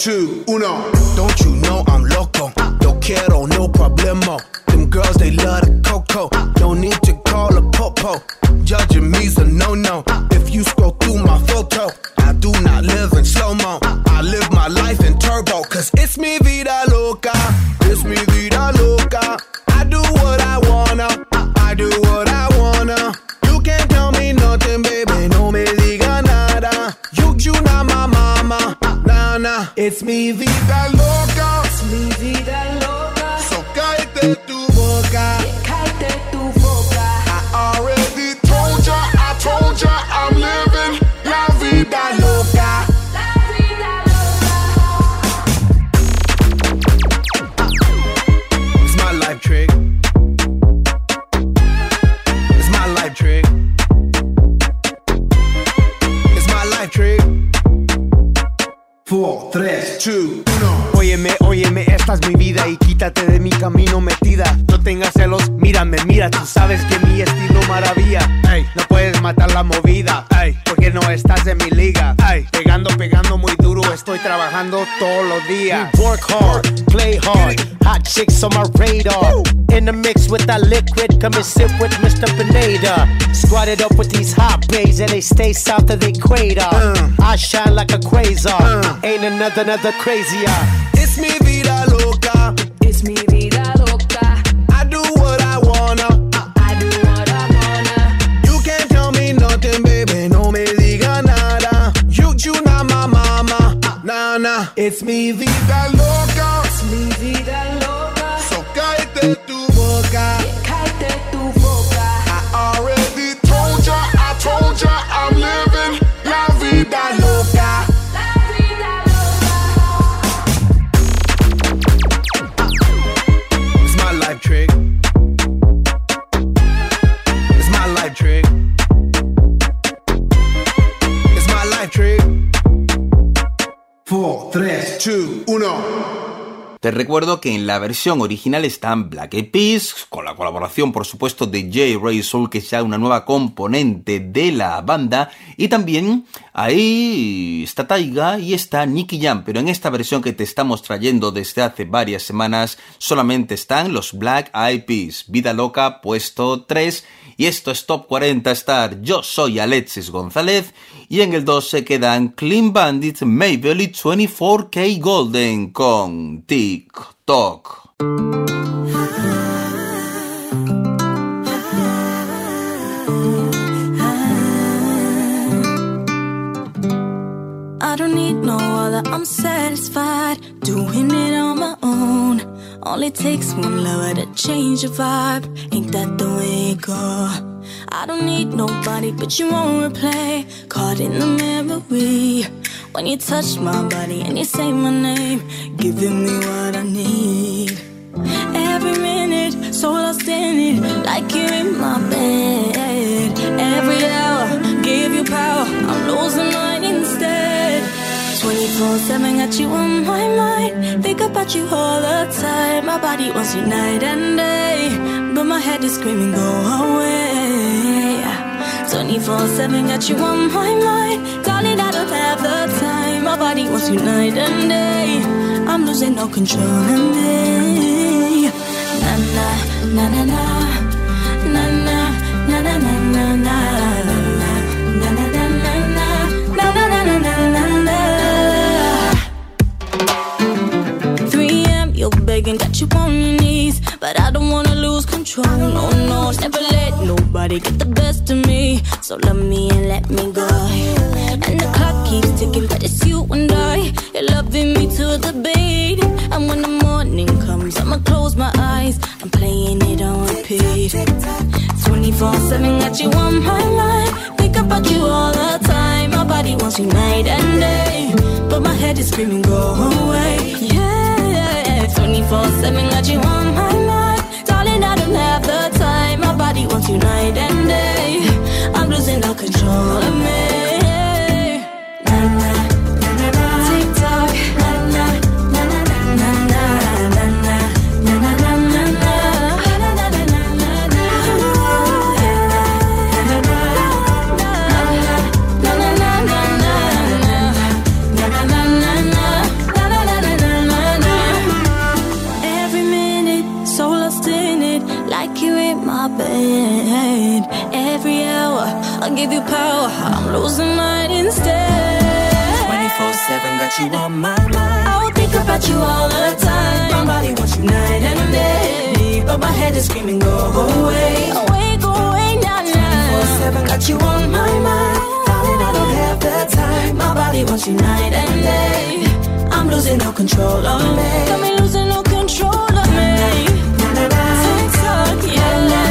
two, uno. Don't you know I'm loco? No quiero, no problemo. Them girls, they love the coco. No need to call a popo. Judging me's a no-no. If you scroll through my photo, I do not live in slow-mo. I live my life in turbo. Cause it's mi vida loca. It's mi vida loca. I do what I wanna. I do what I wanna. You can't tell me nothing, baby. No me diga nada. You, you not my mama. Nah, nah. It's mi vida loca. It's mi vida loca. So cállate tu boca. Cállate tu boca. I already told ya, I told ya, I'm living la vida loca. La vida loca. It's my life trick. It's my life trick. It's my life trick. Four, tres, two, uno. Óyeme, óyeme, esta es mi vida y quítate de mi camino metida. No tengas celos, mírame, mira, tú sabes que mi estilo maravilla. Ey, no puedes matar la movida, ey, porque no estás en mi liga. Ey, pegando, pegando muy duro, estoy trabajando todos los días. We work hard, play hard, hot chicks on my radar. In the mix with that liquid, come and sit with Mister Pineda. Squatted up with these hot babes and they stay south of the equator. Uh, I shine like a quasar, uh, ain't another, another crazier. It's mi vida loca. It's mi vida loca. I do what I wanna. I do what I wanna. You can't tell me nothing, baby. No me diga nada. You, you not my mama. Nah, nah. It's mi vida loca. It's mi vida loca. So cállate tu boca. Cállate tu boca. I already told ya, I told ya, I'm living la vida loca. It's my life trick. It's my life trick. It's my life trick. Four, tres, two, uno. Te recuerdo que en la versión original están Black Eyed Peas, con la colaboración por supuesto de J. Ray Soul, que es ya una nueva componente de la banda, y también ahí está Taiga y está Nicky Jam, pero en esta versión que te estamos trayendo desde hace varias semanas solamente están los Black Eyed Peas. Vida Loca, puesto tres, y esto es Top cuarenta Star. Yo soy Alexis González y en el dos se quedan Clean Bandit, Mabel y veinticuatro K Golden con TikTok. I don't need no other, I'm satisfied doing it on my own. Only takes one lover to change your vibe. Ain't that the way it go? I don't need nobody, but you won't replay. Caught in the memory when you touch my body and you say my name, giving me what I need. Every minute, so lost in it, like you're in my bed. Every hour, give you power, I'm losing mine instead. twenty-four seven, got you on my mind. Think about you all the time. My body wants you night and day, but my head is screaming, go away. twenty-four seven, got you on my mind. Darling, I don't have the time. My body wants you night and day. I'm losing all control of me. Na na na na na na na na na na na na. You're begging, got you on your knees, but I don't wanna lose control. No, no, never let nobody get the best of me. So love me and let me go. And the clock keeps ticking, but it's you and I. You're loving me to the beat. And when the morning comes, I'ma close my eyes. I'm playing it on repeat. twenty-four seven, got you on my mind. Think about you all the time. My body wants you night and day, but my head is screaming, go away. Yeah, twenty-four seven, got you on my mind. Darling, I don't have the time. My body wants you night and day. I'm losing all control of me. Na na na na na. TikTok. Na na na na na na na na na na na na na. Na na na na na. I'm losing mine instead. twenty-four seven got you on my mind. I will think about you all the time. My body wants you night and day, but my head is screaming, go away. Away, go away, now, now. twenty-four seven got you on my mind. Darling, I don't have the time. My body wants you night and day. I'm losing all control of me. Got me losing all control of me. Tick-tock, yeah.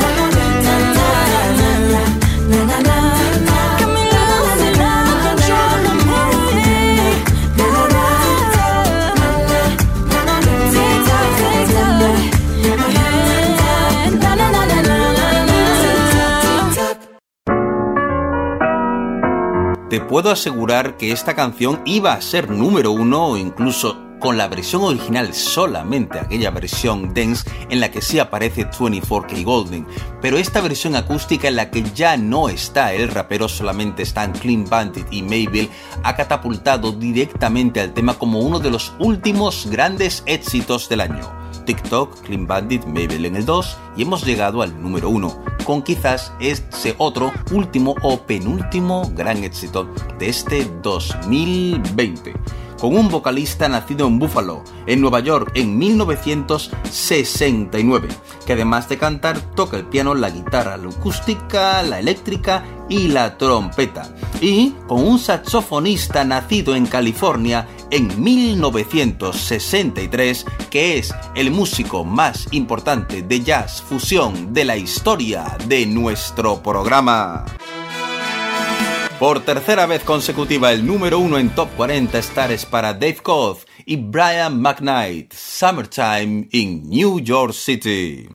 Te puedo asegurar que esta canción iba a ser número uno o incluso con la versión original, solamente aquella versión dance en la que sí aparece veinticuatro K Golden, pero esta versión acústica en la que ya no está el rapero, solamente están Clean Bandit y Mabel, ha catapultado directamente al tema como uno de los últimos grandes éxitos del año. TikTok, Clean Bandit, Mabel en el dos y hemos llegado al número uno, con quizás ese otro último o penúltimo gran éxito de este dos mil veinte. Con un vocalista nacido en Buffalo, en Nueva York, en mil novecientos sesenta y nueve, que además de cantar toca el piano, la guitarra, la acústica, la eléctrica y la trompeta. Y con un saxofonista nacido en California en mil novecientos sesenta y tres, que es el músico más importante de jazz fusión de la historia de nuestro programa. Por tercera vez consecutiva, el número uno en Top cuarenta Star es para Dave Koz y Brian McKnight, Summertime in New York City.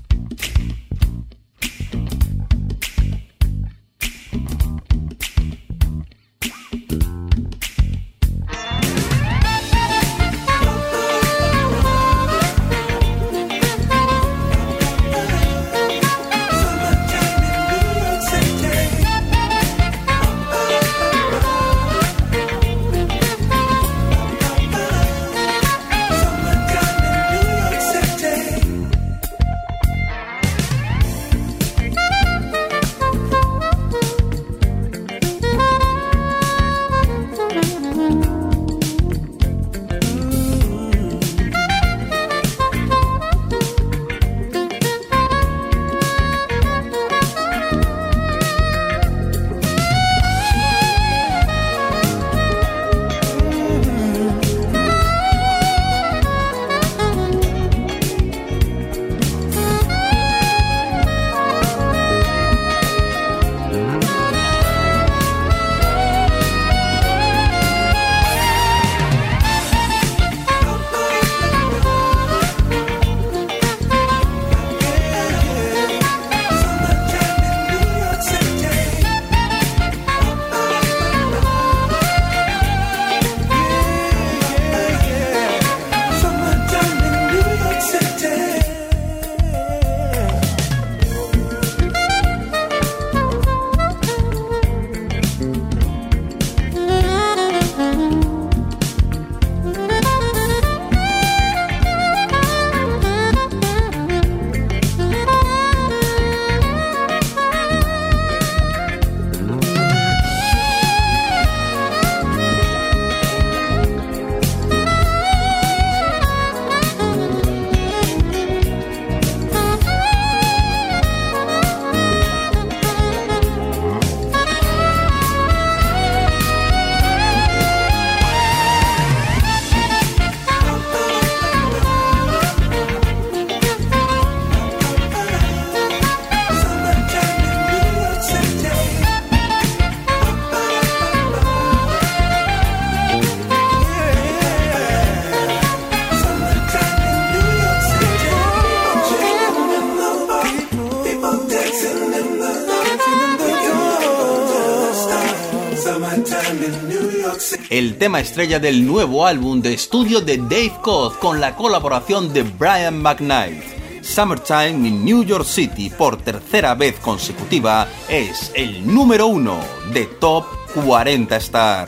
El tema estrella del nuevo álbum de estudio de Dave Koz con la colaboración de Brian McKnight. Summertime in New York City, por tercera vez consecutiva, es el número uno de Top cuarenta Star.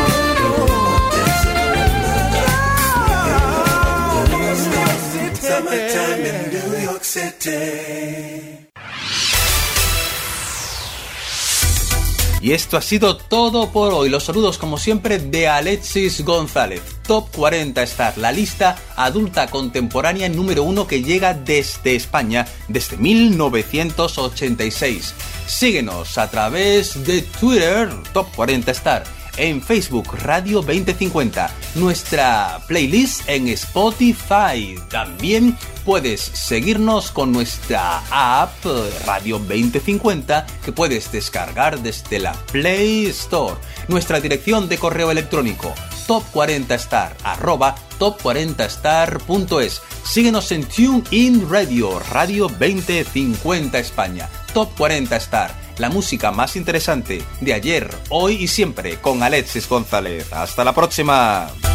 Summer good time in New York City. Y esto ha sido todo por hoy. Los saludos como siempre de Alexis González. Top cuarenta Star, la lista adulta contemporánea número uno que llega desde España desde mil novecientos ochenta y seis. Síguenos a través de Twitter, Top cuarenta Star. En Facebook, Radio veinte cincuenta, nuestra playlist en Spotify. También puedes seguirnos con nuestra app Radio veinte cincuenta que puedes descargar desde la Play Store. Nuestra dirección de correo electrónico top cuarenta star arroba top cuarenta star punto es. Síguenos en TuneIn Radio, Radio veinte cincuenta España. Top cuarenta Star, la música más interesante de ayer, hoy y siempre con Alexis González. Hasta la próxima.